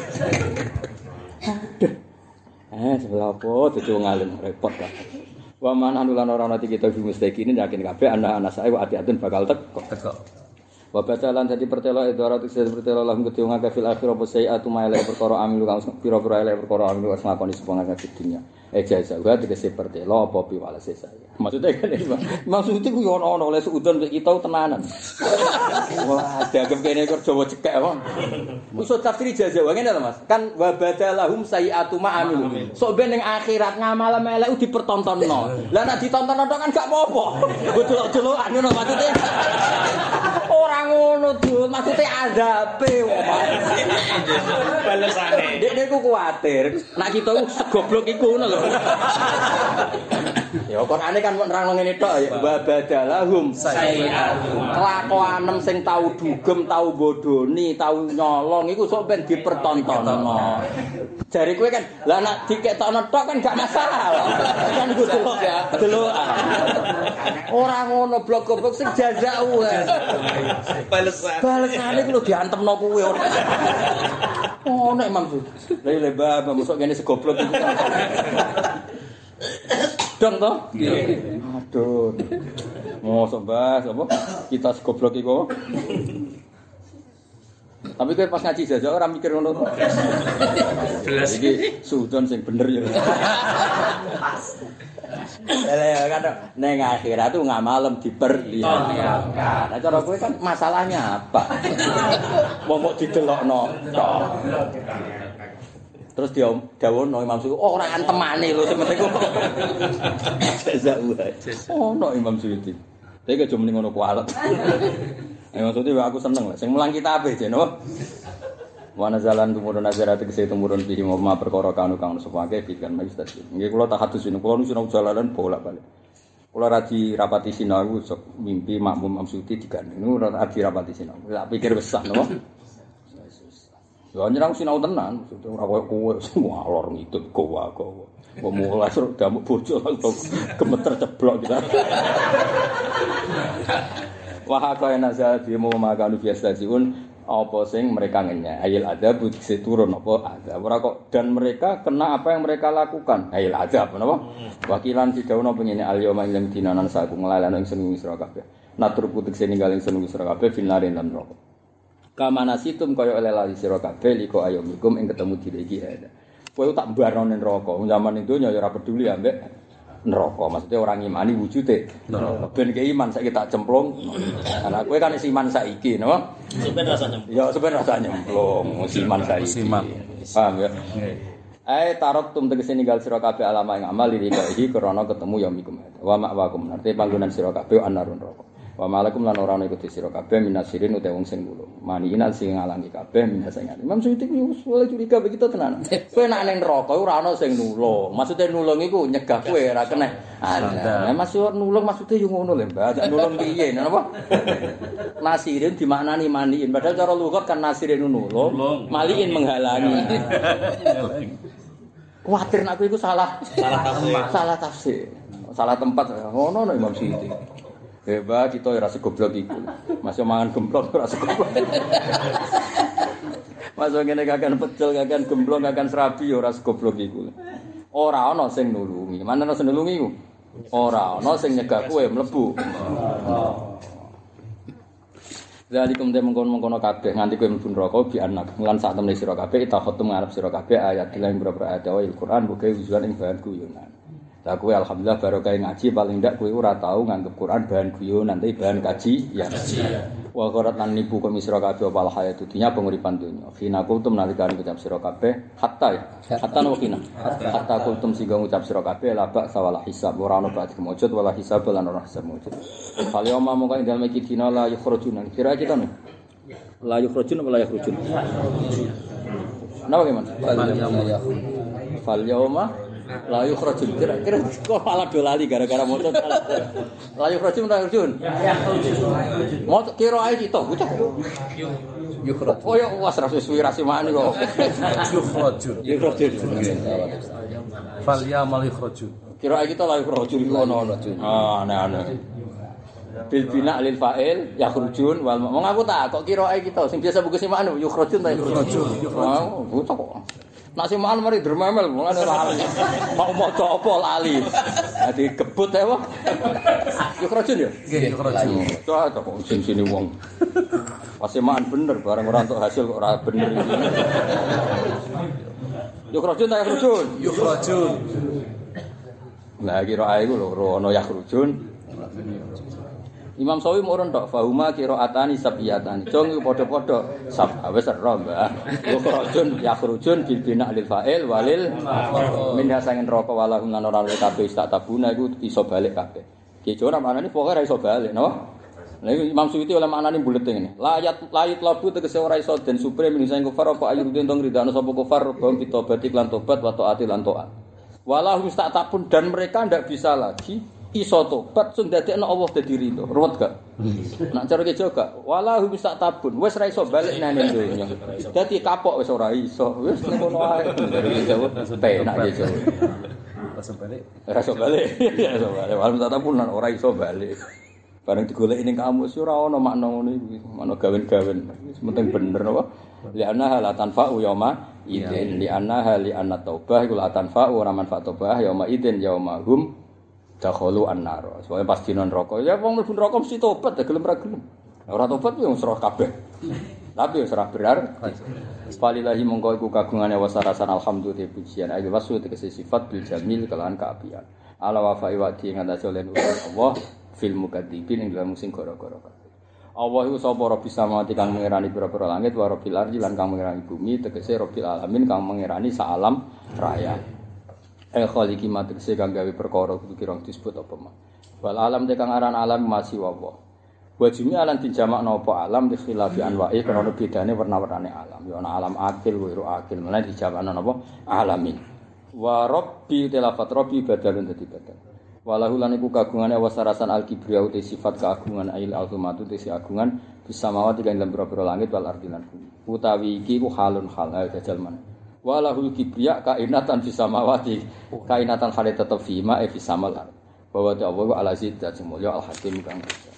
Sebelah apa dadi wong alim repot lah. Wa man anulan ora ana kita fi mustaqinin yakin kabeh anak-anak sae ati-atin bakal teko. Wa batalan dadi pertelo idarat sing pertelo lahum kedhe wong akeh fil akhirah apa sayiatu maile perkara amilu kang pira-pira elek perkara amilu wis ngakoni sepong akeh dunya. Jasa wa tegese pertelo apa piwalese saya. Maksudnya kan maksudnya ku yo ono oleh seudon kita tenanan. Wah, dianggap kene kok Jawa cekek wong. Usul tafsir ijazah wae ngene lho Mas. Kan wa badalahum sayiatu ma amilu. Sok ben ning akhirat ngamal elek dipertontonno. Lah nek ditonton tok kan gak apa-apa. Delok-delokan ngono maksudnya. Ora ngono Dul, maksudnya azabe wong. Balesane. Dekne ku kuwatir, nek kita ku segoblok iku ngono lho. Ya Qur'ane kan nerangno ngene tok ya, wa badalahum sayi'atu. Kelakuanem sing tau dugem, tau bodoni, tau nyolong iku sok ben dipertontonno. Jare kowe kan, lah nek diketokno tok kan gak masalah. Kan iku delokan. Ora ngono blok-blok sing jazak wae. Balesane ku lho diantemno kuwe ora. Oh nek Imam Sud. Lah mbah mosok kene segoblok iku. Dong to? Nggih. Aduh. Mosok Mbah apa? Kita segoblok iku. Tapi kowe pas ngaji jajak ora mikir ngono to. Jelas iki sudon sing bener ya. Lah kan ning akhirat tuh ngamalem diperlihatkan. Nah cara kowe kan masalahnya apa? Wong kok didelokno tok. Terus dia dawono Imam Suyuti, oh ora antemane lho sing penting kok. Jazak wae. Ono Imam Suyuti. Tapi aja muni ngono kualet. Imam Suyuti aku seneng lah sing mulang kitabe jeno. Wa nazalan tumurun nazarat kese tumurun bihi ma perkara kanu kang sepake pikan majlis. Nggih kula tahadus ini kula nu sinau jalalan bolak-balik. Kula radi rapati sinau sok mimpi makmum Imam Suyuti digandeng. Nu radi rapati sinau. Tak pikir besar napa. Ya nyerang sinau tenan, maksudnya ora koyo kowe semua alor ngidut gowa. Kok mulai suruh damuk bojo langsung gemeter ceblok kita. Wah kaya nazal demo makanu biasa siun apa sing mereka ngenyek. Ayil adab dise turun apa ada. Ora kok dan mereka kena apa yang mereka lakukan. Ayil adab napa? Wakilan didhawuhna pengene al-yauma ing dinanan saku nglalekno ing seneng sira kabeh. Natur putik sing ninggal ing seneng sira kabeh finarin lan neraka. Kamanasitum kaya oleh lali sira kabeh liko ayomikum ing ketemu diri iki ada. Kowe tak mbarno ning neraka. Zaman itu ya ora peduli ambek neraka. Maksudnya orang ngimani wujude neraka. Ben ke iman saiki tak cemplung. Ana kowe kan iman saiki, napa? Sampai rasa nyemplung. Ya sampeyan rasa nyemplung, iman saiki. Paham ya? Tarok tum tegese ninggal sira kabeh alama ing amal iki krana ketemu yaumikum. Wa ma'wakum. Arti panggonan sira kabeh anarun neraka. Wa malakum lan ora ana iku sira kabeh minasirin utawa wong sing nulung. Maniina sing ngalangi kabeh minasane. Imam Suyuti wis curiga begitu tenan. Kowe nek ning neraka ora ana sing nulung. Maksude nulung iku nyegah kowe ora kena. Nah, maksud nulung maksude yo ngono lho, Mbak. Nulung piye napa? Nasirin dimaknani maniin. Padahal cara lugat kan nasirin nulung, maliin menghalangi. Kuwatir nek iku salah tafsir. Salah tempat. Ngono no Imam Suyuti. Hebat kita ora segoblok iku. Masih mangan gemblong ora segoblok. Masuk ngene kakan pecel, kakan gemblong, kakan serabi ora segoblok iku. Ora ana sing nulungi. Mana ana sing nulungi iku? Ora ana sing nyegah kowe mlebu. Zalikum te mengkon-mengkono kabeh nganti kowe mlebu neraka bi anak lan sak temne sira kabeh ta khotum ngarep sira kabeh ayat lan beberapa ayat Al-Qur'an buka wujudan ing bahan guyonan. Lah kowe alhamdulillah barokah ngaji paling ndak kowe ora tau nganggep Quran bahan guyonan tapi bahan kaji ya. Wa qarat lan nipu kok sira kabeh apa hayatu dunya penguripan dunya. Khina kultum nalikane ucap sira kabeh hatta no khina. Hatta kultum sing ngucap sira kabeh la ba sawala hisab ora ono ba'd kemujud wala hisab lan ora hisab mujud. Fal yauma mongko ing dalem iki dina la yukhrujun. Kira kita no. La yukhrujun wala yukhrujun. Napa gimana? Fal yauma la yukhrajun kira-kira kok malah dolali gara-gara motor la yukhrajun ta yukhrajun mau kira ae kita bocah yukhrajun oh ya wis ra suwi rasimane kok yukhrajun fal yamal yukhrajun kira ae kita la yukhrajun ono aneh-aneh bil bina lil fa'il yakhrujun wal wong aku tak kok kira ae kita sing biasa buku simane yukhrajun ta yukhrajun bocah kok nak simaan mari dermemel mulane lali. Mau maca apa lali. Dadi gebut ae wae. Yo kerajun ya? Nggih, kerajun. Cocok kok sini wong. Pas simaan bener bareng ora entuk hasil kok ora bener iki. Yo kerajun ta kerajun? Yo kerajun. Lah kira ae iku lho ana ya kerajun. Imam Sawi murun tok fahuma qiraatani sabiyatani. Jong padha-padha sab wis ero, Mbah. Yukhrajun yakhrujun bil bina lil fa'il walil minha sangen neraka walahum lan ora kabeh tak tabuna iku iso balik kabeh. Ki ora maknane pokoke ora iso balik, napa? Lah Imam Suyuti oleh maknane bulet ngene. Layat labu tegese ora iso den supre minisa ing kufar apa ayurudin tong ridano sapa kufar bang ditobati lan tobat wa taati lan taat. Walahum tak tabun dan mereka ndak bisa lagi iso tobat sing dadekno Allah dadi ridho. Ruwet gak? Nak cara ki gak. Walahu bisa tabun. Wis ra iso bali nang donya. Dadi kapok wis ora iso. Wis ngono ae. Penak iki. Rasa bali. Rasa bali. Walahu bisa tabun ora iso bali. Bareng digoleki ning kamus ora ana makna ngono iki. Makna gawen-gawen. Wis penting bener apa? Li anna la tanfa'u yauma idzin. Li anna taubah iku la tanfa'u ora manfaat taubah yauma idzin yaumahum dakhalu an-nar. Soale pas dina neraka, ya wong mlebu neraka mesti tobat, gelem ra gelem. Ora tobat yo serah kabeh. Tapi yo serah berar. Falillahi mongko iku kagungane wasarasan alhamdulillah pujian ayo wasu tegese sifat bil jamil kelawan kaapian. Ala wa fa'i wa'di ngatasi oleh Allah fil mukadzibin ing dalam sing gara-gara kabeh. Allah iku sapa Rabbis samawati kang mengerani pira-pira langit wa Rabbil ardi lan kang mengerani bumi tegese Rabbil alamin kang mengerani sak alam raya. Khaliqi matekse kang gawe perkara kudu kira disebut apa mah. Wal alam te kang aran alam masih wa. Wa jumi alan dijamakno apa alam di khilafi anwa'i karena bedane warna-warnane alam. Ya ana alam akil wiru akil, malah dijamakno apa alamin. Wa rabbi tilafat rabbi badalun dadi badal. Walahu lan iku kagungane wasarasan al-kibriya uti sifat keagungan ail azumatu te agungan bisa mawati kang dalam pira-pira langit wal ardi lan bumi. Utawi iki ku halun hal jajal man. Walahul kibriya kainatan fis samawati kainatan hale tetep fima fi samal bahwa Allah ala zid dan mulya al hakim kang